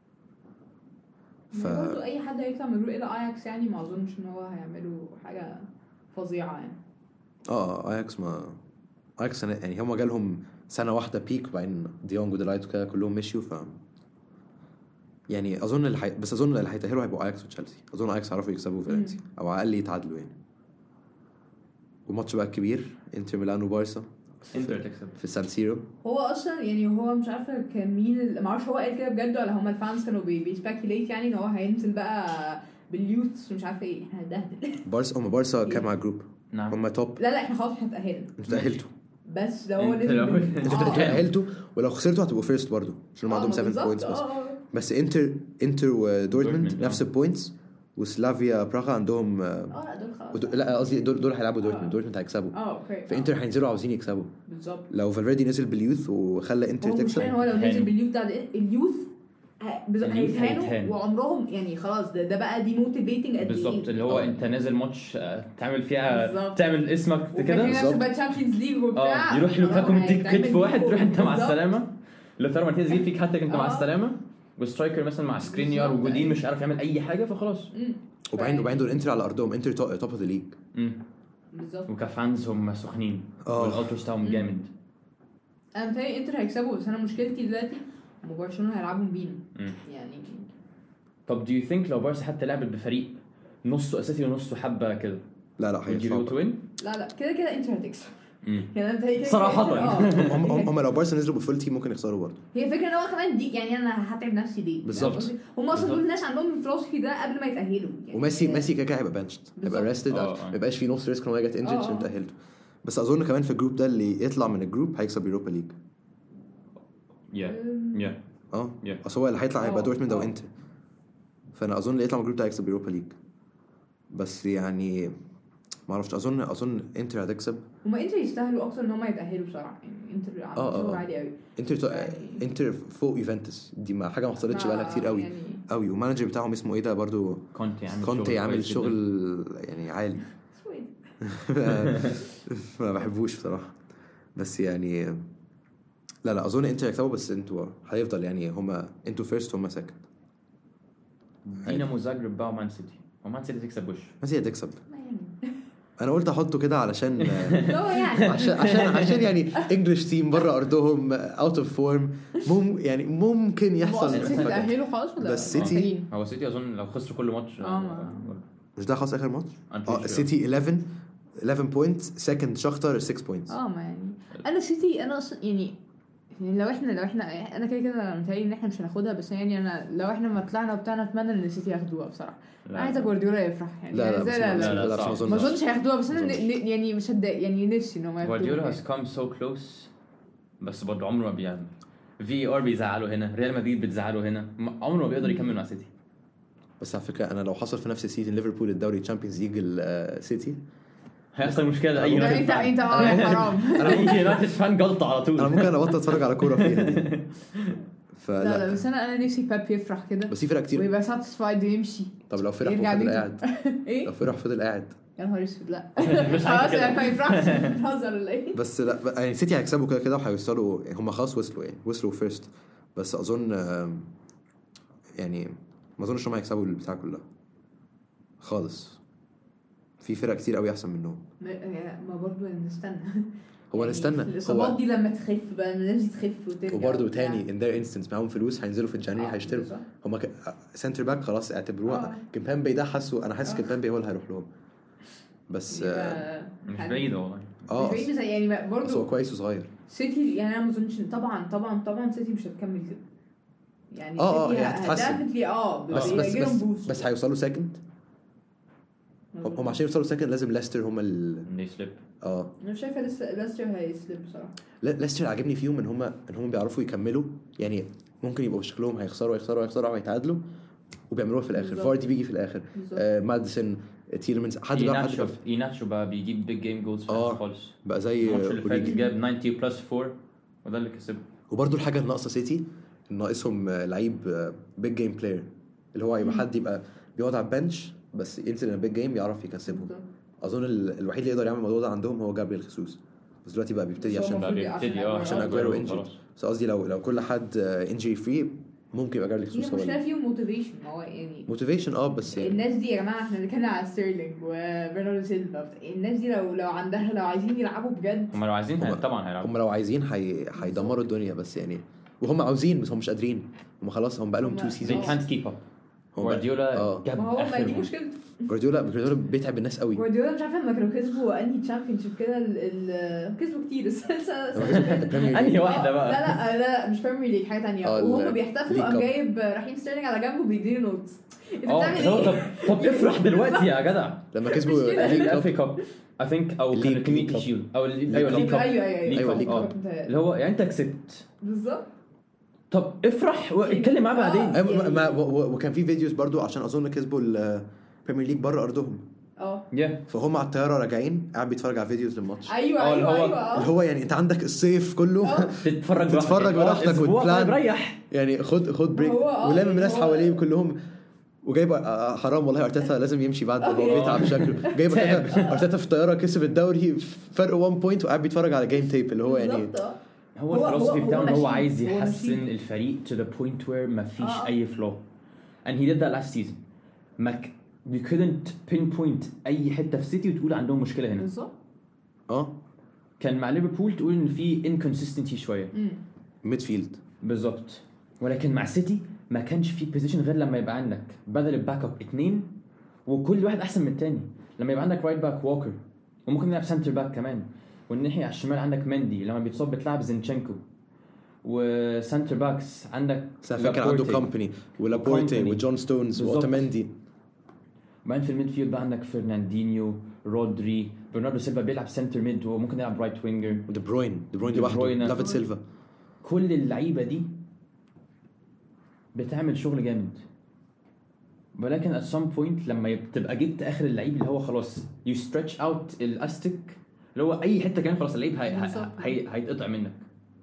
S3: ف... برضه اي حد هيطلع من الجروب الى اياكس يعني ما اظنش ان هو هيعملوا حاجه فظيعه يعني.
S2: اه اياكس ما اياكس سنة- يعني هم جالهم سنه واحده بيك وبعدين ديونج وديلايت وكده كلهم مشيوا. ف يعني اظن اللي حي... بس اظن اللي هيتاهلوا هيبقوا اياكس وتشيلسي. اظن اياكس هيعرفوا يكسبوا فالنسيا او على الاقل يتعادلوا يعني. والماتش بقى الكبير انتر ميلان وبارسا
S1: انتر تكسب
S2: في السان سيرو.
S3: هو اصلا يعني هو مش عارفه كان مين ال... ما اعرفش هو قال كده بجد ولا هم الفانز كانوا بي... بيسبيكيوليت يعني ان هو هينزل بقى باليوث ومش عارفه ايه. احنا هنبهدل.
S2: بارسا هم بارسا كام على الجروب؟
S1: نعم
S2: هم توب.
S3: لا لا احنا خلاص احنا اتأهلنا.
S2: انتوا تاهلتوا.
S3: بس ده هو
S1: انت
S3: نزل
S1: لو-
S3: بال-
S2: انتوا
S3: آه.
S2: تاهلتوا ولو خسرتوا هتبقوا فيرست برضه عشان هم
S3: آه،
S2: عندهم
S3: ما
S2: سبعة
S3: بالظبط.
S2: بوينتس بس.
S3: آه، آه.
S2: بس انتر انتر ودورتموند
S1: دورتموند،
S2: نفس
S1: آه.
S2: البوينتس وسلافيا براغا عندهم آه،
S3: اه لا دول خلاص.
S2: ودو... لا قصدي دول دول هيلعبوا دورتموند.
S3: آه.
S2: دورتموند هيكسبوا.
S3: اه اوكي.
S2: فانتر هينزلوا عاوزين يكسبوا.
S3: بالظبط.
S2: لو فالفيردي نزل باليوث وخلى انتر
S3: هو مش
S2: تكسب
S3: هو لو نزل
S1: هيتهانوا.
S3: باليوث بتاع ده- اليوث ه- بالظبط
S1: اليوث
S3: هيتهانوا
S1: هيتهانوا.
S3: وعمرهم يعني خلاص ده, ده بقى دي موتيفيتنج قد ايه.
S1: بالظبط اللي هو
S2: آه.
S1: انت نازل ماتش آه، تعمل فيها
S3: بالظبط.
S1: تعمل اسمك
S3: وفاكرين
S1: كده
S3: نفسك
S2: بالظبط.
S3: بقى تشامبيونز ليج وبتاع.
S1: اه يروح لوكاكو مديك
S3: هيتعمل
S1: كتف واحد
S3: بيكو.
S1: تروح انت مع
S3: بالظبط.
S1: السلامه. لوتارو مارتينيز يجيب فيك هاتريك انت مع
S3: آه.
S1: السلامه وسترايكر مثلا مع سكرينيار
S3: بالظبط.
S1: وجودين مش عارف يعمل اي حاجه فخلاص.
S3: مم.
S2: وبعدين
S3: ف-
S2: وبعدين دول انتر على ارضهم. انتر توب اوف ذا ليج.
S1: امم
S3: بالظبط.
S1: وكفانز هم سخنين
S2: آه.
S1: والالترس بتاعهم
S3: مم.
S1: جامد.
S3: انا متهيألي انتر هيكسبوا بس انا مشكلتي دلوقتي هم برشلونه هيلعبوا بينا
S1: مم.
S3: يعني.
S1: طب do you think لو بارسا حتى لعبت بفريق نصه اساسي ونصه حبه كده
S2: لا لا
S1: would you be able
S2: هيطلعوا.
S1: to win؟
S3: لا لا كده كده انتر هتكسب.
S1: مم.
S3: يعني انا متهيألي كده
S1: صراحة.
S3: كده إنتر- اه
S2: هم هم هم لو بارسا نزلوا بفول تيم ممكن يخسروا برضه.
S3: هي فكره ان هو كمان دي يعني انا هتعب نفسي دي
S2: بالظبط.
S3: هم اصلا دول
S1: بالظبط.
S3: الناس عندهم الفلوسفي ده قبل ما يتاهلوا يعني.
S2: وميسي ميسي كده كده هيبقى بنشد هيبقى
S3: بالظبط.
S2: ريستد.
S1: آه، آه.
S2: ما يبقاش في نص ريسك ان هو يجت انجرد
S3: آه،
S2: عشان
S3: آه.
S2: تاهلته. بس اظن كمان في الجروب ده اللي يطلع من الجروب هيكسب يوروبا ليج.
S1: yeah yeah
S2: اه
S1: Yeah.
S2: اصل هو اللي هيطلع هيبقى
S3: آه.
S2: دورتموند او
S3: آه.
S2: انتر. فانا اظن اللي يطلع من الجروب ده هيكسب يوروبا ليج. بس يعني ما اعرفش اظن اظن انتر هتكسب.
S3: هما انتر يستاهلوا اكتر ان هم يتاهلوا بصراحه يعني. انتر
S2: آه، آه،
S3: عاملين
S2: آه.
S3: عالي قوي
S2: انتر تو...
S3: يعني-
S2: انتر فوق يوفنتوس دي ما حاجه ما حصلتش بقالها كتير قوي
S3: يعني
S2: قوي. والمانجر بتاعهم اسمه ايه ده برضو
S1: كونتي عامل
S2: كونتي عامل
S1: كويس جداً.
S2: شغل يعني عالي.
S3: اسمه ايه؟
S2: ما بحبوش بصراحه. بس يعني لا لا اظن انتر هيكسبوا. بس انتوا هيفضل يعني هما انتوا فيرست هما سكند.
S1: دينامو زاجرب بقى ومان سيتي ومان سيتي تكسب وش
S2: بس هي هتكسب.
S3: ما يعني
S2: انا قلت احطه كده علشان
S3: هو يعني
S2: عشان عشان عشان يعني انجلش تيم بره ارضهم اوت اوف فورم مم يعني ممكن يحصل
S3: السيتي
S2: فجأة.
S3: تأهلوا خلاص ولا
S2: بس سيتي-
S3: محتاجين؟
S1: هو سيتي اظن لو خسروا كل ماتش
S3: آه، ما-
S2: مش ده خلاص اخر ماتش.
S1: I'm pretty
S2: اه
S1: sure.
S2: السيتي احداشر احداشر بوينتس سكند شختر ستة بوينتس.
S3: اه ما يعني انا سيتي انا اصلا يعني يعني لو احنا لو احنا انا كده كده متهيألي ان احنا مش هناخدها. بس يعني انا لو احنا ما طلعنا وبتاعنا اتمنى ان السيتي ياخدوها بصراحه.
S1: لا.
S3: انا عايزه جوارديولا يفرح يعني.
S2: لا لا
S3: يعني
S2: بس
S3: زي-
S2: ما-
S1: لا، لا،
S2: لا
S1: صعب.
S2: ما
S3: ما
S2: اظنش.
S3: اظنش هياخدوها. بس انا
S2: ما أظنش.
S3: ن- يعني مش هتضايق يعني نفسي ان هم ياخدوها
S1: جوارديولا
S3: يعني.
S1: has come so close بس برضه عمره ما بيعمل. في ار بيزعله هنا، ريال مدريد بتزعله هنا، م- عمره ما بيقدر يكمل مع سيتي.
S2: بس على فكره انا لو حصل في نفس السيزون ليفربول الدوري تشامبيونز ليج السيتي
S1: هيحصل مشكله اي
S3: لا،
S1: يونايتد
S3: انت
S1: فان.
S3: انت اه حرام.
S1: اي يونايتد فان جلطه على
S2: انا
S1: طول.
S2: ممكن ابطل اتفرج على كوره فيها دي.
S3: لا
S2: فلا
S3: لا بس انا انا نفسي باب يفرح كده
S2: بس في فرق كتير.
S3: ويبقى ساتسفايد ويمشي.
S2: طب لو فرح
S3: يرجع
S2: وفضل
S3: بيته.
S2: قاعد
S3: ايه
S2: لو فرح فضل قاعد
S3: يا نهار اسود لا
S1: مش
S3: خلاص
S1: عارف
S3: يعني
S1: كده.
S3: ما يفرحش. بتهزر ولا ايه؟
S2: بس لا ب- يعني سيتي هيكسبوا كده كده وهيوصلوا. هم خلاص وصلوا يعني وصلوا فيرست. بس اظن آم، يعني ما اظنش هم هيكسبوا البتاع كلها خالص. في فرق كتير قوي احسن منهم.
S3: ما ما برضه نستنى.
S2: هو
S3: يعني
S2: نستنى
S3: الاصابات
S2: هو
S3: دي لما تخف بقى الناس دي تخف وترجع
S2: وبرده
S3: وبتاع.
S2: تاني ان ذير انستنس معاهم فلوس هينزلوا في الجانوري
S3: آه،
S2: هيشتروا.
S3: بالظبط.
S2: هم ك... سنتر باك خلاص اعتبروها
S3: آه.
S2: كيمبامبي ده. حاسه انا حاسس
S3: آه.
S2: كيمبامبي هو اللي هيروح لهم. بس اه
S3: يبقى-
S1: مش بعيد والله.
S2: آه،
S3: مش بعيد زي يعني
S2: بس هو
S3: برضه
S2: كويس وصغير.
S3: سيتي يعني انا ما اظنش طبعا طبعا طبعا سيتي مش هتكمل كده يعني.
S2: آه، آه،
S3: سيتي
S2: هي هتتحسن.
S3: definitely اه
S2: بس
S3: بس
S2: بس
S3: هيجيلهم
S2: بس,
S3: boost.
S2: بس هيوصلوا سكند. هم هم عشان يوصلوا سكند لازم ليستر هم ال
S1: they slip.
S2: اه
S3: انا مش شايفه لسه ليستر هيسلب بصراحه.
S2: لا ليستر عاجبني فيهم ان هم ان هم بيعرفوا يكملوا. يعني ممكن يبقوا شكلهم هيخسروا هيخسروا هيخسروا او هيتعادلوا وبيعملوها في الاخر.
S3: بالظبط.
S2: فاردي بيجي في الاخر.
S3: بالظبط.
S2: آه ماديسون تيلمنز حد بقى حد
S1: ايناتشو
S2: بقى,
S1: ايناتشو بقى بيجيب بيج جيم جولز
S2: آه.
S1: خالص.
S2: بقى زي
S1: الماتش اللي فات
S2: أوريجي.
S1: جاب تسعين بلس أربعة وده اللي كسبه.
S2: وبرده الحاجه الناقصه سيتي ناقصهم آه، لعيب بيج جيم بلاير اللي هو يبقى حد يبقى بيقعد على البنش بس ينزل البيج جيم يعرف يكسبهم. اظن ال- الوحيد اللي يقدر يعمل الموضوع ده عندهم هو جابريل خيسوس. بس دلوقتي بقى بيبتدي
S3: بس هو
S2: عشان
S1: بقى
S3: المفروض
S1: بيبتدي اه
S2: عشان
S3: آه،
S2: اجويرو انجري.
S1: خلاص.
S2: بس قصدي لو لو كل حد انجري فري ممكن يبقى جابريل
S3: هي
S2: خيسوس هو
S3: مشكله فيهم موتيفيشن. هو يعني
S2: موتيفيشن. اه بس يعني
S3: الناس دي يا جماعه احنا بنتكلم على ستيرلينج وبرناردو سيلفا. الناس دي لو لو عندها لو عايزين يلعبوا بجد
S1: هم لو عايزين
S2: هم-
S1: هي- طبعا هيلعبوا.
S2: هم لو عايزين هي... هيدمروا الدنيا. بس يعني وهم عاوزين بس هم مش قادرين. هم خلاص هم بقى لهم
S3: هم-
S2: تو
S1: they
S2: سيزونز.
S1: can't keep up.
S2: هو بقى-
S1: جوارديولا
S2: اه
S1: جاب
S3: ما هو ما دي
S1: اخرهم.
S3: مشكلته.
S2: جوارديولا جوارديولا بيتعب الناس قوي.
S3: جوارديولا مش عارفه لما كانوا كسبوا انهي تشامبيون شيب كده ال- ال- كسبوا كتير بس
S1: انهي واحده بقى؟
S3: لا لا لا مش بريمير ليج حاجه ثانيه.
S2: اه،
S3: وهم
S2: ال-
S3: بيحتفلوا
S2: ليج
S3: قام
S2: كاب.
S3: جايب رحيم ستيرلينج على جنبه بيديله نوتس. انت
S1: اه
S3: بتعمل
S1: هو طب
S3: ايه؟
S1: طب افرح دلوقتي يا جدع.
S2: لما
S3: مش
S2: كسبوا
S3: كده.
S2: الليج كاب.
S1: الافري كاب اي ثينك او
S2: الليج-
S1: كان
S2: ليج
S1: الكوميونتي
S2: كاب.
S1: شيلد او ال-
S2: ليج
S1: ايوه
S2: كاب.
S1: ليج كاب.
S3: ايوه ايوه
S1: ليج
S2: أيوة،
S1: كاب
S2: ليج
S1: اه
S3: كاب.
S1: اللي هو يعني انت كسبت
S3: بالظبط.
S1: طب افرح واتكلم معاه بعدين.
S3: آه.
S2: أيوة، ما ما و- و- وكان في فيديوز برضو عشان اظن كسبوا البريمير ليج بره ارضهم.
S3: اه
S1: يا
S2: فهم على الطياره راجعين قاعد بيتفرج على فيديوز للماتش.
S3: ايوه
S1: اه، اللي
S3: ايوه
S1: هو-
S3: ايوه اه.
S2: اللي هو يعني انت عندك الصيف كله
S3: اه.
S1: تتفرج براحتك
S2: تتفرج براحتك
S1: اسبوع
S2: وتبلان.
S1: طيب ريح.
S2: يعني خد خد بريك
S3: هو اه،
S2: ولام الناس
S3: هو-
S2: حواليه كلهم. وجايب آه، حرام والله ارتيتا لازم يمشي بعد هو
S3: اه.
S2: بيتعب شكله. جايب ارتيتا ارتيتا في الطياره كسب الدوري فرق واحد بوينت وقاعد بيتفرج على جيم تيب اللي هو يعني
S3: بالظبط اه.
S1: هو
S3: هو-
S1: الفلسفي
S3: هو-
S1: بتاعه
S3: هو
S1: ان هو
S3: ماشي-
S1: عايز
S3: هو
S1: يحسن
S3: ماشي.
S1: الفريق to the point where ما فيش
S3: اه.
S1: اي فلو and he did that last season. ما ك... you couldn't pinpoint اي حته في سيتي وتقول عندهم مشكله هنا.
S3: بالظبط.
S2: اه
S1: كان مع ليفربول تقول ان في inconsistency شويه
S3: امم
S2: ميد فيلد.
S1: بالظبط. ولكن مع سيتي ما كانش في بوزيشن غير لما يبقى عندك بدل الباك اب اتنين وكل واحد احسن من التاني. لما يبقى عندك رايت باك ووكر وممكن نلعب سنتر باك كمان والناحيه على الشمال عندك مندي لما بيتصاب بتلعب زينشينكو وسنتر باكس عندك
S2: كان عنده
S1: لابورتي.
S2: كومباني ولابورتي
S1: وكومباني.
S2: وجون ستونز
S1: بالظبط.
S2: واوتامندي.
S1: بعدين في الميدفيلد بقى عندك فرناندينيو رودري برناردو سيلفا بيلعب سنتر ميد وممكن يلعب رايت وينجر.
S2: ودي بروين دي بروين
S1: دي
S2: لوحده
S1: بروين.
S2: دافيد سيلفا.
S1: كل اللعيبه دي بتعمل شغل جامد، ولكن at some point لما تبقى جبت اخر اللعيب اللي هو خلاص you stretch out الاستيك اللي هو اي حته كان خلاص اللعيب هي هي هيتقطع منك.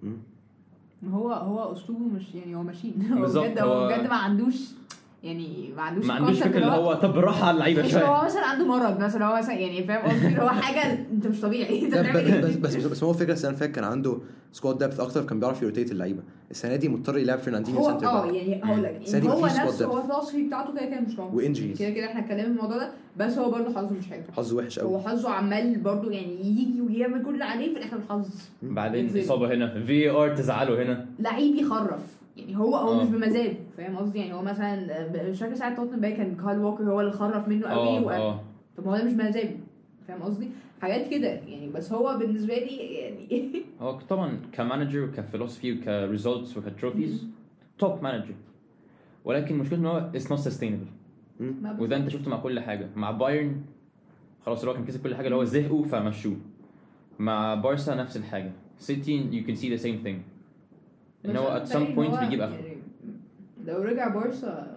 S3: هو هو اسلوبه مش يعني هو ماشين هو بجد هو بجد ما عندوش يعني ما عندوش
S1: ما عندوش فكره اللي هو طب بالراحه على اللعيبه شويه.
S3: هو مثلا عنده مرض مثلا هو مثلا يعني فاهم قصدي هو حاجه انت مش طبيعي انت بتعمل ايه.
S2: بس بس بس هو فكره السنه اللي فاتت كان عنده سكواد ديبث اكتر كان بيعرف يروتيت اللعيبه. السنه دي مضطر يلعب فرناندينيو سنتر باك.
S3: اه يعني هقول لك يعني هو نفسه هو الفلسفه بتاعته كده كده مش موجود
S2: وانجريز
S3: كده كده احنا اتكلمنا في الموضوع ده بس هو برضه حظه مش حلو
S2: حظه وحش قوي.
S3: هو حظه عمال برضه يعني يجي ويعمل كل اللي عليه في الاخر الحظ
S1: بعدين اصابه هنا في ار تزعله هنا
S3: لعيب يخرف يعني هو هو أوه. مش بمزاج فاهم قصدي يعني هو مثلا مش فاكر ساعه توتنهام باي كان كارل ووكر هو اللي خرف منه قوي و... طب هو ده مش بمزاج فاهم قصدي حاجات كده يعني. بس هو بالنسبه لي يعني
S1: هو طبعا كمانجر وكفلسفي وكريزلتس وكتروفيز توب مانجر ولكن مشكلته ان هو it's not sustainable. وده انت شفته مع كل حاجه مع بايرن خلاص اللي هو كان كسب كل حاجه اللي هو زهقوا فمشوه. مع بارسا نفس الحاجه سيتي you can see the same thing ان هو at some point بيجيب اخره.
S3: يعني لو رجع بارسا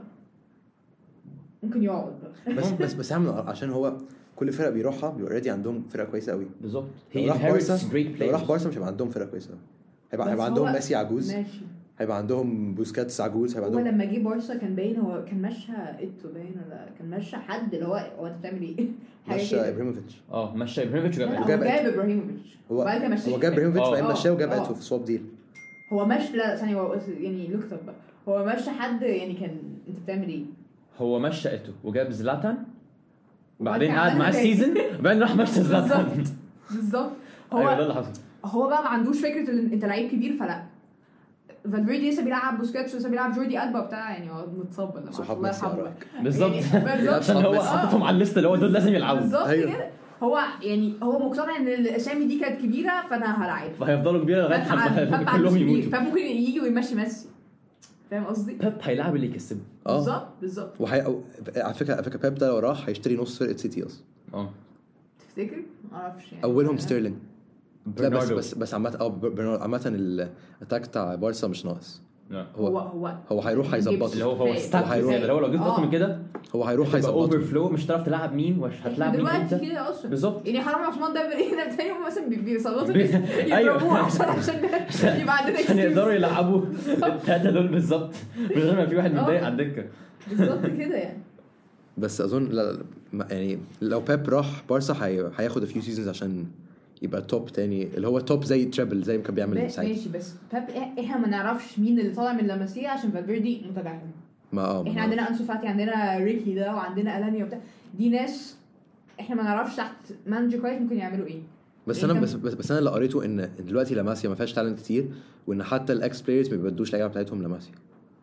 S3: ممكن يقعد
S2: بس بس بس عامل عشان هو كل فرقه بيروحها بيبقى اوريدي عندهم فرقه كويسه قوي
S1: بالظبط.
S2: هي راح بارسا لو راح بارسا مش هيبقى عندهم فرقه كويسه هيبقى هيبقى عندهم ميسي عجوز ماشي. هيبقى عندهم بوسكاتس عجوز هيبقى عندهم.
S3: هو لما جه بارسا كان باين هو كان ماشي ايتو باين ولا كان ماشي حد اللي هو هو انت بتعمل ايه
S2: ماشي ابراهيموفيتش
S1: اه ماشي ابراهيموفيتش
S3: وجاب جاب ابراهيموفيتش
S2: هو هو جاب ابراهيموفيتش بعدين مشاه وجاب ايتو في سواب ديل.
S3: هو ماشي لا ثانيه هو يعني لوكت اب هو ماشي حد يعني كان انت بتعمل ايه
S1: هو مشى ايتو وجاب زلاتان وبعدين قعد معاه السيزون وبعدين راح مشى زلاتان
S3: بالظبط. هو
S1: ايوه ده اللي حصل.
S3: هو بقى ما عندوش فكره ان انت لعيب كبير فلا فالفيردي لسه بيلعب بوسكاتس لسه بيلعب جوردي ألبا بتاع يعني هو متصاب ولا الله يرحمه
S1: بالظبط عشان هو حطهم على الليست اللي هو دول لازم يلعبوا
S3: بالظبط كده. هو يعني هو مقتنع ان الاسامي دي كانت كبيره فانا هلاعب
S1: فهيفضلوا كبيره لغايه كلهم يموتوا
S3: فممكن يجي ويمشي ميسي فاهم قصدي.
S1: بيب هيلاعب اللي يكسبه
S3: بالظبط بالظبط.
S2: وهي على فكره على فكره بيب ده لو راح هيشتري نص فرقه سيتي اصلا
S1: اه
S3: تفتكر ما اعرفش يعني
S2: اولهم ستيرلينج لا بس بس بس عامه اه برناردو عامه الاتاك بتاع بارسا مش ناقص.
S1: هو
S2: هو هو, هو هيروح هيظبط
S1: اللي هو هو ستاك اللي هو لو جبت اكتر من كده
S2: هو هيروح هيظبط
S1: اوفر فلو مش هتعرف تلعب مين ومش هتلعب مين
S3: انت دلوقتي كده اصلا
S1: بالظبط
S3: يعني حرام عثمان ده هنا بتاعي هم مثلا بيصوتوا يضربوه عشان عشان يبقى عندنا
S1: عشان يقدروا يلعبوا الثلاثه دول بالظبط من غير ما في واحد متضايق على الدكه
S3: بالظبط كده يعني.
S2: بس اظن لا يعني لو بيب راح بارسا هياخد فيو سيزونز عشان يبقى توب تاني اللي هو توب زي تريبل زي ما كان بيعمل ساعتها
S3: ماشي. بس بيب احنا ما نعرفش مين اللي طالع من لاماسيا عشان فالفيردي متدعم
S2: ما اه
S3: احنا عندنا انسو فاتي عندنا ريكي ده وعندنا الانيا وبتاع دي ناس احنا ما نعرفش تحت مانجر كويس ممكن يعملوا ايه.
S2: بس انا بس, بس بس انا اللي قريته ان دلوقتي لاماسيا ما فيهاش تالنت كتير وان حتى الاكس بلايرز ما بيبدوش اللعيبه بتاعتهم لاماسيا.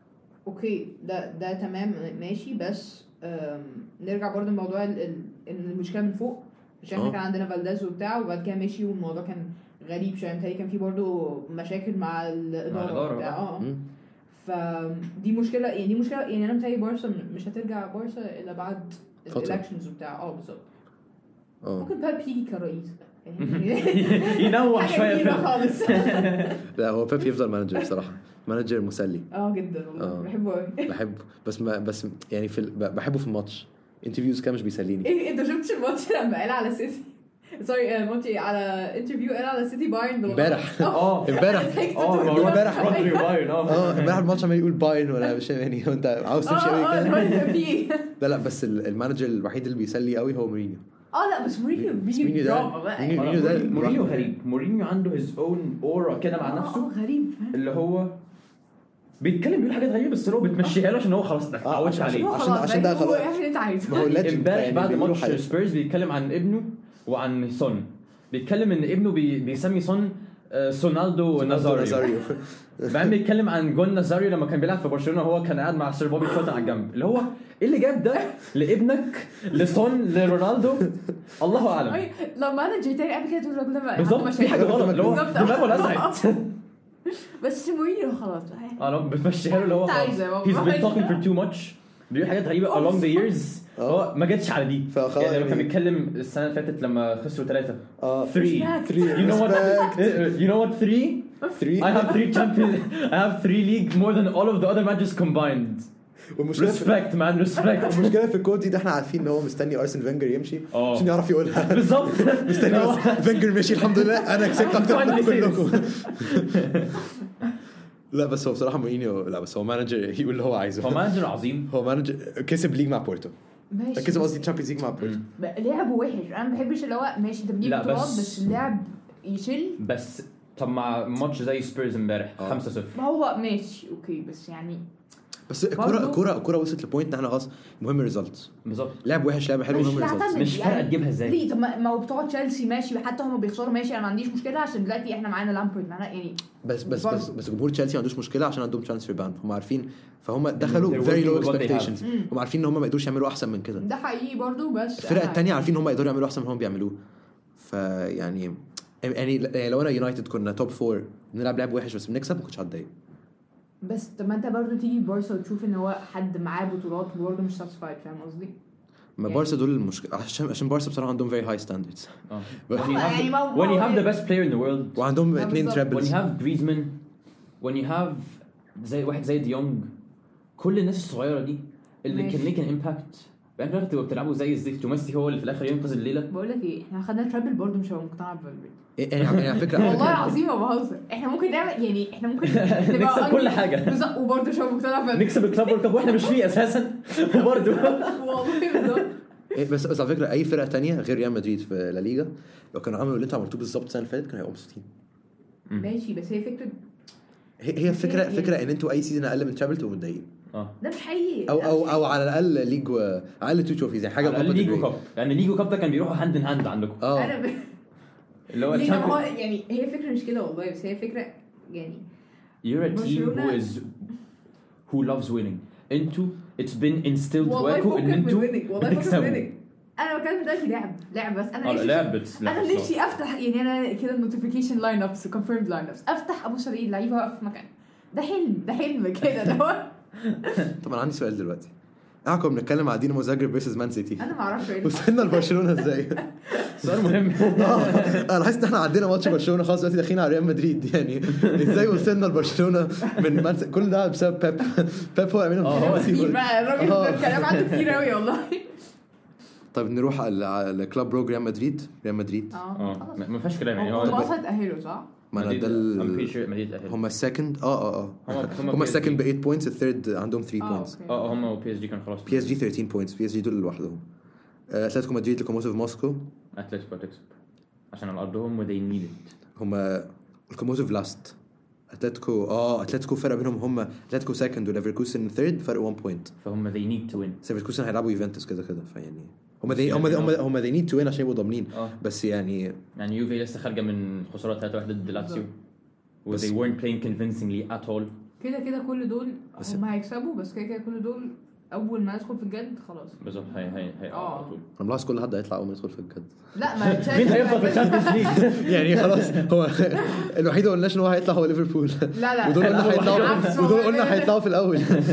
S3: اوكي ده ده تمام ماشي. بس نرجع برضه لموضوع ان المشكله من فوق مش احنا كان عندنا فالداز وبتاع وبعد كده مشي والموضوع كان غريب شويه. متهيألي كان في برضه مشاكل مع الاداره وبتاع اه فدي مشكله يعني دي مشكله يعني انا متهيألي بارسا مش هترجع بارسا الا بعد الالكشنز وبتاع اه بالظبط. ممكن بيب يجي كرئيس
S1: ينوع شويه
S3: خالص.
S2: لا هو بيب يفضل مانجر بصراحه مانجر مسلي
S3: اه جدا والله بحبه قوي
S2: بحبه بس ما بس يعني في بحبه في الماتش انترفيوز كان مش بيسليني.
S3: ايه انت شفتش الماتش لما قال على سيتي سوري ماتش على انترفيو قال على سيتي بايرن
S2: امبارح
S1: اه
S2: امبارح
S1: اه امبارح رودري بايرن
S2: اه امبارح الماتش عمال يقول بايرن ولا مش يعني انت عاوز تمشي قوي
S3: كده.
S2: لا لا بس المانجر الوحيد اللي بيسلي قوي هو مورينيو.
S3: اه لا بس مورينيو بيجي
S2: دراما بقى مورينيو ده
S1: مورينيو غريب. مورينيو عنده his own aura كده مع نفسه
S3: اه غريب
S1: اللي هو بيتكلم بيقول حاجات غريبه بس هو بتمشيها له عشان هو خلاص ما تعودش عليه
S2: عشان عشان ده خلاص
S3: ما
S2: هو
S1: امبارح بعد ماتش سبيرز بيتكلم عن ابنه وعن سون بيتكلم ان ابنه بي بيسمي سون سونالدو نازاريو بعدين بيتكلم عن جون نازاريو لما كان بيلعب في برشلونه وهو كان قاعد مع سير بوبي كوتا على الجنب اللي هو ايه اللي جاب ده لابنك لسون لرونالدو الله اعلم.
S3: لما انا جيت قبل كده تقول الراجل ده
S1: بالظبط في حاجه غلط اللي هو دماغه لسعت
S3: بس مورينيو خلاص
S1: اه لو بتمشيها له اللي هو he's been talking for too much بيقول حاجات غريبه along the years هو ما جتش على دي يعني لما كان بيتكلم السنه اللي فاتت لما خسروا ثلاثة
S2: اه
S1: three you know what you know what three
S2: three
S1: I have three champions. I have three league more than all of the other matches combined.
S2: والمشكله في-
S1: Respect man, respect.
S2: المشكله في الكود دي ده احنا عارفين ان هو مستني ارسن فينجر يمشي
S1: اه.
S2: عشان يعرف يقولها.
S1: بالظبط.
S2: مستني بس فينجر مشي الحمد لله انا كسبت اكتر من
S1: Finally
S2: كلكم. لا بس هو بصراحه مورينيو لا بس هو مانجر يقول اللي هو عايزه.
S1: هو مانجر عظيم.
S2: هو مانجر كسب ليج مع بورتو.
S3: ماشي
S2: كسب قصدي تشامبيونز ليج مع بورتو.
S3: لعبه وحش. انا ما بحبش اللي هو ماشي انت بتجيب
S1: لا،
S3: بطولات
S1: بس-
S3: بس اللعب يشل.
S1: بس طب مع ماتش زي سبيرز امبارح
S2: اه.
S1: خمسة صفر.
S3: ما هو ماشي اوكي بس يعني
S2: بس الكوره
S3: برضو-
S2: الكوره الكوره وصلت لبوينت ان احنا خلاص مهم الريزلتس.
S1: بالظبط.
S2: لعب وحش لعب حلو
S3: مش
S2: مهم الريزلتس.
S3: تعتمد
S1: مش فارقة تجيبها ازاي.
S3: ليه؟ طب ما ما هو بتوع تشيلسي ماشي حتى هم بيخسروا ماشي انا ما عنديش مشكله عشان دلوقتي احنا معانا لامبرد معانا يعني
S2: بس بس
S3: برضو.
S2: بس بس جمهور تشيلسي ما عندوش مشكله عشان عندهم ترانسفير بان. هم عارفين فهم دخلوا
S1: They're
S2: very
S1: working
S2: low
S1: with what they have.
S2: expectations.
S3: مم.
S2: هم عارفين ان هم ما يقدروش يعملوا احسن من كده.
S3: ده حقيقي برضو بس
S2: الفرق
S3: أنا-
S2: التانية عارفين ان هم يقدروا يعملوا احسن من هم بيعملوه. فيعني يعني لو انا يونايتد كنا توب فور بنلعب لعب وحش بس بنكسب ما كنتش هتضايق.
S3: بس طب ما انت برضو تيجي بارسا وتشوف ان هو حد معاه بطولات وبرضه مش ساتسفايد فاهم قصدي؟
S2: ما
S3: يعني-
S2: بارسا دول المشكله عشان عشان بارسا بصراحه عندهم very high standards.
S1: اه.
S2: بس-
S1: When you
S3: يعني
S1: have
S3: ما-
S1: the- when you
S3: ما-
S1: have the best player in the world.
S2: وعندهم
S3: ما
S2: اتنين
S3: بالظبط.
S1: When
S2: ترابلز.
S1: you have Griezmann. When you have زي واحد زي ديونج. كل الناس الصغيرة دي اللي
S3: ماشي.
S1: can make an impact. بعدين في الآخر تبقوا بتلعبوا زي الزفت وميسي هو اللي في الآخر ينقذ الليلة.
S3: بقول لك ايه احنا خدنا ترابل برضه مش هبقى مقتنع بفالفيردي
S2: يعني يعني على فكره على
S3: والله
S2: فكرة-
S3: العظيم ما بهزر احنا ممكن نعمل يعني احنا ممكن
S1: نكسب كل حاجة.
S3: بالظبط وبرضه مش هبقى مقتنع بفالفيردي
S1: نكسب الكلاب وورلد كاب واحنا مش فيه اساسا. وبرضه
S3: والله بالظبط
S2: إيه بس بس على فكره اي فرقه تانية غير ريال مدريد في لا ليجا لو كانوا عملوا اللي انتوا عملتوه بالظبط السنه اللي فاتت كانوا هيبقوا مبسوطين.
S3: ماشي بس هي فكره
S2: هي هي فكره
S3: يعني-
S2: فكره ان انتوا اي سيزون اقل من ترابل تبقوا متضايقين
S1: اه.
S3: ده مش حقيقي
S2: او او او على الاقل ليج و... اقل تو تروفيز يعني حاجه
S1: على
S2: Copa del
S1: ليجو
S2: Rey.
S1: كاب لان ليجو كاب ده كان بيروحوا هاند ان هاند عندكم.
S2: اه
S3: انا ب...
S1: اللي هو
S3: ليه هو
S1: الشامبيون.
S3: يعني هي فكره مش كده والله بس هي فكره يعني
S1: You're a team who
S3: برشلونة-
S1: is who loves winning. انتوا it's been instilled
S3: والله
S1: جواكوا
S3: فكك
S1: ان
S3: من
S1: انتوا
S3: winning والله فكك من
S1: بتكسبوا.
S3: winning انا بتكلم دلوقتي لعب لعب بس انا
S1: اه
S3: نفسي
S1: لعبت
S3: انا نفسي افتح يعني انا كده النوتيفيكيشن لاين ابس وكونفيرمد لاين ابس افتح ابص الاقي اللعيبه واقفه في مكان ده حلم ده حلم كده ده هو
S2: طب انا عندي سؤال دلوقتي. احنا كنا بنتكلم على دينامو زاجرب فيرسز مان سيتي
S3: انا ما اعرفش ايه
S2: وصلنا لبرشلونه ازاي؟
S1: سؤال مهم.
S2: اه انا حاسس ان احنا عدينا ماتش برشلونه خلاص دلوقتي داخلين على ريال مدريد يعني ازاي وصلنا لبرشلونه من مان سيتي؟ كل ده بسبب بيب. بيب هو عاملين
S1: اه، هو
S3: كتير بقى الراجل
S2: آه.
S3: ده الكلام عنده كتير قوي والله
S2: طيب نروح على على كلاب بروج ريال مدريد ريال مدريد
S3: اه
S1: اه
S3: خلاص.
S1: ما ما فيهاش كلام يعني
S3: هو
S1: هو
S3: وصلت اهله صح؟
S2: ما انا
S1: مدريد-
S2: ده
S1: I'm pretty
S2: ال...
S1: sure مدريد أهل.
S2: هم السكند اه اه اه
S1: هم- هم
S2: هم
S1: بي إس جي.
S2: السكند ب ثمانية بوينتس الثيرد عندهم ثلاثة
S3: اه
S2: بوينتس.
S3: اوكي
S1: اه هم وبي اس جي كان خلاص.
S2: بي اس جي ثيرتين بوينتس بي اس جي دول لوحدهم. آه، اتلتيكو مدريد لوكوموتيف موسكو
S1: اتلتيكو هتكسب عشان على ارضهم وذي نيد ات.
S2: هم لوكوموتيف لاست. اتلتيكو اه اتلتيكو فرق بينهم هم اتلتيكو سكند وليفركوسن ثيرد فرق واحد بوينت.
S1: فهم they need to win.
S2: ليفركوسن هيلعبوا يوفنتوس كده كده فيعني هم ذي هم هم هم ذي نيد تو وين عشان يبقوا ضامنين.
S1: اه
S2: بس يعني
S1: يعني يوفي لسه خارجه من خساره ثلاثة واحد ضد لاتسيو و
S2: بس-
S1: they weren't playing convincingly at all.
S3: كده كده كل دول
S2: بس-
S3: هم هيكسبوا بس كده كده كل دول اول ما ندخل في الجد خلاص
S1: بالظبط هي هي هي
S3: اه.
S1: على طول.
S2: انا ملاحظ كل حد هيطلع اول ما يدخل في الجد.
S3: لا ما
S1: مين هيفضل في الشامبيونز ليج؟
S2: يعني خلاص هو الوحيد اللي قلناش ان هو هيطلع هو ليفربول.
S3: لا لا
S2: ودول قلنا
S1: لا، هو
S2: هيطلعوا
S3: بالعكس
S2: ودول
S3: والله.
S2: قلنا هيطلعوا في الاول.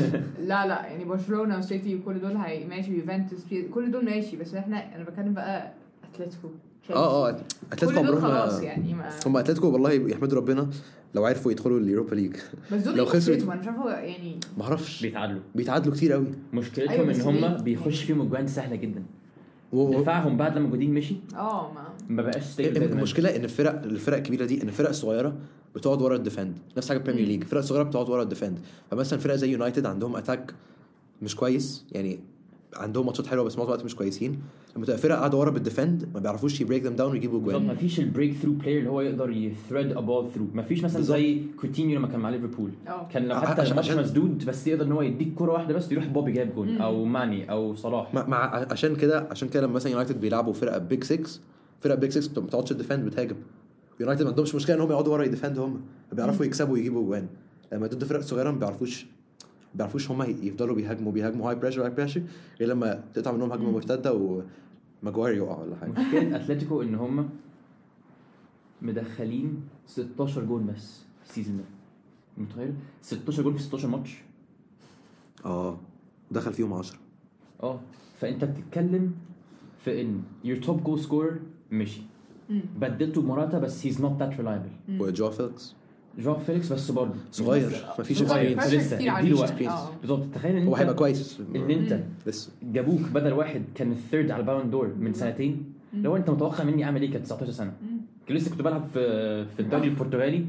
S3: لا لا يعني برشلونه وسيتي وكل دول هي ماشي يوفنتوس كل دول ماشي بس احنا انا بتكلم بقى اتلتيكو
S2: اه اه
S3: كل
S2: اتلتيكو
S3: دول
S2: عمرهم
S3: خلاص
S2: ما-
S3: يعني ما
S2: هم اتلتيكو والله يحمدوا ربنا لو عرفوا يدخلوا اليوروبا ليج.
S3: بس دول
S2: لو
S3: لو
S2: خسروا-
S3: خسروا انا مش عارفه يعني
S2: ما اعرفش
S1: بيتعادلوا.
S2: بيتعادلوا كتير قوي.
S1: مشكلتهم
S3: أيوة،
S1: ان
S3: بس
S1: هم
S3: ليه؟
S1: بيخش فيهم اجوان سهله جدا.
S2: و- و-
S1: دفاعهم بعد لما جودين مشي
S3: اه ما
S1: ما بقاش ستيبل.
S2: المشكله ان الفرق الفرق الكبيره دي ان الفرق الصغيره بتقعد ورا الديفند نفس حاجه البريمير ليج. الفرق الصغيره بتقعد ورا الديفند فمثلا فرق زي يونايتد عندهم اتاك مش كويس يعني عندهم ماتشات حلوه بس معظم الوقت مش كويسين. لما تبقى فرق قاعده ورا بالديفند ما بيعرفوش يبريك ذم داون ويجيبوا
S1: بالظبط
S2: جوان.
S1: ما فيش البريك ثرو بلاير اللي هو يقدر يثريد ا بول ثرو. ما فيش مثلا
S2: بالظبط.
S1: زي كوتينيو لما كان مع ليفربول
S3: اه
S1: كان لو
S2: ع-
S1: حتى
S2: عشان-
S1: الماتش
S2: عشان-
S1: مسدود بس يقدر ان هو يديك كرة واحده بس يروح بوبي جاب جول
S3: مم.
S1: او ماني او صلاح.
S2: مع مع- عشان كده عشان كده لما مثلا يونايتد بيلعبوا فرقه بيج ستة فرقه بيج ستة ما بتقعدش الديفند بتهاجم. يونايتد ما عندهمش مشكله ان هم يقعدوا ورا يديفند هم بيعرفوا يكسبوا ويجيبوا جوان. لما ضد فرق صغيره ما بيعرفوش بيعرفوش هم يفضلوا بيهاجموا بيهاجموا هاي بريشر هاي بريشر غير لما تقطع منهم هجمه مرتده وماجواير يقع ولا حاجه.
S1: مشكله اتلتيكو ان هم مدخلين ستاشر جول بس السيزون ده. متخيل ستاشر جول في ستاشر ماتش.
S2: اه دخل فيهم عشرة.
S1: اه فانت بتتكلم في ان your top goal scorer مشي
S3: مم.
S1: بدلته بمراتا بس he's not that reliable.
S3: مم.
S2: وجو فيلكس
S1: جواو فيليكس بس برضه
S2: صغير مفيش
S1: صغير
S2: اكسبيرينس
S1: لسه
S3: كتير
S1: اديله
S3: عليه.
S1: وقت
S3: آه.
S1: بالظبط. تخيل ان
S2: هو
S1: انت
S2: هيبقى كويس
S1: ان انت
S2: لسه
S1: جابوك بدل واحد كان الثيرد على البالون دور من سنتين. لو انت متوقع مني اعمل ايه كان تسعتاشر سنه كان لسه كنت بلعب في في الدوري البرتغالي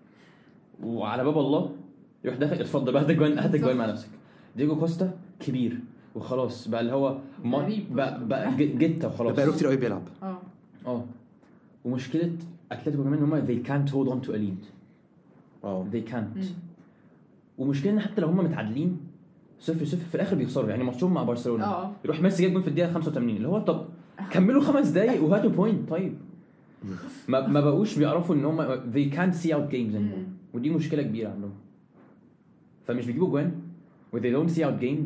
S1: وعلى باب الله يروح داخل اتفضل بقى جوان هات جوان مع نفسك. ديجو كوستا كبير وخلاص بقى اللي هو ما بقى, بقى جيتا وخلاص
S2: بقى له كتير قوي بيلعب.
S3: اه
S1: اه ومشكله اتلتيكو كمان ان هم they can't hold on to a lead.
S2: اه
S1: they can't. ومشكله ان حتى لو هم متعادلين صفر صفر في الاخر بيخسروا. يعني ماتشهم مع برشلونه
S3: اه
S1: يروح ميسي جاب جول في الدقيقه خمسة وثمانين اللي هو طب كملوا خمس دقايق وهاتوا بوينت. طيب ما ما بقوش بيعرفوا ان هم they can't see out games anymore. ودي مشكله كبيره عندهم. فمش بيجيبوا جوان و they don't see out games.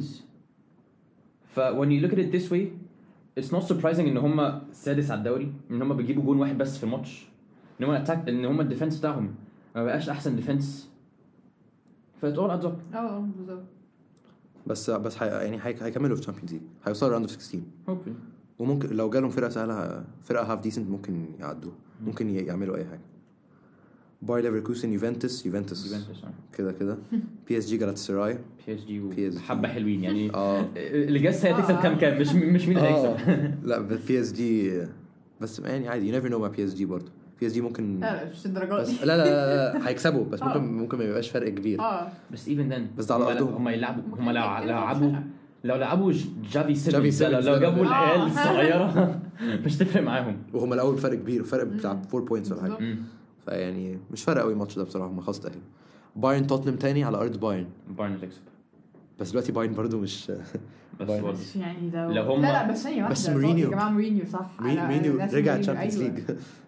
S1: ف when you look at it this way it's not surprising ان هم سادس على الدوري ان هم بيجيبوا جون واحد بس في الماتش. ان هم اتاك ان هم الديفنس بتاعهم ما بقاش احسن ديفنس. فات اول ادز اب.
S3: اه بالظبط.
S2: بس بس حي... يعني هي... هيكملوا في تشامبيونز ليج هيوصلوا راوند اوف ستاشر
S1: hopefully.
S2: وممكن لو جالهم فرقه سهله فرقه هاف ديسنت ممكن يعدوا ممكن يعملوا اي حاجه. باير ليفركوزن يوفنتوس يوفنتوس كده كده بي اس جي جالاتاسراي
S1: بي اس جي
S2: بي اس جي.
S1: حبه حلوين يعني.
S2: اه
S1: اللي جاس هتكسب كام كام مش مش مين اللي هيكسب.
S2: لا بي اس جي بس يعني عادي يو نيفر نو مع بي اس جي برضه. بي اس جي ممكن
S3: لا مش الدرجات
S2: بس لا لا لا, لا هيكسبوا بس ممكن ممكن ما يبقاش فرق كبير.
S3: اه
S1: بس even then
S2: بس ده على ارضهم.
S1: هم يلعبوا هم لو لعبوا لو لعبوا جافي
S2: جافي
S1: سيمنز لو
S2: سيمنز
S1: جابوا
S2: ده.
S1: العيال
S3: آه.
S1: الصغيره مش تفرق معاهم.
S2: وهم الاول فرق كبير فرق بتاع أربعة بوينتس ولا حاجه
S3: بالظبط.
S2: فيعني مش فارق قوي الماتش ده بصراحه هم خلاص تاهلوا. بايرن توتنهام تاني على ارض بايرن
S1: بايرن تكسب
S2: بس دلوقتي بايرن برضو مش
S1: بس
S2: بايرن.
S1: برضه
S3: بس يعني لو
S1: لو هم-
S3: لا لا بس ثانيه واحده
S2: بس مورينيو.
S3: يا جماعه مورينيو صح.
S2: مين-
S3: أنا-
S2: مورينيو
S3: ناس
S2: رجع
S3: مورينيو،
S2: تشامبيونز
S3: أيوة.
S2: ليج.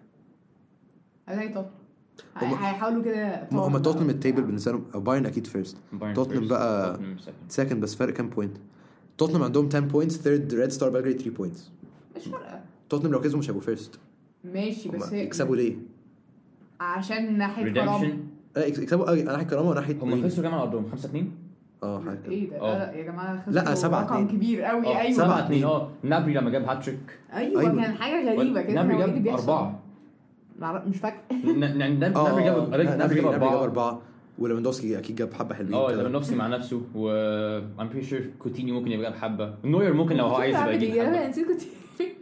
S3: ازاي طب
S2: هم-
S3: هيحاولوا كده
S2: هم توتنهام التيبل بالنسبه لهم أو بايرن اكيد فيرست
S1: بايرن
S2: توتنهام
S1: first،
S2: بقى
S1: توتنهام second.
S2: سكند بس فرق كام بوينت. توتنهام عندهم عشرة بوينتس ثيرد ريد ستار بلجريد ثلاثة بوينتس.
S3: مش فارقه
S2: توتنهام لو كسبوا مش هيبقوا فيرست.
S3: ماشي بس هي
S2: يكسبوا ليه؟
S3: عشان ناحيه كرامه.
S1: redemption.
S2: لا يكسبوا أه، ناحيه كرامه وناحيه
S1: هم
S2: مورينيو.
S1: خسروا كام على ارضهم خمسة اتنين
S2: اه حاجه كده.
S3: ايه ده
S1: آه.
S3: لا يا جماعه خسروا
S2: لا، سبعة
S3: رقم
S2: اتنين.
S3: كبير قوي.
S1: اه
S3: ايوه
S1: سبعة اتنين. اه نابري لما جاب هاتريك
S3: ايوه,
S2: أيوة.
S3: كان حاجه غريبه كده.
S1: نابري
S3: هو إيه اللي
S1: جاب
S3: بيحصل؟
S1: أربعة.
S3: معرف- مش فاكر.
S1: ن- ن- نابري
S2: اه
S1: جاب
S2: نابري
S1: نابري جاب
S2: جاب
S1: أربعة.
S2: اربعه وليفاندوفسكي اكيد جاب حبه حلوين
S1: اه
S2: كده.
S1: ليفاندوفسكي مع نفسه و I'm pretty sure كوتينيو ممكن يبقى جاب حبه. نوير ممكن لو هو عايز يبقى يجيب
S3: انا
S1: حبه.
S3: نسيت كنت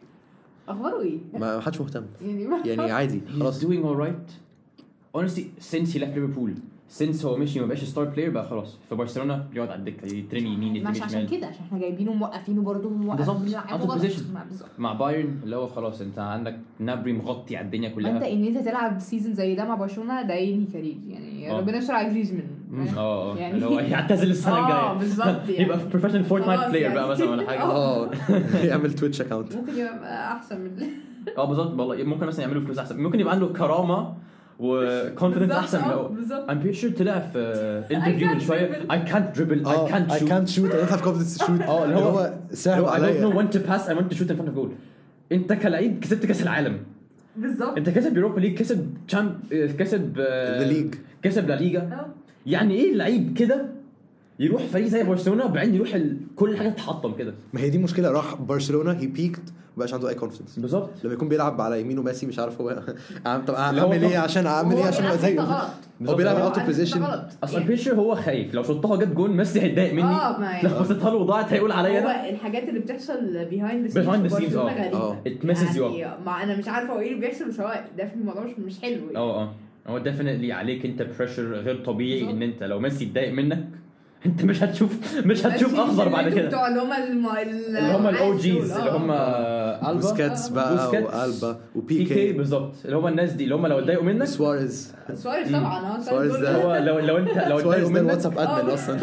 S3: اخباره ايه
S2: ما حدش مهتم
S3: يعني ما-
S2: يعني عادي
S1: He's
S2: خلاص.
S1: doing alright. Honestly since he left Liverpool since هو مشي ما بقاش ستار بلاير بقى خلاص في برشلونه بيقعد على الدكه يترمي يمين يترمي
S3: مش عشان
S1: شمال.
S3: كده عشان احنا جايبينه موقفينه برضه
S1: بالظبط.
S3: موقفينه
S1: out of position.
S3: مع- بالظبط.
S1: مع بايرن اللي هو خلاص انت عندك نابري مغطي على الدنيا
S3: انت
S1: كلها.
S3: ان انت تلعب سيزون زي ده مع برشلونه ده ينهي كارير يعني.
S1: آه.
S3: ربنا يستر على جريزمان.
S1: اه اه
S3: يعني-
S1: اللي هو يعتزل السنه
S3: اه
S1: الجايه
S3: بالظبط يعني
S1: يبقى بروفيشنال فورتنايت
S3: خلاص
S1: بلاير
S3: يعني.
S1: بقى مثلا ولا حاجه.
S2: اه يعمل تويتش اكاونت.
S3: ممكن يبقى احسن من
S1: اه بالظبط والله ممكن مثلا يعملوا فلوس احسن. ممكن يبقى عنده كرامه وكونفيدنس
S3: بالظبط،
S1: احسن
S3: اه،
S1: لو
S3: بالظبط.
S1: I'm pretty sure طلع في انترفيو من
S3: can't
S1: شويه
S3: dribble.
S1: I can't dribble I can't
S2: I
S1: shoot
S2: can't shoot I don't have confidence to shoot.
S1: اه اللي هو
S2: سهل
S1: I don't know
S2: عليا.
S1: when to pass I want to shoot in front of goal. انت كلاعب كسبت كاس العالم.
S3: بالظبط.
S1: انت كسب يوروبا ليج كسب تشامب كسب
S2: The league.
S1: كسب لا ليجا.
S3: اه.
S1: يعني ايه اللعيب كده يروح فريق زي برشلونه وبعدين يروح ال... كل حاجه تتحطم كده.
S2: ما هي دي مشكله راح برشلونه هي بيكت مبقاش عنده اي كونفدنس.
S1: بالظبط.
S2: لما يكون بيلعب على يمينه ميسي مش عارف هو عم طب
S1: اللي هو
S2: اعمل ايه عشان اعمل ايه
S3: هو
S2: عشان ابقى
S3: بيلعب
S2: زيه.
S3: غلط.
S2: هو بيلعب
S3: هو
S2: اوت اوف
S3: عارف ده
S2: بوزيشن.
S3: غلط.
S1: اصلا
S3: يعني
S1: بيشر هو خايف لو شطها جت جون ميسي هيتضايق مني.
S3: اه ما يعني
S1: لو بصيتها له وضاعت هيقول عليا انا.
S3: هو الحاجات اللي بتحصل behind the scenes
S1: Behind the
S3: في
S1: scenes،
S3: برشلونة
S1: اه.
S3: غريبة.
S2: اه.
S1: It messes you
S3: يعني ما انا مش عارفه هو ايه اللي بيحصل بس هو ده في الموضوع مش مش حلو يعني.
S1: اه اه هو ديفينتلي عليك انت بريشر غير طبيعي
S3: بالظبط.
S1: ان انت لو ميسي اتضايق منك انت مش هتشوف مش هتشوف
S3: بس
S1: اخضر بعد
S3: انتوا
S1: كده.
S3: بتوع اللي هم الم...
S1: اللي هم الاو جيز اللي هم البا
S2: بوسكاتس بقى
S1: بوسكاتس،
S2: والبا
S1: بيكي
S2: وبيكي
S1: بالظبط اللي هم الناس دي اللي هم لو اتضايقوا منك
S2: سواريز.
S3: سواريز طبعا اه
S2: سواريز
S3: دول-
S2: ده-
S1: هو لو لو انت لو
S2: سواريز
S1: اتضايقوا
S2: ده
S1: منك
S2: الواتساب ادمن
S3: اه.
S2: اصلا.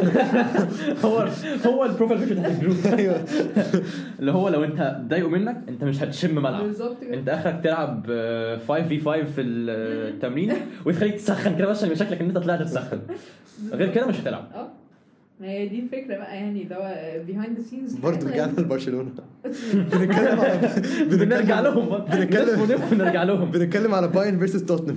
S1: هو هو البروفايل بيكتشر بتاع الجروب.
S2: ايوه
S1: اللي هو لو انت اتضايقوا منك انت مش هتشم ملعب.
S3: بالظبط كده.
S1: انت اخرك تلعب خمسة في خمسة في التمرين وتخليك تسخن كده بس عشان شكلك ان انت طلعت تسخن. غير كده مش هتلعب.
S3: اه ما هي دي الفكره بقى يعني ده behind the scenes.
S2: برضه رجعنا لبرشلونه. بنتكلم على
S1: بنرجع لهم
S2: بنتكلم-
S1: بنلف ونرجع لهم.
S2: بنتكلم على بايرن فيرسس توتنهام.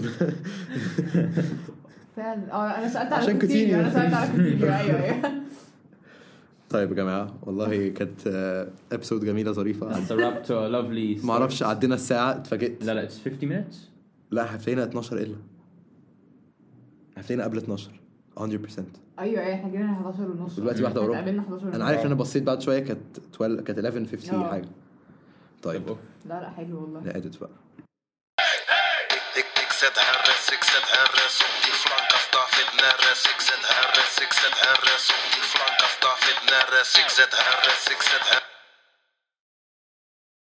S3: فعلا اه انا سالت على
S2: عشان
S3: كوتينيو.
S2: كوتينيو.
S3: انا سالت على كوتينيو ايوه ايوه.
S2: طيب يا جماعه والله كانت ابسود جميله ظريفه.
S1: It's a wrap to a lovely
S2: ما اعرفش عدينا الساعه اتفاجئت.
S1: لا لا it's fifty minutes.
S2: لا هتلاقينا اتناشر الا هتلاقينا قبل اتناشر مية بالمية.
S3: ايوه ايوه احنا جينا حداشر ونص
S2: دلوقتي واحده وربع.
S3: قابلنا حداشر ونص.
S2: انا عارف ان انا بصيت بعد شويه كانت اتناشر كانت حداشر خمسين
S3: آه.
S2: حاجه. طيب
S3: لا لا حلو والله.
S2: لا اديت بقى.
S4: اكسدها الراس اكسدها الراس ودي فلانكا ضعفتنا الراس اكسدها الراس اكسدها الراس ودي فلانكا ضعفتنا الراس اكسدها الراس اكسدها